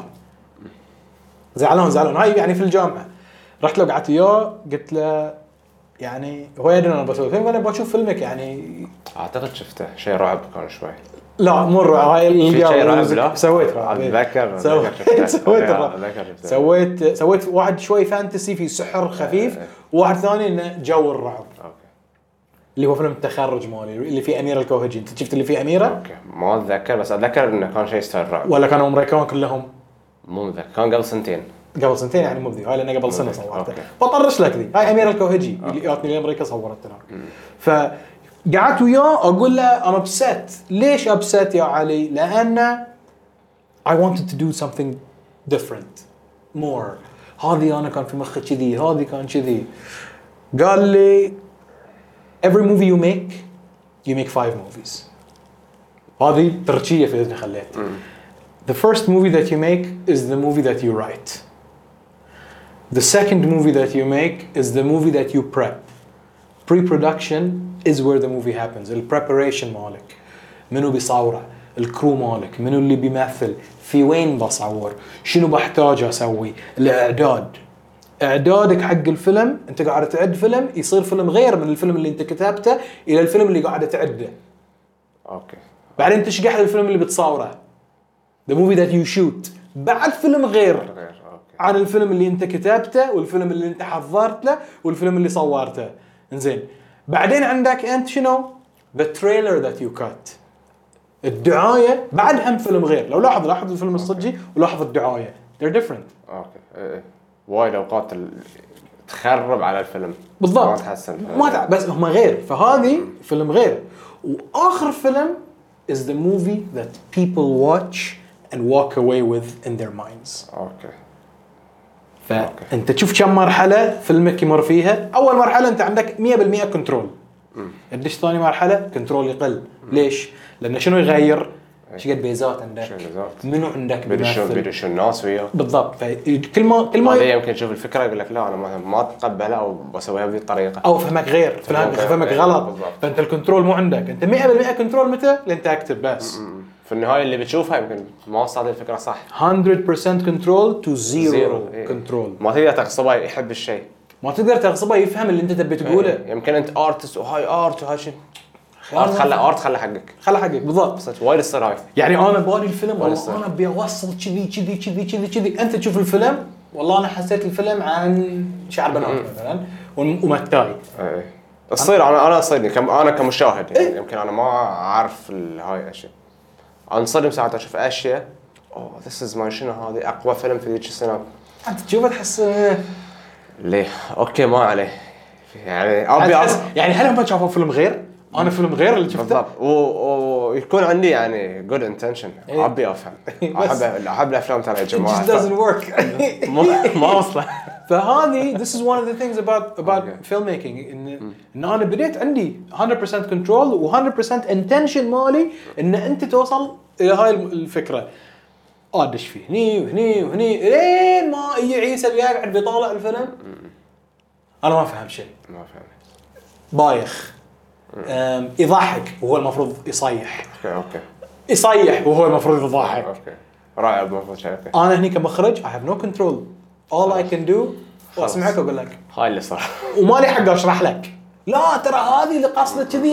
زعلان زعلان هاي يعني في الجامعه. رحت له قعدت وياه قلت له يعني هو يدري انا بسوي فيلم انا بشوف فيلمك يعني اعتقد شفته شيء رعب كان شوي. لا مر هاي في شيء رعب لا سويت رعب اتذكر سويت سويت سويت واحد شوي فانتسي في سحر خفيف وواحد ثاني انه جو الرعب. اوكي اللي هو فيلم التخرج مالي اللي فيه أميرة الكوهجي. انت شفت اللي فيه أميرة؟ اوكي ما اتذكر بس اتذكر انه كان شيء ستايل رعب ولا كانوا امريكان كلهم؟ مو متذكر كان قبل سنتين قبل سنتين يعني مو بذي هاي لأنه قبل سنة صورتها. بطرش لك ذي هاي أميرة الكوهجي اللي جاتني لأمريكا صورتها هناك. فقعدت وياه أقول له أنا upset. ليش upset يا علي؟ لأن I wanted to do something different more. هذه أنا كان في مخي كذي هذه كان كذي. قال لي every movie you make you make five movies. هذه تركية في إذن خليت. The first movie that you make is the movie that you write. The second movie that you make is the movie that you prep. Pre-production is where the movie happens. The preparation مالك منو بيصوره الكرو مالك منو اللي بيمثل في وين بصور شنو بحتاج أسوي الإعداد. إعدادك حق الفيلم أنت قاعد تعد فيلم يصير فيلم غير من الفيلم اللي أنت كتبته إلى الفيلم اللي قاعد تعده. أوكي. بعدين تشقح الفيلم اللي بتصوره. The movie that you shoot. بعد فيلم غير. غير. أوكي. عن الفيلم اللي أنت كتبته والفيلم اللي أنت حضرت له والفيلم اللي صورته. إنزين. بعدين عندك أنت شنو؟ The trailer that you cut. الدعاية بعد هم فيلم غير. لو لاحظ لاحظ الفيلم الصجي ولاحظ الدعاية. They're different. أوكي. إيه. وايد أوقات تخرب على الفيلم. بالضبط. ما تحسن. ما تع... بس هم غير. فهذه فيلم غير. وآخر فيلم is the movie that people watch and walk away with in their minds. أوكي. فأنت تشوف كم مرحلة فيلمك يمر فيها. أول مرحلة أنت عندك مية بالمية كنترول. الدش ثاني مرحلة كنترول يقل. ليش؟ لأن شنو يغير؟ ايش قد بيزات عندك منو عندك بيمثل بيدش الناس وياه بالضبط. فكل ما كل ما يمكن تشوف الفكره يقول لك لا انا ما ما اتقبلها او بسويها بهذه الطريقه او فهمك غير فهمك غلط بالضبط. فانت الكنترول مو عندك انت مية بالمية كنترول متى لانت اكتب بس م- م. في النهايه اللي بتشوفها يمكن ما وصلت الفكره صح مية بالمية كنترول تو زيرو كنترول. ما تقدر تغصبه يحب الشيء ما تقدر تغصبه يفهم اللي انت تبي تقوله. ايه. يمكن انت ارتست وهاي ارت وهاي شيء ارت خلى ارت خلى حقك خلى حقك بالضبط. بس وايد يصير هاي يعني انا بادي الفيلم والله انا ابي اوصل كذي كذي كذي كذي كذي انت تشوف الفيلم والله انا حسيت الفيلم عن شعر بنات مثلا ومتاي ايه تصير انا انا صيدني كم انا كمشاهد يعني إيه؟ يمكن انا ما اعرف هاي الاشياء انصدم ساعات اشوف اشياء اوه ذس از ماي شنو هذه اقوى فيلم في ذيك السنه انت تشوفه تحس ليه اوكي ما عليه يعني ابي يعني هل هم شافوا فيلم غير انا فيلم غير اللي شفته بالضبط ويكون عندي يعني جود انتنشن ابي افهم احب احب الافلام ترى يا جماعه it doesn't work ما وصله. فهذه this is one of the things about about okay. filmmaking ان ان انا بديت عندي مية بالمية كنترول و مية بالمية انتنشن مالي ان انت توصل الى هاي الفكره ادش فيه هني وهني وهني لين ما يجي عيسى اللي قاعد بيطالع الفيلم انا ما فهم شيء ما فهم بايخ يضحك وهو المفروض يصيح اوكي اوكي يصيح وهو المفروض يضحك اوكي رائع المفروض شيء اوكي انا هني كمخرج I have no control all I can do واسمعك واقول لك هاي اللي صار وما لي حق اشرح لك لا ترى هذه اللي قصده كذي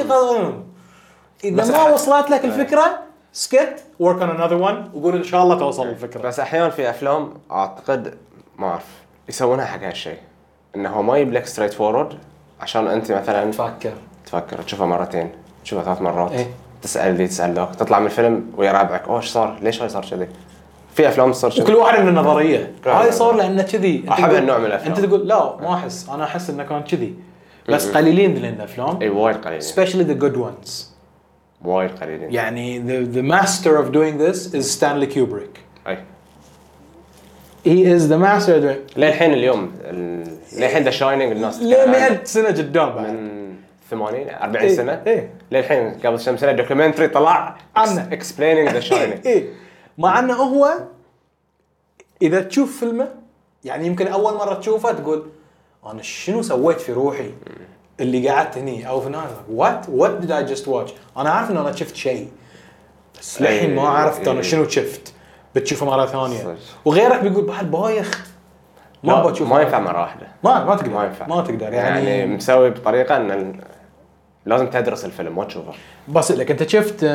اذا ما وصلت لك الفكره سكت work on another one وقول ان شاء الله توصل الفكره. بس احيانا في افلام اعتقد ما اعرف يسوونها حق هالشيء انه هو ما يجيب لك ستريت فورورد عشان انت مثلا تفكر تفكر تشوفها مرتين تشوفها ثلاث مرات إيه؟ تسال لي تسال ذاك تطلع من الفيلم ويا رابعك اوه ايش صار ليش هاي صار كذي في افلام تصير كذي وكل واحد من النظريه هاي صار لانه كذي احب النوع من الافلام انت تقول لا ما احس انا احس انه كان كذي بس قليلين ذي الافلام اي وايد قليلين especially the good ones وايد قليلين يعني the the master of doing this is Stanley Kubrick اي he is the master of doing للحين اليوم ال- للحين ذا شاينينج الناس ليه مئة سنه قدام بعد من ثمانين أربعين إيه، سنه إيه. للحين قبل كم سنه دوكيومنتري طلع عنه. explaining ذا شاينينج ايه مع انه هو اذا تشوف فيلمه يعني يمكن اول مره تشوفه تقول انا شنو سويت في روحي اللي قعدت هني او في ناس وات وات ديد اي جاست واتش انا عارف ان انا شفت شيء بس للحين ما عرفت انا شنو شفت بتشوفه مره ثانيه وغيرك بيقول بعد بايخ ما ما بتشوف ما ينفع مره واحده ما ما تقدر ما ينفع ما تقدر يعني, يعني مسوي بطريقه ان ال- لازم تدرس الفيلم ما تشوفه بس لك انت شفت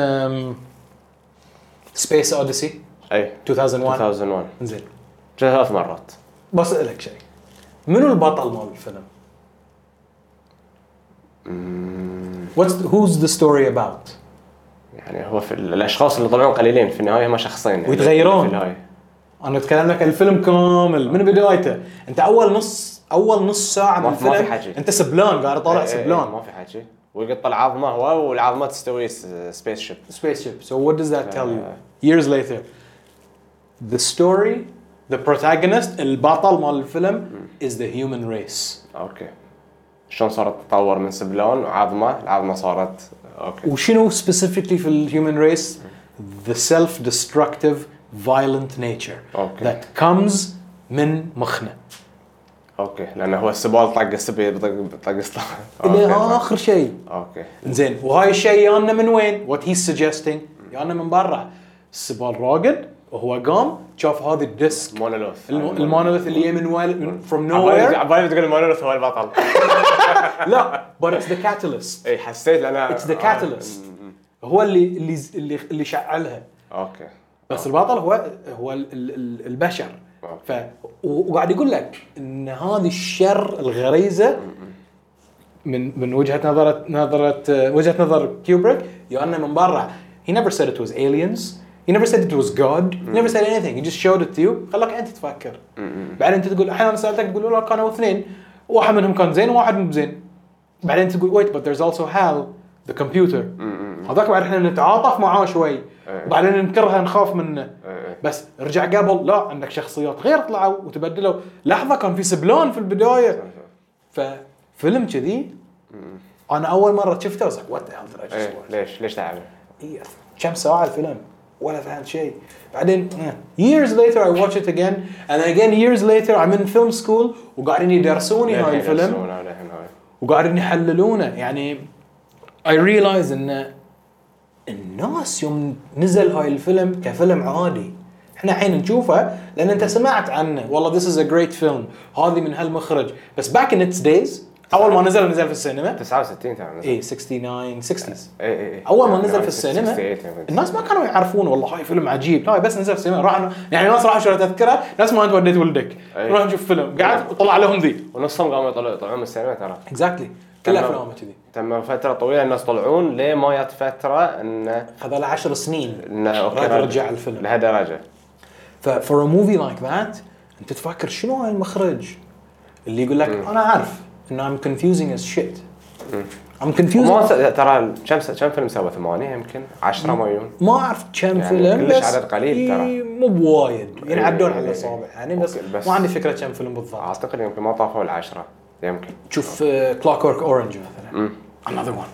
سبيس اوديسي اي ألفين وواحد ألفين وواحد زين ثلاث مرات بس لك شيء منو البطل مال الفيلم What's the, who's the story about يعني هو في ال- الاشخاص اللي طلعون قليلين في النهايه هم شخصين يعني ويتغيرون. في النهايه انا اتكلم لك الفيلم كامل من بدايته انت اول نص اول نص ساعه من ما في- ما في الفيلم حكي. انت سبلان قاعد طالع إيه، إيه، سبلان ما في حكي ويقط العظمه هو والعظمه تستوي سبيس شيب سبيس شيب so what does that tell you years later the story the protagonist البطل مال الفيلم is the human race اوكي شلون صارت تتطور من سبلان وعظمه العظمه صارت اوكي وشنو specifically في الهيومن race the self-destructive violent nature أوكي. that comes من مخنا اوكي لانه هو السبال طق السبي بطق بطق السطح الى اخر شيء اوكي زين وهاي الشيء يانا من وين what he's suggesting يانا من برا السبال راقد وهو قام شاف هذه الديسك مونولوث الم- المونوليث اللي يجي من وين from عبالي nowhere عبالي تقول المونولوث هو البطل لا but it's the catalyst اي حسيت لأنا it's the catalyst هو اللي اللي اللي اللي شعلها اوكي بس البطل هو هو ال- ال- ال- البشر ف و- وقاعد يقول لك ان هذه الشر الغريزه من من وجهه نظره نظره وجهه نظر كيوبريك يا من برا he never said it was aliens he never said it was God he never said anything he just showed it to you خلاك انت تفكر بعدين انت تقول احيانا سالتك تقول لا كانوا اثنين واحد منهم كان زين وواحد مو زين بعدين تقول wait but there's also Hal the computer هذاك بعد احنا نتعاطف معاه شوي وبعدين ننكرها نخاف منه بس رجع قبل لا عندك شخصيات غير طلعوا وتبدلوا لحظه كان في سبلان في البدايه ففيلم كذي انا اول مره شفته وصك وات ذا هيل إيه ليش ليش تعب إيه كم ساعه الفيلم ولا فهمت شيء بعدين years later I watch it again and again years later I'm in film school وقاعدين يدرسوني هاي الفيلم وقاعدين يحللونه يعني I realize ان الناس يوم نزل هاي الفيلم كفيلم عادي احنا الحين نشوفه لان انت سمعت عنه والله this is a great film هذه من هالمخرج بس back in its days اول ما نزل نزل في السينما تسعة وستين تمام اي تسعة وستين ستينز اي اي اول ما نزل في السينما الناس ما كانوا يعرفون والله هاي فيلم عجيب لا بس نزل في السينما راح يعني الناس راحوا شروا تذكره ناس ما انت وديت ولدك نروح نشوف فيلم قاعد وطلع لهم ذي ونصهم قاموا يطلعون يطلعون من السينما ترى اكزاكتلي كل افلامه كذي تم فتره طويله الناس طلعون ليه ما جت فتره ان هذا له عشر سنين انه اوكي رجع الفيلم لهالدرجه ف for a movie like that انت تفكر شنو هاي المخرج اللي يقول لك انا عارف انه I'm confusing as shit I'm confusing ما ترى كم كم فيلم سوى ثمانية يمكن عشرة ما يون ما اعرف كم يعني فيلم كلش بس عدد قليل ترى مو بوايد ينعدون إيه على الاصابع يعني بس, بس ما عندي فكره كم فيلم بالضبط اعتقد يمكن ما طافوا العشرة يمكن شوف كلوك ورك اورنج مثلا another one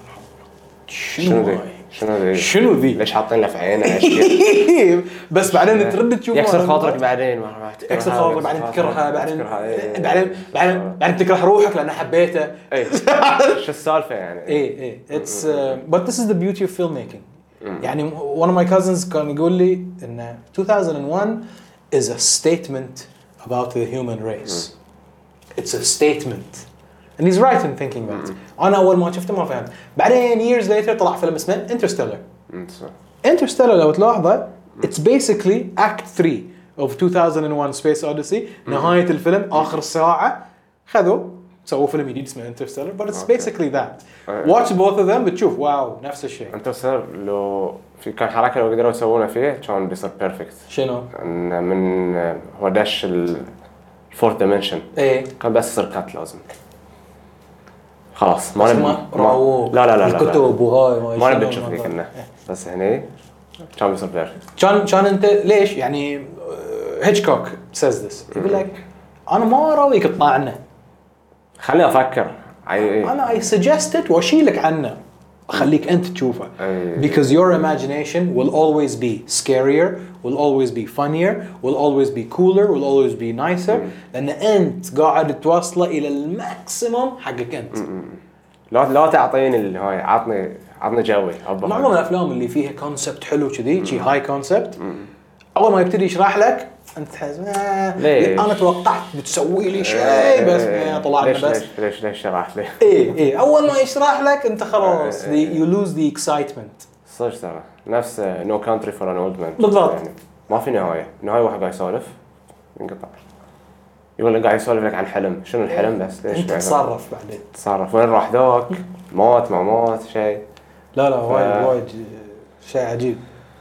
شنو ذي شنو ذي شنو ذي ليش حاطين له في عينه اشياء بس بعدين ترد تشوف يكسر خاطرك بعدين ما يكسر خاطرك بعدين تكرهها بعدين بعدين بعدين بعدين تكره روحك لان حبيته اي شو السالفه يعني اي اي it's uh, but this is the beauty of filmmaking يعني one of my cousins كان يقول لي ان two thousand one is a statement about the human race it's a statement and he's right in thinking that انا اول ما شفته ما فهمت بعدين years later طلع فيلم اسمه Interstellar Interstellar لو تلاحظه it's basically act three of two thousand one Space Odyssey. نهاية الفيلم آخر ساعة خذوا سووا فيلم جديد اسمه Interstellar, but it's Okay. basically that. Watch both of them بتشوف واو نفس الشيء. انترستيلر لو في كان حركه لو قدروا يسوونه فيه كان بيصير بيرفكت. شنو؟ ان من هو داش الفورث دايمنشن ايه كان بس يصير كات لازم خلاص ما بس نبي ما ما راووك لا لا لا لا الكتب وهاي ما شنو نبي نشوف الموضوع. ذيك كنا بس هني كان بيصير بيرفكت. كان كان انت ليش يعني هيتشكوك says this يقول لك انا ما اراويك تطلعنا خليني افكر اي انا I suggest it واشيلك عنه اخليك انت تشوفه أي. because your imagination will always be scarier, will always be funnier, will always be cooler, will always be nicer لان انت قاعد توصله الى الماكسيموم حقك انت. لا لا تعطيني اللي هاي عطني عطني جوي أبا معظم الافلام اللي فيها كونسبت حلو كذي شي هاي كونسبت اول ما يبتدي يشرح لك انت تحس آه ليش؟ انا توقعت بتسوي لي شيء بس آه طلعنا ليش بس ليش ليش ليش شرح لي ايه ايه اول ما يشرح لك انت خلاص the, you lose the excitement. صدق ترى نفس نو كانتري فور ان اولد مان بالضبط. يعني ما في نهايه نهايه واحد قاعد يسولف ينقطع يقول لك قاعد يسولف لك عن حلم شنو الحلم بس ليش انت قاعد تصرف بعدين. تصرف وين راح ذاك موت ما موت شيء لا لا وايد وايد شيء عجيب.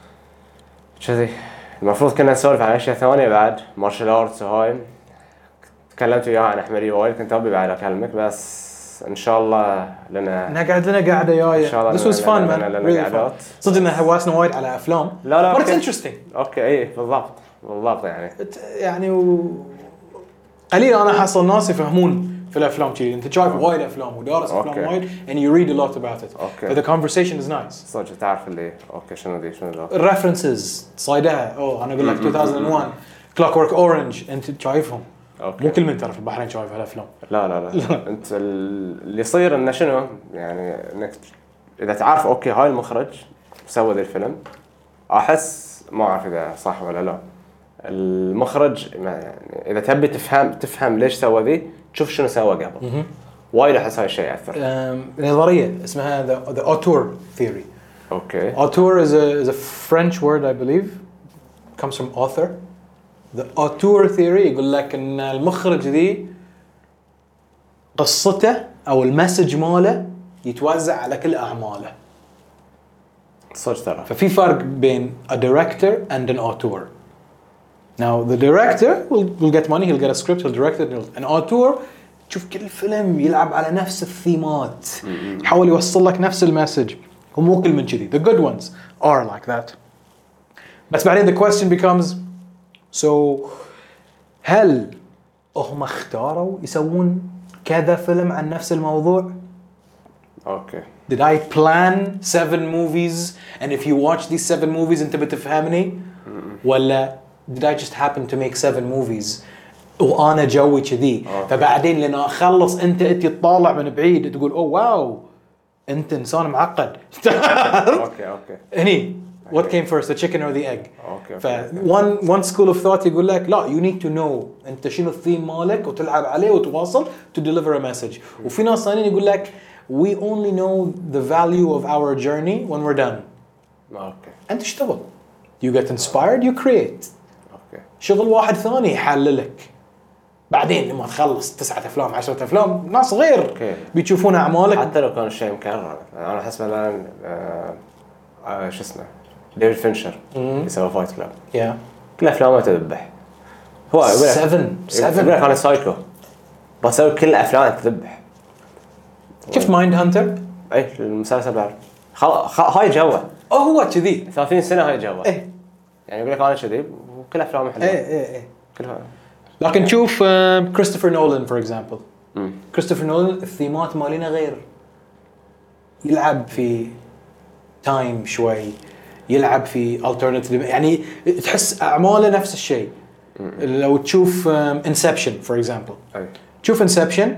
كذي المفروض كنا نسولف عن اشياء ثانيه بعد مارشال ارتس وهاي تكلمت وياه عن احمدي وايد كنت ابي بعد اكلمك بس ان شاء الله لنا نقعد لنا قاعده جايه. ان شاء الله This was fun man. لنا Really قعدات fun. صدق انه هواسنا وايد على افلام. لا لا But it's أوكي. interesting. اوكي اي بالضبط بالضبط يعني يعني و... قليل انا احصل ناس يفهمون في الافلام كذي. انت شايف وايد افلام ودارس افلام أوكي. وايد and you read a lot about it. أوكي. But the conversation is nice. صدق تعرف اللي اوكي شنو ذي شنو ذا الريفرنسز صايدها اوه انا اقول لك two thousand one Clockwork Orange انت شايفهم. اوكي مو كل من ترى في البحرين شايف هالافلام. لا لا لا انت ال- اللي يصير انه شنو يعني انك اذا تعرف اوكي هاي المخرج سوى ذا الفيلم احس ما اعرف اذا صح ولا لا المخرج ما يعني اذا تبي تفهم تفهم ليش سوى ذي تشوف شنو سوى قبل وايد احس هاي الشيء ياثر. أم، نظريه اسمها the, the auteur theory. اوكي Auteur is a is a French word I believe comes from author. The auteur theory يقول لك ان المخرج ذي قصته او المسج ماله يتوزع على كل اعماله. صدق ترى ففي فرق بين a director and an auteur. Now the director will, will get money, he'll get a script, he'll direct it. He'll, an auteur تشوف كل فيلم يلعب على نفس الثيمات يحاول يوصل لك نفس المسج ومو كل من كذي. The good ones are like that. بس بعدين the question becomes so هل هم اختاروا يسوون كذا فيلم عن نفس الموضوع؟ اوكي Did I plan seven movies and if you watch these seven movies انت بتفهمني؟ ولا did I just happen to make seven movies وانا جوي كذي فبعدين لما اخلص انت انت تطالع من بعيد تقول اوه واو انت انسان معقد. اوكي اوكي هني what came first the chicken or the egg. اوكي ف one one school of thought يقول لك لا you need to know انت شنو الثيم مالك وتلعب عليه وتواصل to deliver a message. وفي ناس ثانيين يقول لك we only know the value of our journey when we're done. اوكي انت اشتغل you get inspired you create. اوكي شغل واحد ثاني يحللك بعدين لما تخلص تسعة افلام عشرة افلام ناس غير أوكي. بيشوفون اعمالك. حتى لو كان الشيء مكرر انا احس مثلا آه آه شو اسمه ديفيد فينشر يسوي فايت كلاب يا كل افلامه تذبح هو يقول لك seven يقول لك seven انا سايكو بسوي كل افلام تذبح. شفت مايند هانتر؟ اي المسلسل بعد خل... خ... هاي جوه اه هو كذي ثلاثين سنه هاي جوه ايه يعني يقول لك انا كذي وكل افلامه حلوه ايه ايه ايه كلها لكن شوف كريستوفر نولان فور اكزامبل. كريستوفر نولان الثيمات مالينا غير يلعب في تايم شوي يلعب في alternative يعني تحس اعماله نفس الشيء. لو تشوف انسبشن فور اكزامبل اي تشوف انسبشن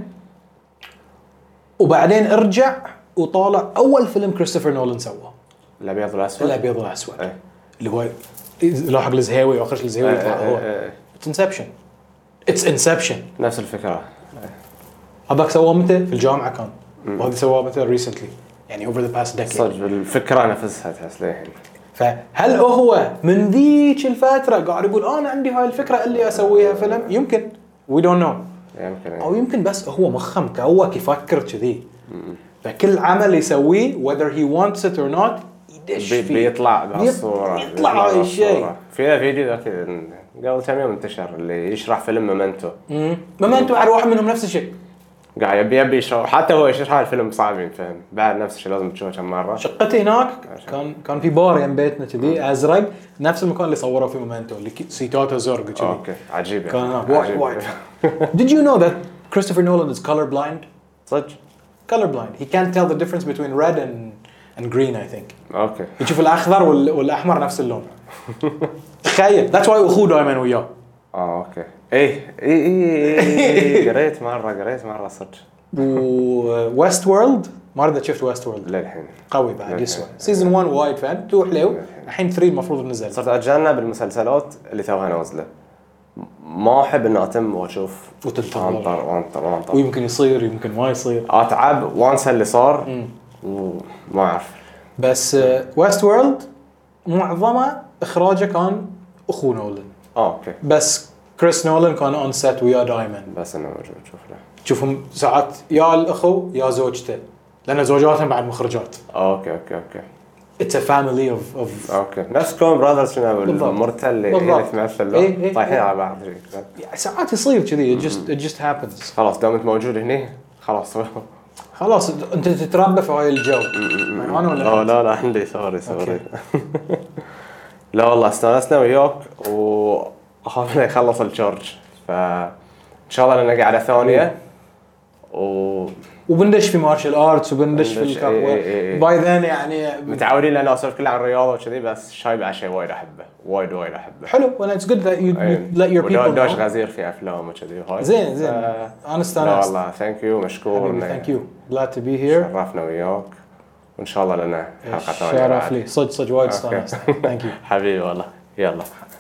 وبعدين ارجع وطالع اول فيلم كريستوفر نولان سواه الابيض والاسود الابيض والاسود اي اللي هو لاحق الزهيوي واخرج الزهيوي إيه، يطلع إيه، هو إيه. اتس انسبشن اتس انسبشن. نفس الفكره هذاك سواه متى في الجامعه كان وهذا سواه متى ريسنتلي يعني over the past decade. صدق الفكره نفسها تحس ليه فهل هو من ذيك الفتره قاعد يقول انا عندي هاي الفكره اللي اسويها فيلم؟ يمكن we don't know. يمكن او يمكن بس هو مخه مكوك يفكر كذي. فكل عمل يسويه whether he wants it or not يدش بي فيه. بيطلع بهالصورة، يطلع هاي الشيء. في فيديو ذاك قبل كم يوم انتشر اللي يشرح فيلم مومنتو. مومنتو على واحد منهم نفس الشيء. قاعد يبي يبي يشرح، حتى هو يشرح الفيلم صعب فهم بعد نفس الشيء لازم تشوفه كم مرة. شقتي هناك كان كان في بار يم بيتنا كذي ازرق نفس المكان اللي صوروا فيه مومنتو اللي سيتاته زرق كذي. اوكي عجيب يعني. كان هناك وايد وايد. Did you know that Christopher Nolan is color blind? صدق؟ Color blind. He can't tell the difference between red and and green I think. اوكي. يشوف الاخضر وال... والاحمر نفس اللون. تخيل. That's why اخوه دائما وياه. اه اوكي. ايه ايه ايه قريت مرة قريت مرة صدق. و West World ما رد شفت West World للحين. قوي بعد يسوى. سيزون واحد وايد فان تو حلو. الحين ثلاثة المفروض نزل. صرت اتجنب المسلسلات اللي توها نازلة. ما احب اني اتم واشوف وتنتظر وانطر وانطر وانطر. ويمكن يصير يمكن ما يصير. اتعب وانسى اللي صار وما اعرف. بس West World معظمه اخراجه كان اخو نولان. اه اوكي. بس كريس نولان كان اون سيت وياه دائما. بس انا موجود شوف له. تشوفهم ساعات يا الاخو يا زوجته لان زوجاتهم بعد مخرجات. اوكي اوكي اوكي. It's a family of of اوكي نفس كون براذرز شنو المرتل اللي اللي تمثل إيه طايحين على بعض. يعني ساعات يصير كذي. it just it just happens. خلاص دام انت موجود هنا خلاص. خلاص انت تتربى في هاي الجو. انا ولا لا لا لا عندي سوري سوري. لا والله استانسنا وياك واخاف انه يخلص الشارج فان شاء الله لنا قاعده ثانيه و وبندش في مارشال ارتس وبندش في الكاب باي ذن يعني متعودين لان اسولف كله عن الرياضه وكذي بس شاي بعد شيء وايد احبه وايد وايد احبه. حلو وانا اتس جود ذات يو let your people دوش غزير في افلام وكذي هاي زين زين انا استانست. لا والله ثانك يو مشكور. ثانك يو glad to be here. شرفنا وياك وان شاء الله لنا حلقه ثانيه. شرف لي صدق صدق وايد استانست. ثانك يو حبيبي والله. يلا